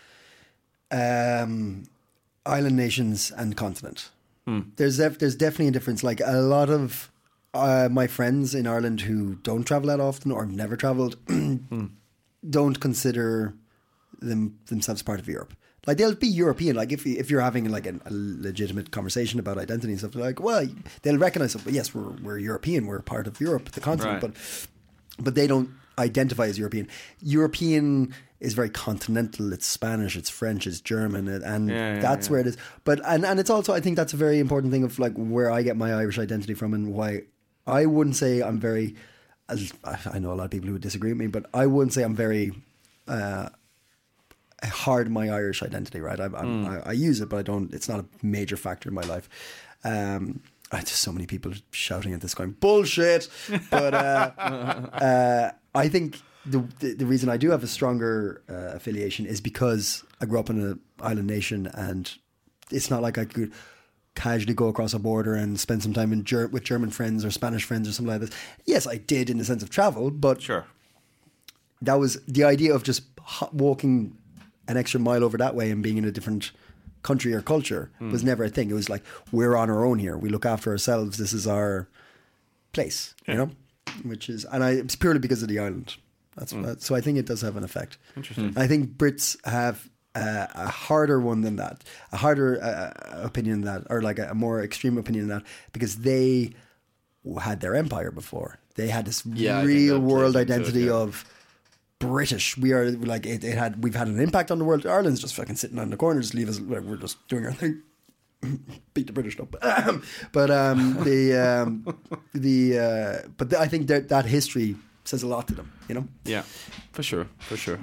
Speaker 3: um, island nations and continent. There's def- there's definitely a difference. Like a lot of uh, my friends in Ireland who don't travel that often or have never travelled don't consider them themselves part of Europe. Like they'll be European. Like if if you're having like a, a legitimate conversation about identity and stuff, they're like, well, they'll recognize it. But yes, we're we're European. We're part of Europe, the continent.
Speaker 5: Right.
Speaker 3: But but they don't identify as European. European is very continental. It's Spanish, it's French, it's German, and
Speaker 5: Yeah, yeah,
Speaker 3: that's
Speaker 5: yeah.
Speaker 3: where it is. But and and it's also, I think that's a very important thing of like where I get my Irish identity from and why I wouldn't say I'm very. I know a lot of people who would disagree with me, but I wouldn't say I'm very uh, hard on my Irish identity. Right, I, I'm,
Speaker 5: Mm.
Speaker 3: I, I use it, but I don't. It's not a major factor in my life. Um, I just so many people shouting at this, going bullshit. But uh, uh, I think. The, the the reason I do have a stronger uh, affiliation is because I grew up in an island nation, and it's not like I could casually go across a border and spend some time in Ger- with German friends or Spanish friends or something like this. Yes, I did in the sense of travel, but
Speaker 5: Sure.
Speaker 3: that was the idea of just ho- walking an extra mile over that way and being in a different country or culture
Speaker 5: Mm.
Speaker 3: was never a thing. It was like, we're on our own here. We look after ourselves. This is our place, you know, which is, and I, it's purely because of the island. That's
Speaker 5: Mm.
Speaker 3: that, so I think it does have an effect.
Speaker 5: Interesting.
Speaker 3: I think Brits have uh, a harder one than that, a harder uh, opinion than that, or like a, a more extreme opinion than that, because they had their empire before. They had this
Speaker 4: Yeah, I think
Speaker 3: real
Speaker 4: that plays
Speaker 3: world
Speaker 4: into it,
Speaker 3: identity
Speaker 4: yeah.
Speaker 3: of British. We are like it, it had. We've had an impact on the world. Ireland's just fucking sitting on the corner, just leave us. Like, we're just doing our thing. Beat the British up, but um, the um, the uh, but the, I think that that history says a lot to them. You know.
Speaker 5: Yeah.
Speaker 4: For sure, for sure.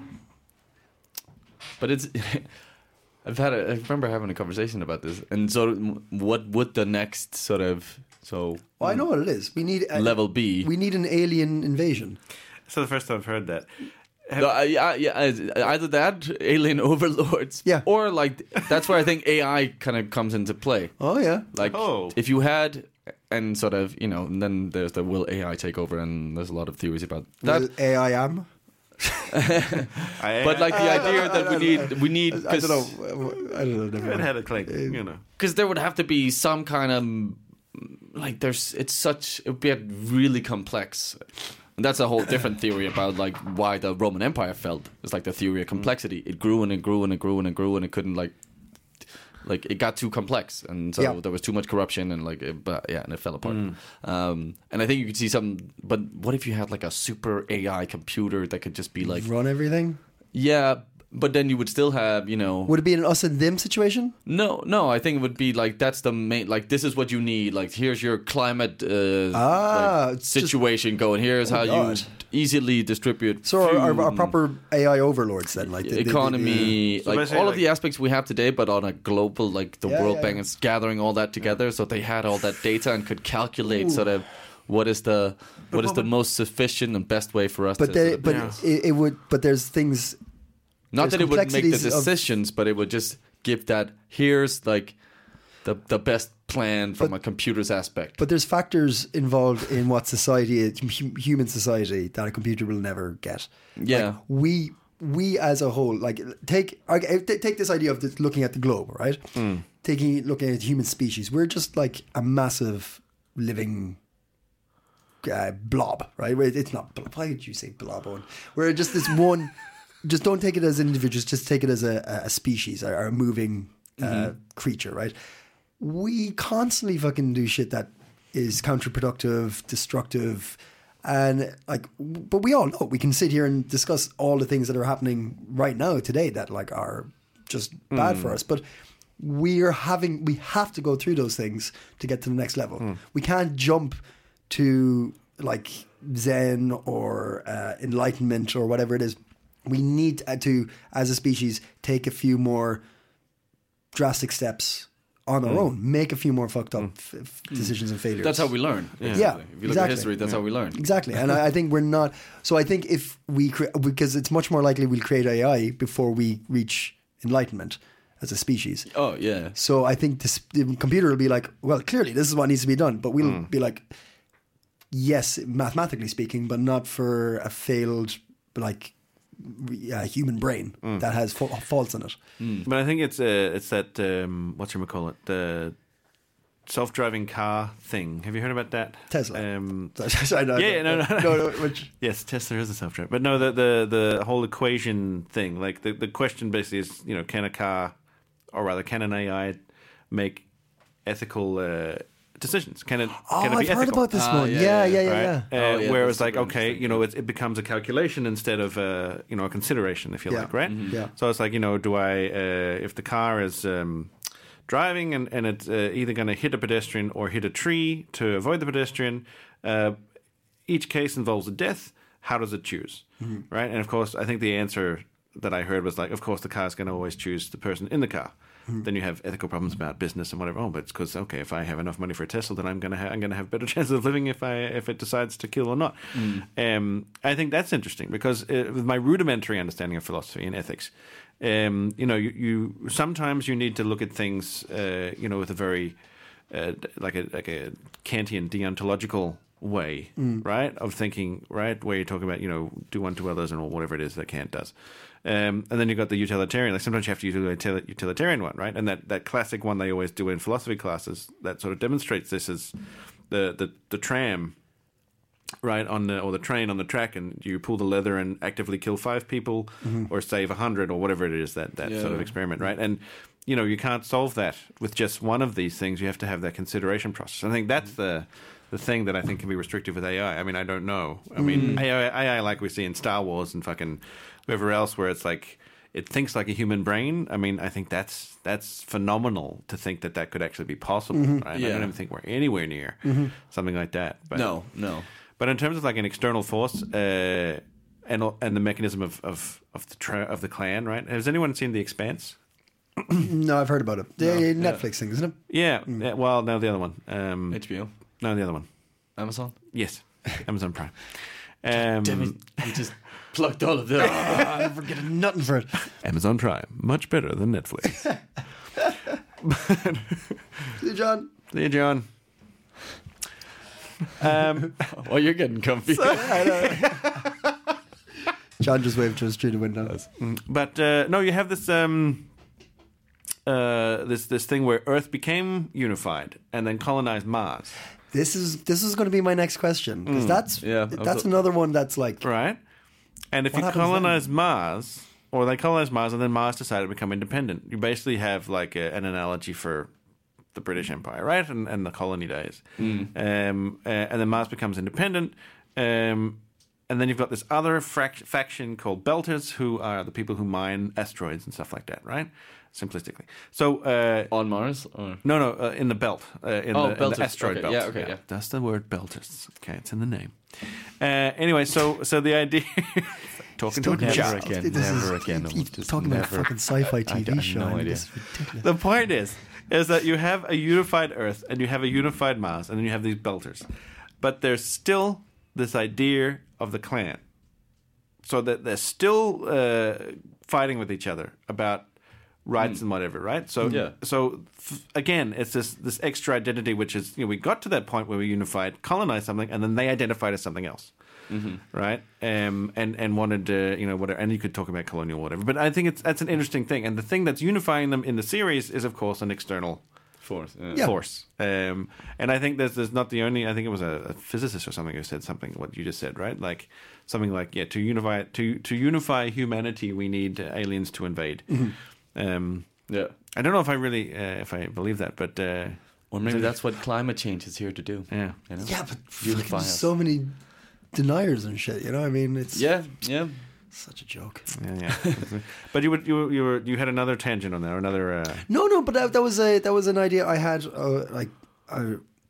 Speaker 4: But it's, I've had, a, I remember having a conversation about this, and so what would the next sort of so
Speaker 3: Well, I know what it is. We need a,
Speaker 4: level be?
Speaker 3: We need an alien invasion.
Speaker 5: So the first time I've heard that. Have,
Speaker 4: No, I- yeah, yeah, I- either that, alien overlords,
Speaker 3: Yeah.
Speaker 4: or like that's where I think A I kind of comes into play.
Speaker 3: Oh yeah.
Speaker 4: Like
Speaker 5: Oh.
Speaker 4: if you had, and sort of, you know, and then there's the will A I take over, and there's a lot of theories about that.
Speaker 3: Well, A I am.
Speaker 5: I,
Speaker 4: But like the idea that we need, we need,
Speaker 3: I don't know. I don't know. Never
Speaker 5: it
Speaker 3: mind.
Speaker 5: had a click, you know.
Speaker 4: because there would have to be some kind of like there's it's such it would be really complex. And that's a whole different theory about like why the Roman Empire fell. It's like the theory of complexity. It grew and it grew and it grew and it grew and it couldn't like like it got too complex, and so
Speaker 3: Yeah.
Speaker 4: there was too much corruption, and like it, but yeah, and it fell apart. Um, and I think you could see some. But what if you had like a super A I computer that could just be like
Speaker 3: Run everything.
Speaker 4: yeah, but then you would still have you know
Speaker 3: Would it be an us and them situation?
Speaker 4: no, no. I think it would be like that's the main. Like this is what you need. Like here's your climate uh,
Speaker 3: Ah,
Speaker 4: like,
Speaker 3: it's just-
Speaker 4: situation going. Here's
Speaker 3: Oh,
Speaker 4: how
Speaker 3: God.
Speaker 4: you easily distribute.
Speaker 3: So our, our, our
Speaker 4: fuel,
Speaker 3: proper A I overlords then, like the, the- the-
Speaker 4: economy,
Speaker 5: So
Speaker 4: like
Speaker 5: basically,
Speaker 4: all of
Speaker 5: like-
Speaker 4: the aspects we have today, but on a global, like the
Speaker 3: Yeah,
Speaker 4: World
Speaker 3: yeah,
Speaker 4: Bank
Speaker 3: yeah.
Speaker 4: is gathering all that together, so they had all that data and could calculate sort of what is the what is the most sufficient and best way for us.
Speaker 3: but
Speaker 4: to
Speaker 3: they,
Speaker 4: sort of-
Speaker 3: but
Speaker 5: Yeah.
Speaker 3: it, it would. But there's things.
Speaker 4: not
Speaker 3: there's
Speaker 4: that it would make the
Speaker 3: complexities of-
Speaker 4: decisions, but it would just give that here's like the the best plan from a computer's aspect.
Speaker 3: But there's factors involved in what society, hu- human society, that a computer will never get.
Speaker 4: Yeah.
Speaker 3: Like, we we as a whole, like take okay, t- take this idea of this, looking at the globe, right? Taking looking at human species, we're just like a massive living uh, blob, right? Where It's not. bl- Why did you say blob? Owen? We're just this one. Just don't take it as individuals. Just take it as a, a species, a, a moving uh, creature, right? We constantly fucking do shit that is counterproductive, destructive, and like. But we all know we can sit here and discuss all the things that are happening right now today that like are just bad for us, but. We're having, we have to go through those things to get to the next level. We can't jump to like Zen or uh, enlightenment or whatever it is. We need to, as a species, take a few more drastic steps on our own, make a few more fucked up f- f- decisions and failures.
Speaker 4: That's how we learn.
Speaker 3: Yeah,
Speaker 4: basically. If you look
Speaker 3: exactly.
Speaker 4: at history, that's how we learn.
Speaker 3: Exactly, and I, I think we're not. So I think if we cre- because it's much more likely we'll create A I before we reach enlightenment as a species.
Speaker 4: Oh yeah.
Speaker 3: So I think this, the computer will be like, well, clearly this is what needs to be done, but we'll be like, yes, mathematically speaking, but not for a failed like uh, human brain that has fa- faults in it.
Speaker 5: But I think it's uh, it's that um, what you call it, the self-driving car thing. Have you heard about that?
Speaker 3: Tesla.
Speaker 5: Um,
Speaker 3: I know,
Speaker 5: Yeah, no, no, no.
Speaker 3: no, no, which,
Speaker 5: yes, Tesla is a self-driving, but no, the the the whole equation thing. Like the the question basically is, you know, can a car, or rather, can an A I make ethical uh, decisions? Can it?
Speaker 3: Oh,
Speaker 5: can it
Speaker 3: I've
Speaker 5: be
Speaker 3: heard
Speaker 5: ethical?
Speaker 3: about this
Speaker 4: Ah,
Speaker 3: one.
Speaker 4: yeah,
Speaker 3: Yeah,
Speaker 4: yeah,
Speaker 3: yeah, yeah,
Speaker 5: Right?
Speaker 3: yeah.
Speaker 5: Uh,
Speaker 4: Oh, yeah,
Speaker 5: where
Speaker 4: that's
Speaker 5: it's like,
Speaker 4: super
Speaker 5: okay,
Speaker 4: interesting.
Speaker 5: you know, it, it becomes a calculation instead of, uh, you know, a consideration, if you
Speaker 3: Yeah.
Speaker 5: like, right?
Speaker 3: Yeah.
Speaker 5: So it's like, you know, do I, uh, if the car is um, driving and, and it's uh, either going to hit a pedestrian or hit a tree to avoid the pedestrian, uh, each case involves a death. How does it choose,
Speaker 3: Mm-hmm.
Speaker 5: right? And of course, I think the answer that I heard was like, of course, the car is going to always choose the person in the car.
Speaker 3: Mm-hmm.
Speaker 5: Then you have ethical problems about business and whatever. Oh, but it's because okay, if I have enough money for a Tesla, then I'm gonna ha- I'm gonna have better chances of living if I if it decides to kill or not. Um, I think that's interesting because uh, with my rudimentary understanding of philosophy and ethics, um, you know, you, you sometimes you need to look at things, uh, you know, with a very uh, like a like a Kantian deontological way, right, of thinking, right, where you're talking about, you know, do unto others and whatever it is that Kant does. Um, and then you've got the utilitarian. Like sometimes you have to use a util- utilitarian one, right? And that, that classic one they always do in philosophy classes that sort of demonstrates this is the, the, the tram, right, on the or the train on the track, and you pull the lever and actively kill five people or save a hundred or whatever it is, that, that
Speaker 4: Yeah.
Speaker 5: sort of experiment, right? And you know, you can't solve that with just one of these things. You have to have that consideration process. I think that's the the thing that I think can be restrictive with A I. I mean, I don't know. I mean, A I, A I like we see in Star Wars and fucking whoever else, where it's like it thinks like a human brain. I mean, I think that's that's phenomenal to think that that could actually be possible. Right? I
Speaker 4: Yeah.
Speaker 5: don't even think we're anywhere near something like that. But,
Speaker 4: No, no.
Speaker 5: But in terms of like an external force uh, and and the mechanism of of of the tra- of the clan, right? Has anyone seen The Expanse?
Speaker 3: No, I've heard about it. The Netflix thing, isn't it?
Speaker 5: Yeah. yeah well, no, the other one. Um,
Speaker 4: H B O,
Speaker 5: no, the other one.
Speaker 4: Amazon.
Speaker 5: Yes, Amazon Prime. Um,
Speaker 4: Damn it! You just plucked all of them.
Speaker 3: I never get nothing for it.
Speaker 5: Amazon Prime, much better than Netflix.
Speaker 3: See, John.
Speaker 5: See you, John. Um,
Speaker 4: Oh, you're getting comfy.
Speaker 3: John just waved to us through the window.
Speaker 5: but uh, no, you have this um, uh, this this thing where Earth became unified and then colonized Mars,
Speaker 3: This is this is going to be my next question because that's
Speaker 4: Yeah, I
Speaker 3: that's
Speaker 4: was-
Speaker 3: another one that's like
Speaker 5: right? And if
Speaker 3: What
Speaker 5: you
Speaker 3: happens
Speaker 5: colonize Mars, or they colonize Mars, and then Mars decided to become independent, you basically have like a, an analogy for the British Empire, right, and, and the colony days. Um, uh, and then Mars becomes independent, um, and then you've got this other frac- faction called Belters, who are the people who mine asteroids and stuff like that, right? Simplistically. So uh,
Speaker 4: On Mars? Or?
Speaker 5: no, no, uh, in the belt, uh, in,
Speaker 4: Oh,
Speaker 5: the, in
Speaker 4: Belters.
Speaker 5: the asteroid
Speaker 4: Okay,
Speaker 5: belt.
Speaker 4: yeah, okay, yeah.
Speaker 5: That's the word Belters. Okay, it's in the name. Uh, anyway, so so the idea, talking to a
Speaker 3: Never
Speaker 5: child.
Speaker 4: again.
Speaker 3: This
Speaker 4: never
Speaker 3: is,
Speaker 4: again.
Speaker 3: you-
Speaker 4: I
Speaker 3: you
Speaker 4: will just
Speaker 3: talking about a
Speaker 4: never-
Speaker 3: fucking sci-fi T
Speaker 4: I
Speaker 3: V
Speaker 4: have
Speaker 3: show.
Speaker 4: no
Speaker 3: I mean,
Speaker 4: idea.
Speaker 3: this is ridiculous.
Speaker 5: The point is, is that you have a unified Earth and you have a unified Mars, and then you have these Belters, but there's still this idea of the clan, so that they're still uh, fighting with each other about rights and whatever, right? So,
Speaker 4: Yeah.
Speaker 5: so f- again, it's this this extra identity, which is, you know, we got to that point where we unified, colonized something, and then they identified as something else, right? Um, and and wanted to, you know, whatever. And you could talk about colonial whatever, but I think it's that's an interesting thing. And the thing that's unifying them in the series is, of course, an external
Speaker 4: Force. Yeah.
Speaker 3: Yeah.
Speaker 5: force. Um, and I think there's there's not the only. I think it was a, a physicist or something who said something what you just said, right? Like something like, yeah, to unify to to unify humanity, we need uh, aliens to invade. Um,
Speaker 4: Yeah.
Speaker 5: I don't know if I really uh, if I believe that, but uh,
Speaker 4: Or maybe that's what climate change is here to do.
Speaker 5: yeah.
Speaker 4: You know?
Speaker 3: Yeah, but
Speaker 4: Unify
Speaker 3: fucking
Speaker 4: us.
Speaker 3: so many deniers and shit. You know, I mean, it's
Speaker 4: Yeah, yeah.
Speaker 3: such a joke.
Speaker 5: Yeah, yeah. But you would you you were you had another tangent on there, another. Uh,
Speaker 3: No, no, but that, that was a that was an idea I had. Uh, like, I,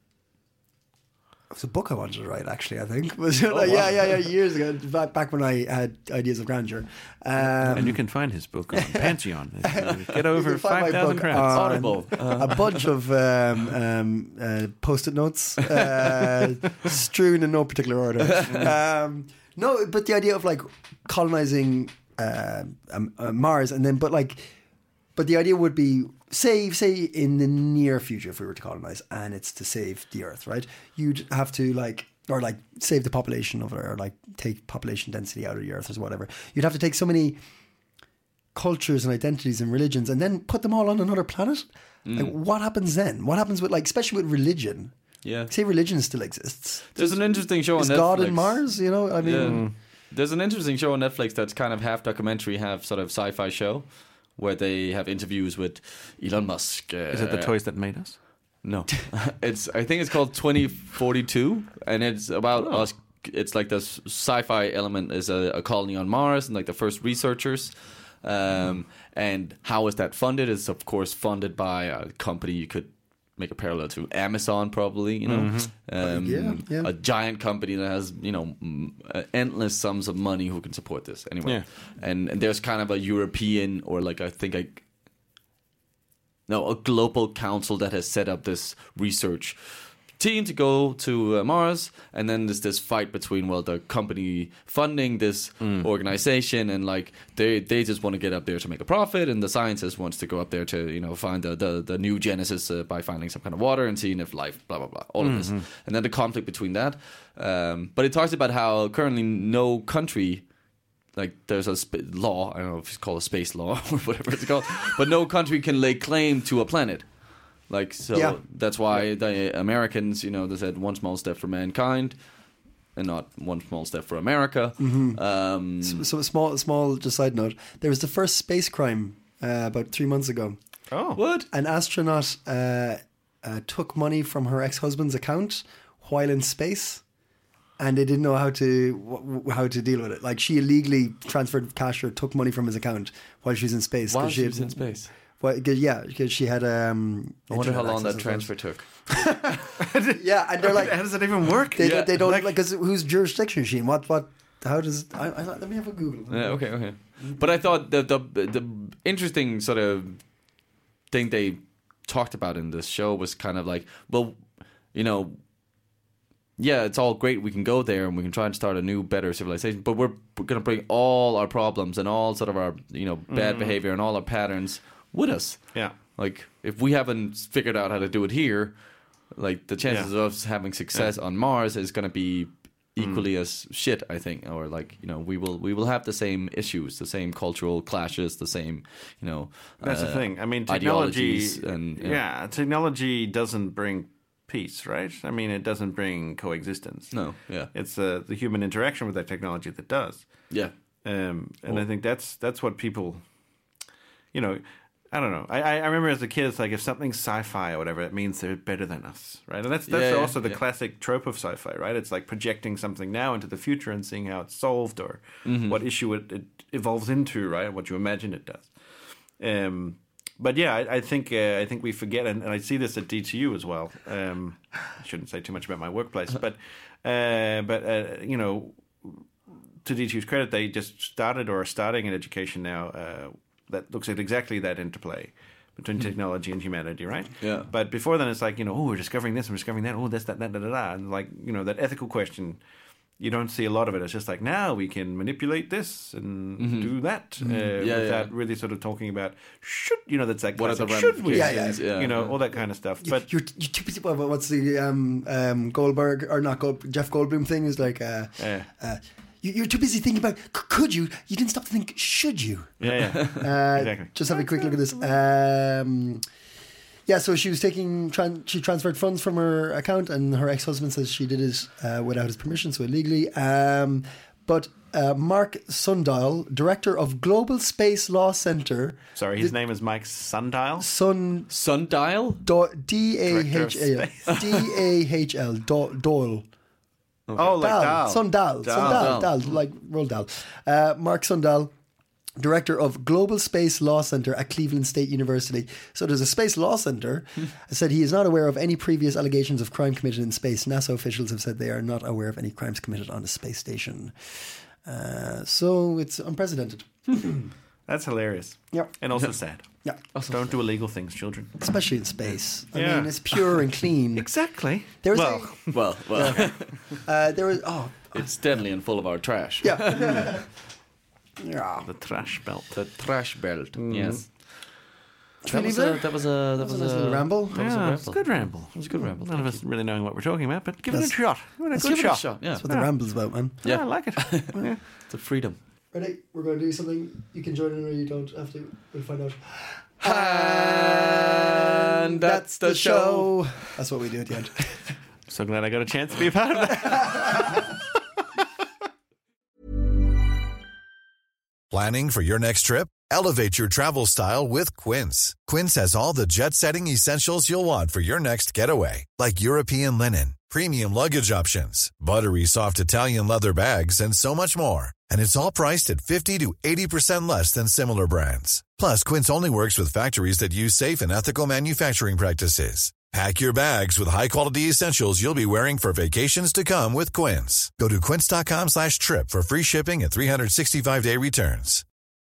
Speaker 3: it was a book I wanted to write. Actually, I think. Was
Speaker 4: Oh,
Speaker 3: like, yeah, yeah, yeah. Years ago, back back when I had ideas of grandeur. Um,
Speaker 5: and you can find his book on Pantheon. Get over
Speaker 3: You can find my
Speaker 5: five thousand
Speaker 3: book
Speaker 5: crowns.
Speaker 3: on
Speaker 4: Audible. Uh,
Speaker 3: a bunch of um, um, uh, post-it notes uh, strewn in no particular order. Um, no, but the idea of like colonizing uh, um, uh, Mars, and then but like, but the idea would be say say in the near future if we were to colonize, and it's to save the Earth, right? You'd have to like. Or like save the population of it, or like take population density out of the Earth, or whatever. You'd have to take so many cultures and identities and religions, and then put them all on another planet. Like, what happens then? What happens with like, especially with religion?
Speaker 4: yeah.
Speaker 3: Say religion still exists.
Speaker 4: There's an interesting show on
Speaker 3: Is
Speaker 4: Netflix.
Speaker 3: God in Mars? You know, I mean,
Speaker 4: Yeah. There's an interesting show on Netflix that's kind of half documentary, half sort of sci-fi show, where they have interviews with Elon Musk. Uh,
Speaker 5: Is it the toys that made us?
Speaker 4: No, it's. I think it's called twenty forty-two, and it's about
Speaker 5: Oh.
Speaker 4: us. It's like this sci-fi element is a, a colony on Mars, and like the first researchers. Um, and how is that funded? It's of course funded by a company. You could make a parallel to Amazon, probably. You know, um,
Speaker 3: Yeah, yeah.
Speaker 4: a giant company that has you know m- uh, endless sums of money who can support this anyway.
Speaker 5: Yeah.
Speaker 4: And, and there's kind of a European or like I think I. No, a global council that has set up this research team to go to uh, Mars, and then there's this fight between well the company funding this organization and like they they just want to get up there to make a profit, and the scientist wants to go up there to you know find the the, the new Genesis uh, by finding some kind of water and seeing if life blah blah blah all of this, and then the conflict between that. Um, but it talks about how currently no country. Like there's a sp- law, I don't know if it's called a space law or whatever it's called, but no country can lay claim to a planet. Like so,
Speaker 3: Yeah.
Speaker 4: that's why the Americans, you know, they said one small step for mankind, and not one small step for America. Um,
Speaker 3: So a small, small, just side note. There was the first space crime uh, about three months ago.
Speaker 5: Oh,
Speaker 4: what?
Speaker 3: An astronaut uh, uh, took money from her ex-husband's account while in space, and they didn't know how to wh- how to deal with it. Like she illegally transferred cash or took money from his account while she was in space. 'cause
Speaker 4: While she
Speaker 3: had-
Speaker 4: was in space.
Speaker 3: Well, 'cause- yeah, because she had. Um,
Speaker 4: I wonder how
Speaker 3: internet
Speaker 4: long that
Speaker 3: access as
Speaker 4: transfer took.
Speaker 3: well. Yeah, and they're like,
Speaker 5: how does that even work?
Speaker 3: they,
Speaker 4: Yeah.
Speaker 3: they don't
Speaker 5: Like-
Speaker 3: like because whose jurisdiction is she in? What what? How does? I, I, let me have a Google.
Speaker 4: Yeah, okay, okay. But I thought the the the interesting sort of thing they talked about in this show was kind of like, well, you know, yeah, it's all great. We can go there and we can try and start a new, better civilization. But we're, we're going to bring all our problems and all sort of our, you know, bad behavior and all our patterns with us.
Speaker 5: Yeah.
Speaker 4: Like, if we haven't figured out how to do it here, like the chances
Speaker 5: Yeah.
Speaker 4: of us having success on Mars is going to be equally as shit, I think. Or like, you know, we will we will have the same issues, the same cultural clashes, the same, you know,
Speaker 5: That's
Speaker 4: uh,
Speaker 5: the thing. I mean, technology.
Speaker 4: ideologies and
Speaker 5: yeah.
Speaker 4: yeah.
Speaker 5: technology doesn't bring peace, right? I mean, it doesn't bring coexistence.
Speaker 4: No, yeah,
Speaker 5: It's uh, the human interaction with that technology that does.
Speaker 4: yeah.
Speaker 5: Um, and I think that's that's what people, you know, I don't know. I, I remember as a kid, it's like if something's sci-fi or whatever, it means they're better than us, right? And that's that's
Speaker 4: Yeah, yeah,
Speaker 5: also the
Speaker 4: yeah.
Speaker 5: classic trope of sci-fi, right? It's like projecting something now into the future and seeing how it's solved or
Speaker 4: Mm-hmm.
Speaker 5: what issue it, it evolves into, right? What you imagine it does. Um, but yeah, I, I think uh, I think we forget, and, and I see this at D T U as well. Um, I shouldn't say too much about my workplace, but uh, but uh, you know, to D T U's credit, they just started or are starting an education now uh, that looks at exactly that interplay between technology and humanity, right?
Speaker 4: Yeah.
Speaker 5: But before then, it's like, you know, oh, we're discovering this and we're discovering that. Oh, this, that, that, da, da, da. And like, you know, that ethical question, you don't see a lot of it. It's just like, now we can manipulate this and do that uh,
Speaker 4: Yeah,
Speaker 5: without
Speaker 4: yeah.
Speaker 5: really sort of talking about, should, you know, that's like,
Speaker 4: What are the
Speaker 5: classic, should we?
Speaker 4: ramifications?
Speaker 3: Yeah,
Speaker 4: yeah.
Speaker 5: You know,
Speaker 4: yeah.
Speaker 5: all that kind of stuff.
Speaker 3: You-
Speaker 5: But
Speaker 3: you're you're too busy. What, what's the um um Goldberg or not Gold, Jeff Goldblum thing is like uh,
Speaker 5: Yeah.
Speaker 3: uh you, you're too busy thinking about c- could you? You didn't stop to think should you?
Speaker 5: yeah, yeah.
Speaker 3: Uh,
Speaker 5: Exactly.
Speaker 3: Just have a quick look at this. Um, yeah, so she was taking, tran- she transferred funds from her account, and her ex-husband says she did it uh, without his permission, so illegally. Um, but uh, Mark Sundial, director of Global Space Law Center,
Speaker 5: Sorry, his name is Mike Sundial.
Speaker 3: Sun
Speaker 4: Sundial?
Speaker 3: Do- D A H L
Speaker 5: Director of
Speaker 3: D A H L Do- Doyle.
Speaker 5: Oh, like
Speaker 3: Dahl,
Speaker 5: Dahl.
Speaker 3: Sundal, Sundal,
Speaker 4: Dahl.
Speaker 3: Dahl, like Roald Dahl. Uh, Mark Sundal, director of Global Space Law Center at Cleveland State University. So there's a space law center. Said he is not aware of any previous allegations of crime committed in space. NASA officials have said they are not aware of any crimes committed on the space station. Uh, so it's unprecedented.
Speaker 5: That's hilarious.
Speaker 3: Yeah,
Speaker 5: And also sad.
Speaker 3: yeah,
Speaker 5: Don't do illegal things, children.
Speaker 3: especially in space. I
Speaker 5: Yeah.
Speaker 3: mean, it's pure and clean.
Speaker 5: Exactly.
Speaker 3: There was
Speaker 5: well,
Speaker 4: Well, well,
Speaker 3: Uh, there was oh
Speaker 4: it's deadly and full of our trash.
Speaker 3: yeah, yeah.
Speaker 5: the trash belt.
Speaker 4: The trash belt. Yes.
Speaker 3: Should
Speaker 4: That
Speaker 3: we
Speaker 4: was,
Speaker 3: leave
Speaker 4: a,
Speaker 3: there?
Speaker 4: that was a that
Speaker 3: That
Speaker 4: was
Speaker 3: was a nice
Speaker 4: a
Speaker 3: little ramble.
Speaker 4: That was a
Speaker 5: Yeah, it's a
Speaker 4: ramble.
Speaker 5: good ramble.
Speaker 4: It was a good ramble.
Speaker 5: None of us really knowing what we're talking about, but give it a
Speaker 3: That's-
Speaker 5: shot. Give it a
Speaker 4: Let's
Speaker 5: good
Speaker 4: give it a
Speaker 5: shot.
Speaker 4: shot. Yeah,
Speaker 3: That's what the ramble's about, man.
Speaker 5: Yeah,
Speaker 4: Yeah.
Speaker 5: I like it. Yeah.
Speaker 4: it's a freedom.
Speaker 3: Ready? We're going to do something. You can join in or you don't have to. We'll find out.
Speaker 4: And that's the show.
Speaker 3: That's what we do at the end.
Speaker 5: So glad I got a chance to be a part of that.
Speaker 6: Planning for your next trip? Elevate your travel style with Quince. Quince has all the jet-setting essentials you'll want for your next getaway, like European linen, premium luggage options, buttery soft Italian leather bags, and so much more. And it's all priced at fifty to eighty percent less than similar brands. Plus, Quince only works with factories that use safe and ethical manufacturing practices. Pack your bags with high-quality essentials you'll be wearing for vacations to come with Quince. Go to quince.com slash trip for free shipping and three sixty-five day returns.